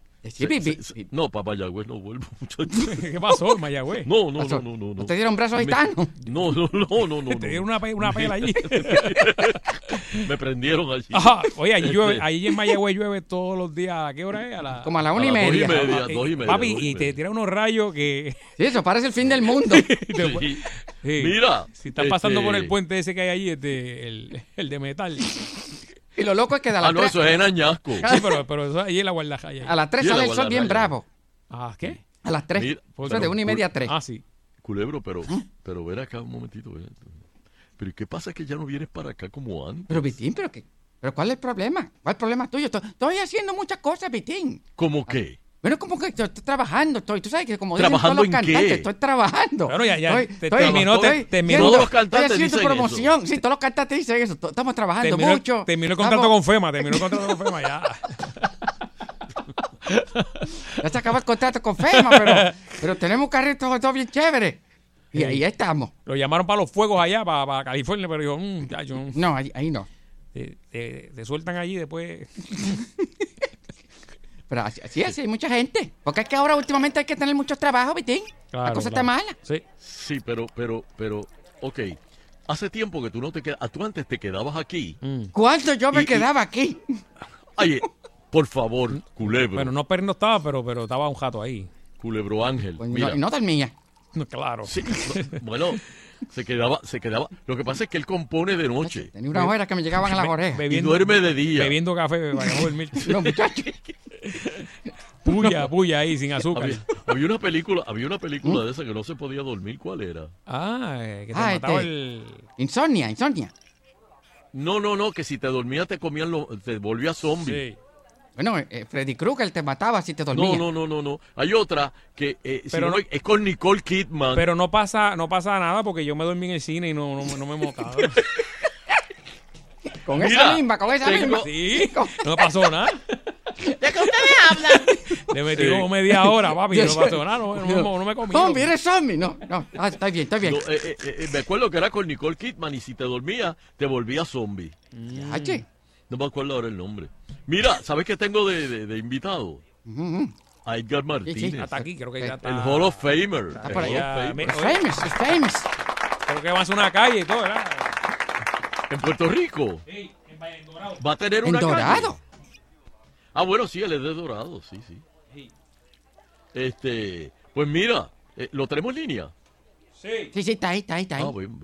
S12: No, para Mayagüez no vuelvo, muchachos.
S2: ¿Qué pasó, Mayagüez?
S12: No.
S1: ¿No te dieron brazos gitanos?
S12: No.
S2: Te dieron una pela allí.
S12: Me prendieron allí.
S2: Ajá. Oye, allí en Mayagüez llueve todos los días. ¿A qué hora es?
S1: Como a las 1:30.
S12: 2:30.
S2: Papi, y te tira unos rayos que...
S1: Sí, eso parece el fin del mundo.
S12: Sí. Mira.
S2: Si estás pasando por el puente ese que hay allí, el de metal...
S1: Y lo loco es que a las 3...
S12: eso es en Añasco.
S2: Sí, pero eso ahí en la guardarraya.
S1: A las 3 sale el sol bien bravo.
S2: ¿Qué?
S1: A las 3.
S12: Mira,
S1: Eso es de 1:30 a 3.
S2: Sí.
S12: Culebro, pero ven acá un momentito. Pero ¿qué pasa que ya no vienes para acá como antes?
S1: Pero Vitín, ¿pero cuál es el problema? ¿Cuál es el problema tuyo? Estoy haciendo muchas cosas, Vitín.
S12: ¿Cómo qué?
S1: Bueno, como que estoy trabajando, tú sabes que como
S12: dicen todos los
S1: cantantes,
S12: qué?
S1: Estoy trabajando.
S2: Claro, ya
S1: terminó.
S12: Todos los cantantes
S1: estoy haciendo
S12: dicen
S1: promoción.
S12: eso.
S1: Sí, todos los cantantes dicen eso. Estamos trabajando mucho.
S2: Terminó el contrato con FEMA, ya.
S1: Ya se acabó el contrato con FEMA, pero tenemos un carrito todo bien chévere. Y ahí estamos.
S2: Lo llamaron para los fuegos allá, para California, pero dijo,
S1: no, ahí no.
S2: Te sueltan allí después.
S1: Pero así es, hay mucha gente. Porque es que ahora últimamente hay que tener mucho trabajo, Vitín.
S2: Claro,
S1: la cosa está mala.
S12: Sí, pero, ok. Hace tiempo que tú no te quedas. Tú antes te quedabas aquí.
S1: ¿Cuándo yo me quedaba aquí?
S12: Ay, por favor, Culebro.
S2: Bueno, no pernoctaba, pero estaba un jato ahí.
S12: Culebro Ángel.
S1: Pues
S12: mira.
S1: No dormía.
S2: Claro.
S12: Sí, bueno, se quedaba. Lo que pasa es que él compone de noche.
S1: Tenía unas horas que me llegaban a las orejas.
S12: Y duerme de día.
S2: Bebiendo café para no dormir.
S1: No, muchachos.
S2: Puya ahí, sin azúcar.
S12: Había una película de esa que no se podía dormir. ¿Cuál era?
S2: Que te mataba el...
S1: Insomnia.
S6: No, que si te dormías te comían, te volvías zombie.
S2: Sí.
S1: Bueno, Freddy Krueger te mataba si te dormías.
S6: No. Hay otra que es con Nicole Kidman.
S2: Pero no pasa nada porque yo me dormí en el cine y no me motaba.
S1: Con esa misma.
S2: Sí, no me pasó nada.
S29: ¿De qué ustedes hablan?
S2: Le metí como media hora, papi, y no pasó nada, no me comí.
S1: Zombie, eres zombie. No. Está bien.
S6: Me acuerdo que era con Nicole Kidman y si te dormías, te volvías zombie.
S1: Che.
S6: No me acuerdo ahora el nombre. Mira, ¿sabes qué tengo de invitado? A Edgar Martínez.
S2: Sí, hasta aquí, creo que ya está.
S6: El Hall of Famer.
S1: Está por allá.
S2: Es
S1: famous.
S2: Creo que va a hacer una calle y todo, ¿verdad?
S6: ¿En Puerto Rico?
S2: Sí, en Dorado.
S6: ¿Va a tener
S1: ¿En
S6: una
S1: Dorado?
S6: calle? Ah, bueno, sí, él es de Dorado, sí. Pues mira, ¿lo tenemos en línea?
S2: Sí,
S1: está ahí.
S6: Ah, bueno,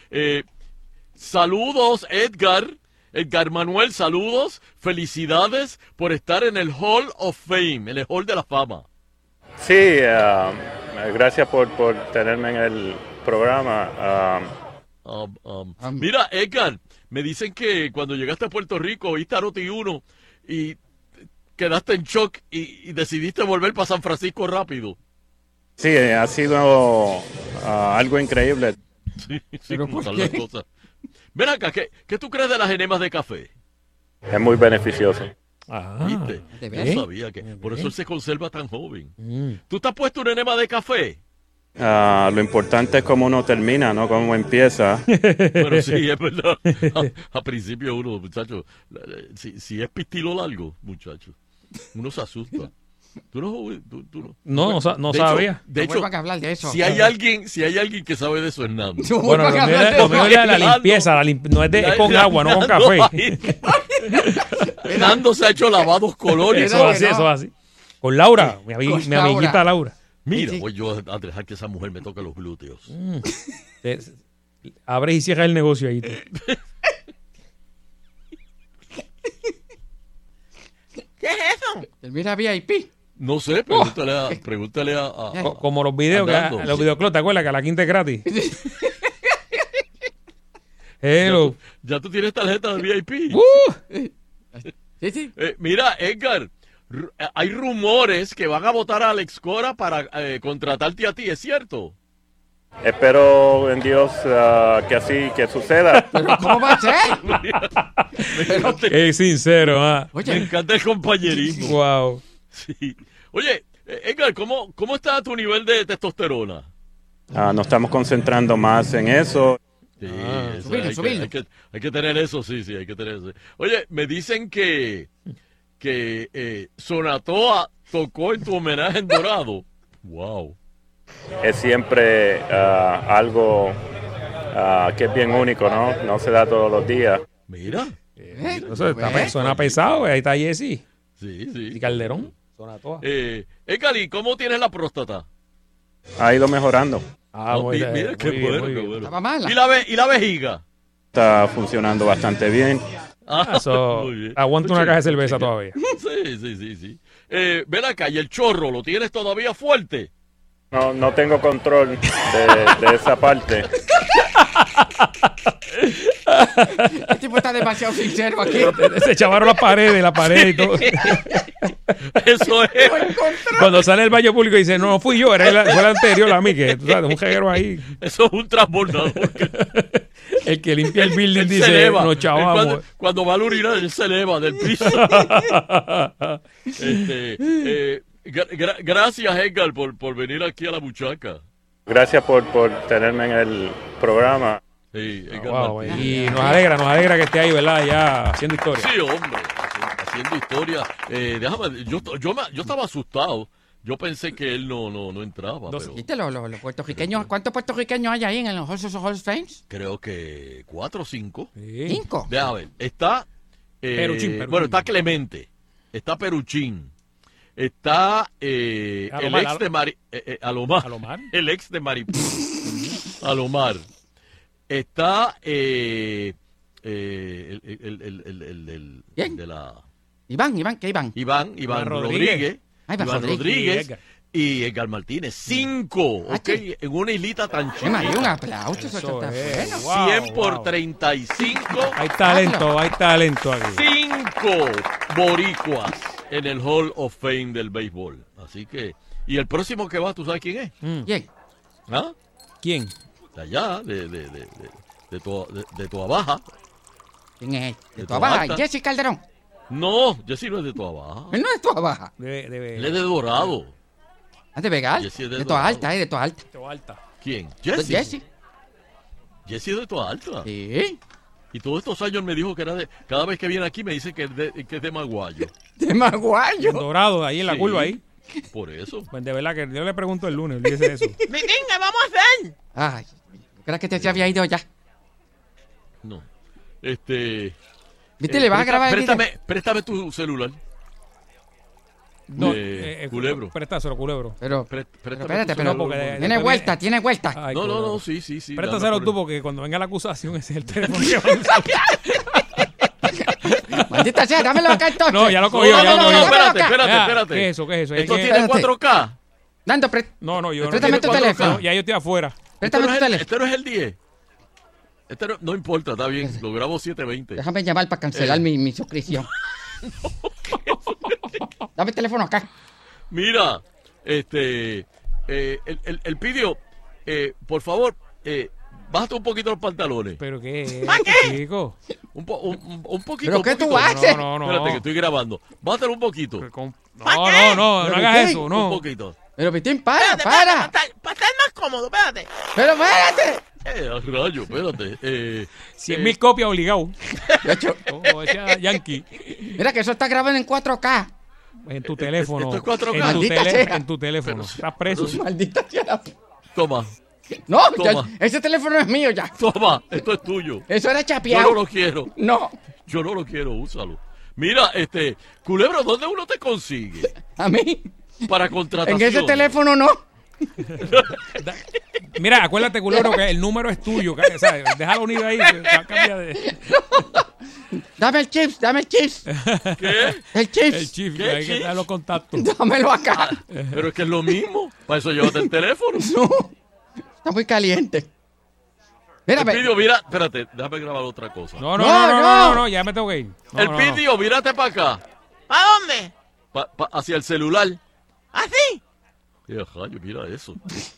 S6: saludos, Edgar Manuel, saludos, felicidades por estar en el Hall of Fame, en el Hall de la Fama.
S7: Sí, gracias por tenerme en el programa.
S6: Mira, Edgar, me dicen que cuando llegaste a Puerto Rico oíste a Noti1 y quedaste en shock y decidiste volver para San Francisco rápido.
S7: Sí, ha sido algo increíble.
S6: Sí, como están las cosas. Ven acá, ¿qué tú crees de las enemas de café?
S7: Es muy beneficioso.
S6: ¿Viste? Yo sabía que por eso él se conserva tan joven. ¿Tú te has puesto un enema de café?
S7: Lo importante es cómo uno termina, no cómo empieza.
S6: Bueno, sí, es verdad. A principio uno, muchacho, si es pistilo largo, muchacho, uno se asusta. ¿Tú no?
S2: No sabía.
S1: De hecho, que hablar de eso.
S6: Si hay alguien que sabe de eso es Nando.
S2: Bueno, lo mío es la limpieza, no es con agua, no con café.
S6: Nando se ha hecho lavados colores.
S2: Eso es así. Con Laura, mi amiguita Laura.
S6: Mira, voy yo a dejar que esa mujer me toque los glúteos.
S2: Abre y cierra el negocio ahí.
S29: ¿Qué es eso?
S1: Mira VIP.
S6: No sé, pregúntale a
S2: como los videos, los videoclubs, ¿te acuerdas que a la quinta es gratis? Hello.
S6: Ya tú tienes tarjeta de VIP.
S1: Sí.
S6: Mira, Edgar, hay rumores que van a votar a Alex Cora para contratarte a ti, ¿es cierto?
S7: Espero en Dios que suceda.
S1: ¿Pero cómo va a ser?
S2: Es sincero,
S6: Oye, me encanta el compañerismo.
S2: Wow.
S6: Sí. Oye, Edgar, ¿cómo está tu nivel de testosterona?
S7: Nos estamos concentrando más en eso.
S6: Sí, subirlo. Hay que tener eso, sí, hay que tener eso. Oye, me dicen que Sonatoa tocó en tu homenaje en Dorado. Wow.
S7: Es siempre algo que es bien único, ¿no? No se da todos los días.
S6: Mira.
S2: Eso suena pesado, ahí está Jesse.
S6: Sí.
S2: Y Calderón. Sonatoa.
S6: Edgar, ¿cómo tienes la próstata?
S7: Ha ido mejorando.
S6: Mira, qué bueno.
S1: Estaba mala.
S6: ¿Y la vejiga?
S7: Está funcionando bastante bien.
S2: Aguanta una caja de cerveza todavía.
S6: Sí. Ven acá, ¿y el chorro lo tienes todavía fuerte?
S7: No tengo control de esa parte.
S1: El tipo está demasiado sincero aquí.
S2: Se chavaron la pared y todo.
S6: Eso es.
S2: Cuando sale el baño público y dice, no fui yo, fue el anterior a mí, que tú sabes, un jeguero ahí.
S6: Eso es un transbordador.
S2: El que limpia el building dice, nos chavamos.
S6: Cuando va a urinar, él se eleva del piso. Gracias, Edgar, por venir aquí a La Buchaca.
S7: Gracias por tenerme en el programa.
S6: Sí,
S2: y nos alegra que esté ahí, ¿verdad? Ya haciendo historia.
S6: Sí, hombre, haciendo historia. Déjame, yo estaba asustado. Yo pensé que él no entraba.
S1: ¿Viste los puertorriqueños? ¿Cuántos puertorriqueños hay ahí en los Hall of Fame?
S6: Creo que 4 o 5.
S1: Sí. ¿5?
S6: Déjame ver. Está Peruchín. Bueno, está Clemente. Está Peruchín. Está el ex de Alomar. El ex de Maripú. Alomar. Está el de la...
S1: Iván
S6: Rodríguez.
S1: Iván Rodríguez.
S6: y Edgar Martínez. 5, ¿ok? En una islita tan chiquita.
S1: Un aplauso, eso está bueno.
S6: 100 por 35.
S2: Hay talento aquí.
S6: 5 boricuas en el Hall of Fame del béisbol. Así que, y el próximo que va, ¿tú sabes quién es?
S1: ¿Quién?
S6: ¿Ah?
S2: ¿Quién?
S6: De allá, de Toa Baja.
S1: ¿Quién es? ¿De Toa Baja? ¿Jesse Calderón?
S6: No, Jesse no es de Toa Baja.
S1: Él no es de Toa Baja.
S6: Él es de Dorado.
S1: ¿De Vegal? De Toa Alta, de Toa Alta.
S6: ¿Quién? Jesse.
S1: Jesse
S6: es de Toa Alta.
S1: Sí.
S6: Y todos estos años me dijo que era de... Cada vez que viene aquí me dice que es de Maguayo.
S1: ¿De Maguayo?
S2: En Dorado, ahí en la curva, ahí.
S6: Por eso.
S2: Pues de verdad que yo le pregunto el lunes, dice eso.
S29: Mitín, ¿qué vamos a hacer?
S1: Ay, ¿crees que te había ido ya?
S6: No.
S1: ¿Viste? Le vas a grabar el video.
S6: Préstame tu celular.
S2: No,
S6: Culebro.
S2: Préstaselo, Culebro.
S1: Pero espérate, pero tiene vuelta.
S6: Ay, no, sí.
S2: Préstaselo tú, porque cuando venga la acusación ese es el teléfono que va a usar.
S1: Maldita sea, dámelo acá entonces.
S2: No, ya lo cogió.
S6: Espérate.
S2: ¿Qué es eso?
S6: ¿Esto tiene 4K?
S1: Nando,
S2: No, yo no.
S1: Préstame tu teléfono.
S2: Ya yo estoy afuera.
S1: Préstame tu teléfono.
S6: Este no es el 10. No importa, está bien. Lo grabo 720.
S1: Déjame llamar para cancelar mi suscripción. Dame el teléfono acá.
S6: Mira, el Pidio, por favor, bájate un poquito los pantalones.
S2: ¿Pero qué, chico?
S6: Un poquito.
S1: ¿Pero qué tú haces?
S2: No.
S6: Espérate, que estoy grabando. Bátelo un poquito.
S2: No hagas eso, no.
S6: Un poquito.
S1: Pero Pitín, para.
S29: Para estar más cómodo, espérate.
S1: Pero espérate.
S6: Rayo, espérate.
S2: 100,000 copias obligado. Como decía Yankee.
S1: Mira que eso está grabado en 4K.
S2: En tu teléfono.
S6: Esto es 4K.
S2: En tu teléfono. Estás preso.
S1: Maldita sea.
S6: Toma.
S1: No, ese teléfono es mío ya.
S6: Toma, esto es tuyo.
S1: Eso era chapeado.
S6: Yo no lo quiero.
S1: No.
S6: Yo no lo quiero, úsalo. Mira, Culebro, ¿dónde uno te consigue?
S1: ¿A mí?
S6: Para contratación.
S1: En ese teléfono no.
S2: Mira, acuérdate, Culebro, que el número es tuyo, ¿sabes? Déjalo unido ahí. Cambia de...
S1: Dame el chips.
S6: ¿Qué?
S1: El chips.
S2: ¿Qué? Hay que dar los contactos.
S1: Dámelo acá.
S6: Pero es que es lo mismo. Para eso llévate el teléfono.
S1: No. Está muy caliente.
S6: Mira, espérate, déjame grabar otra cosa.
S2: No, ya me tengo que ir.
S6: Pidio, mírate para acá.
S29: ¿Para dónde?
S6: Hacia el celular.
S29: ¿Así?
S6: Mira eso.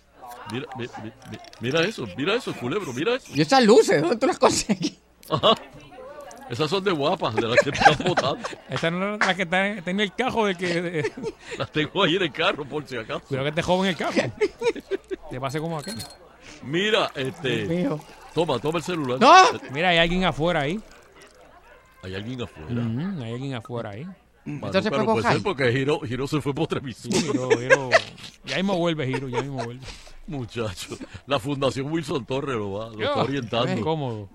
S6: Mira eso, Culebro, mira eso.
S1: ¿Y esas luces? ¿Dónde tú las conseguís?
S6: Ajá. Esas son de guapas, de las que están botando.
S2: Esa no es la que está en el cajo de que...
S6: Las tengo ahí en el carro, por si acaso.
S2: Cuidado que te joven el cajo. Te pase como aquel.
S6: Mira, Toma el celular.
S1: ¡No!
S2: Mira, hay alguien afuera ahí.
S6: ¿Hay alguien afuera?
S2: Hay alguien afuera ahí.
S1: Entonces
S6: pero puede ser porque Giro se fue por otra emisora.
S2: Giro. Ya mismo vuelve, Giro,
S6: Muchacho, la Fundación Wilson Torres lo está orientando.
S2: Es cómodo.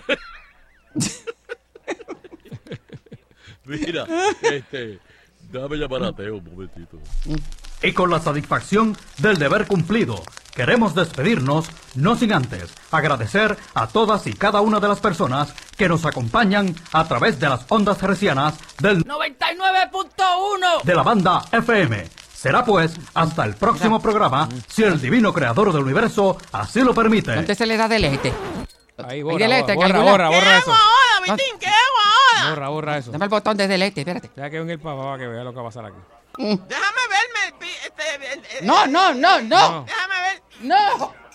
S6: Mira, déjame llamar a Teo un momentito.
S8: Y con la satisfacción del deber cumplido, queremos despedirnos, no sin antes agradecer a todas y cada una de las personas que nos acompañan a través de las ondas hercianas del
S29: 99.1
S8: de la banda FM. Será pues hasta el próximo programa, si el divino creador del universo así lo permite.
S1: ¿Dónde se le da delete?
S2: Ahí, borra eso.
S29: ¿Qué hago ahora, Vitín? ¿Qué hago ahora?
S2: Borra eso.
S1: Dame el botón de delete, espérate.
S2: Ya que venga el papá para que vea lo que va a pasar aquí.
S29: Déjame verme
S1: No.
S29: Déjame ver.
S1: No.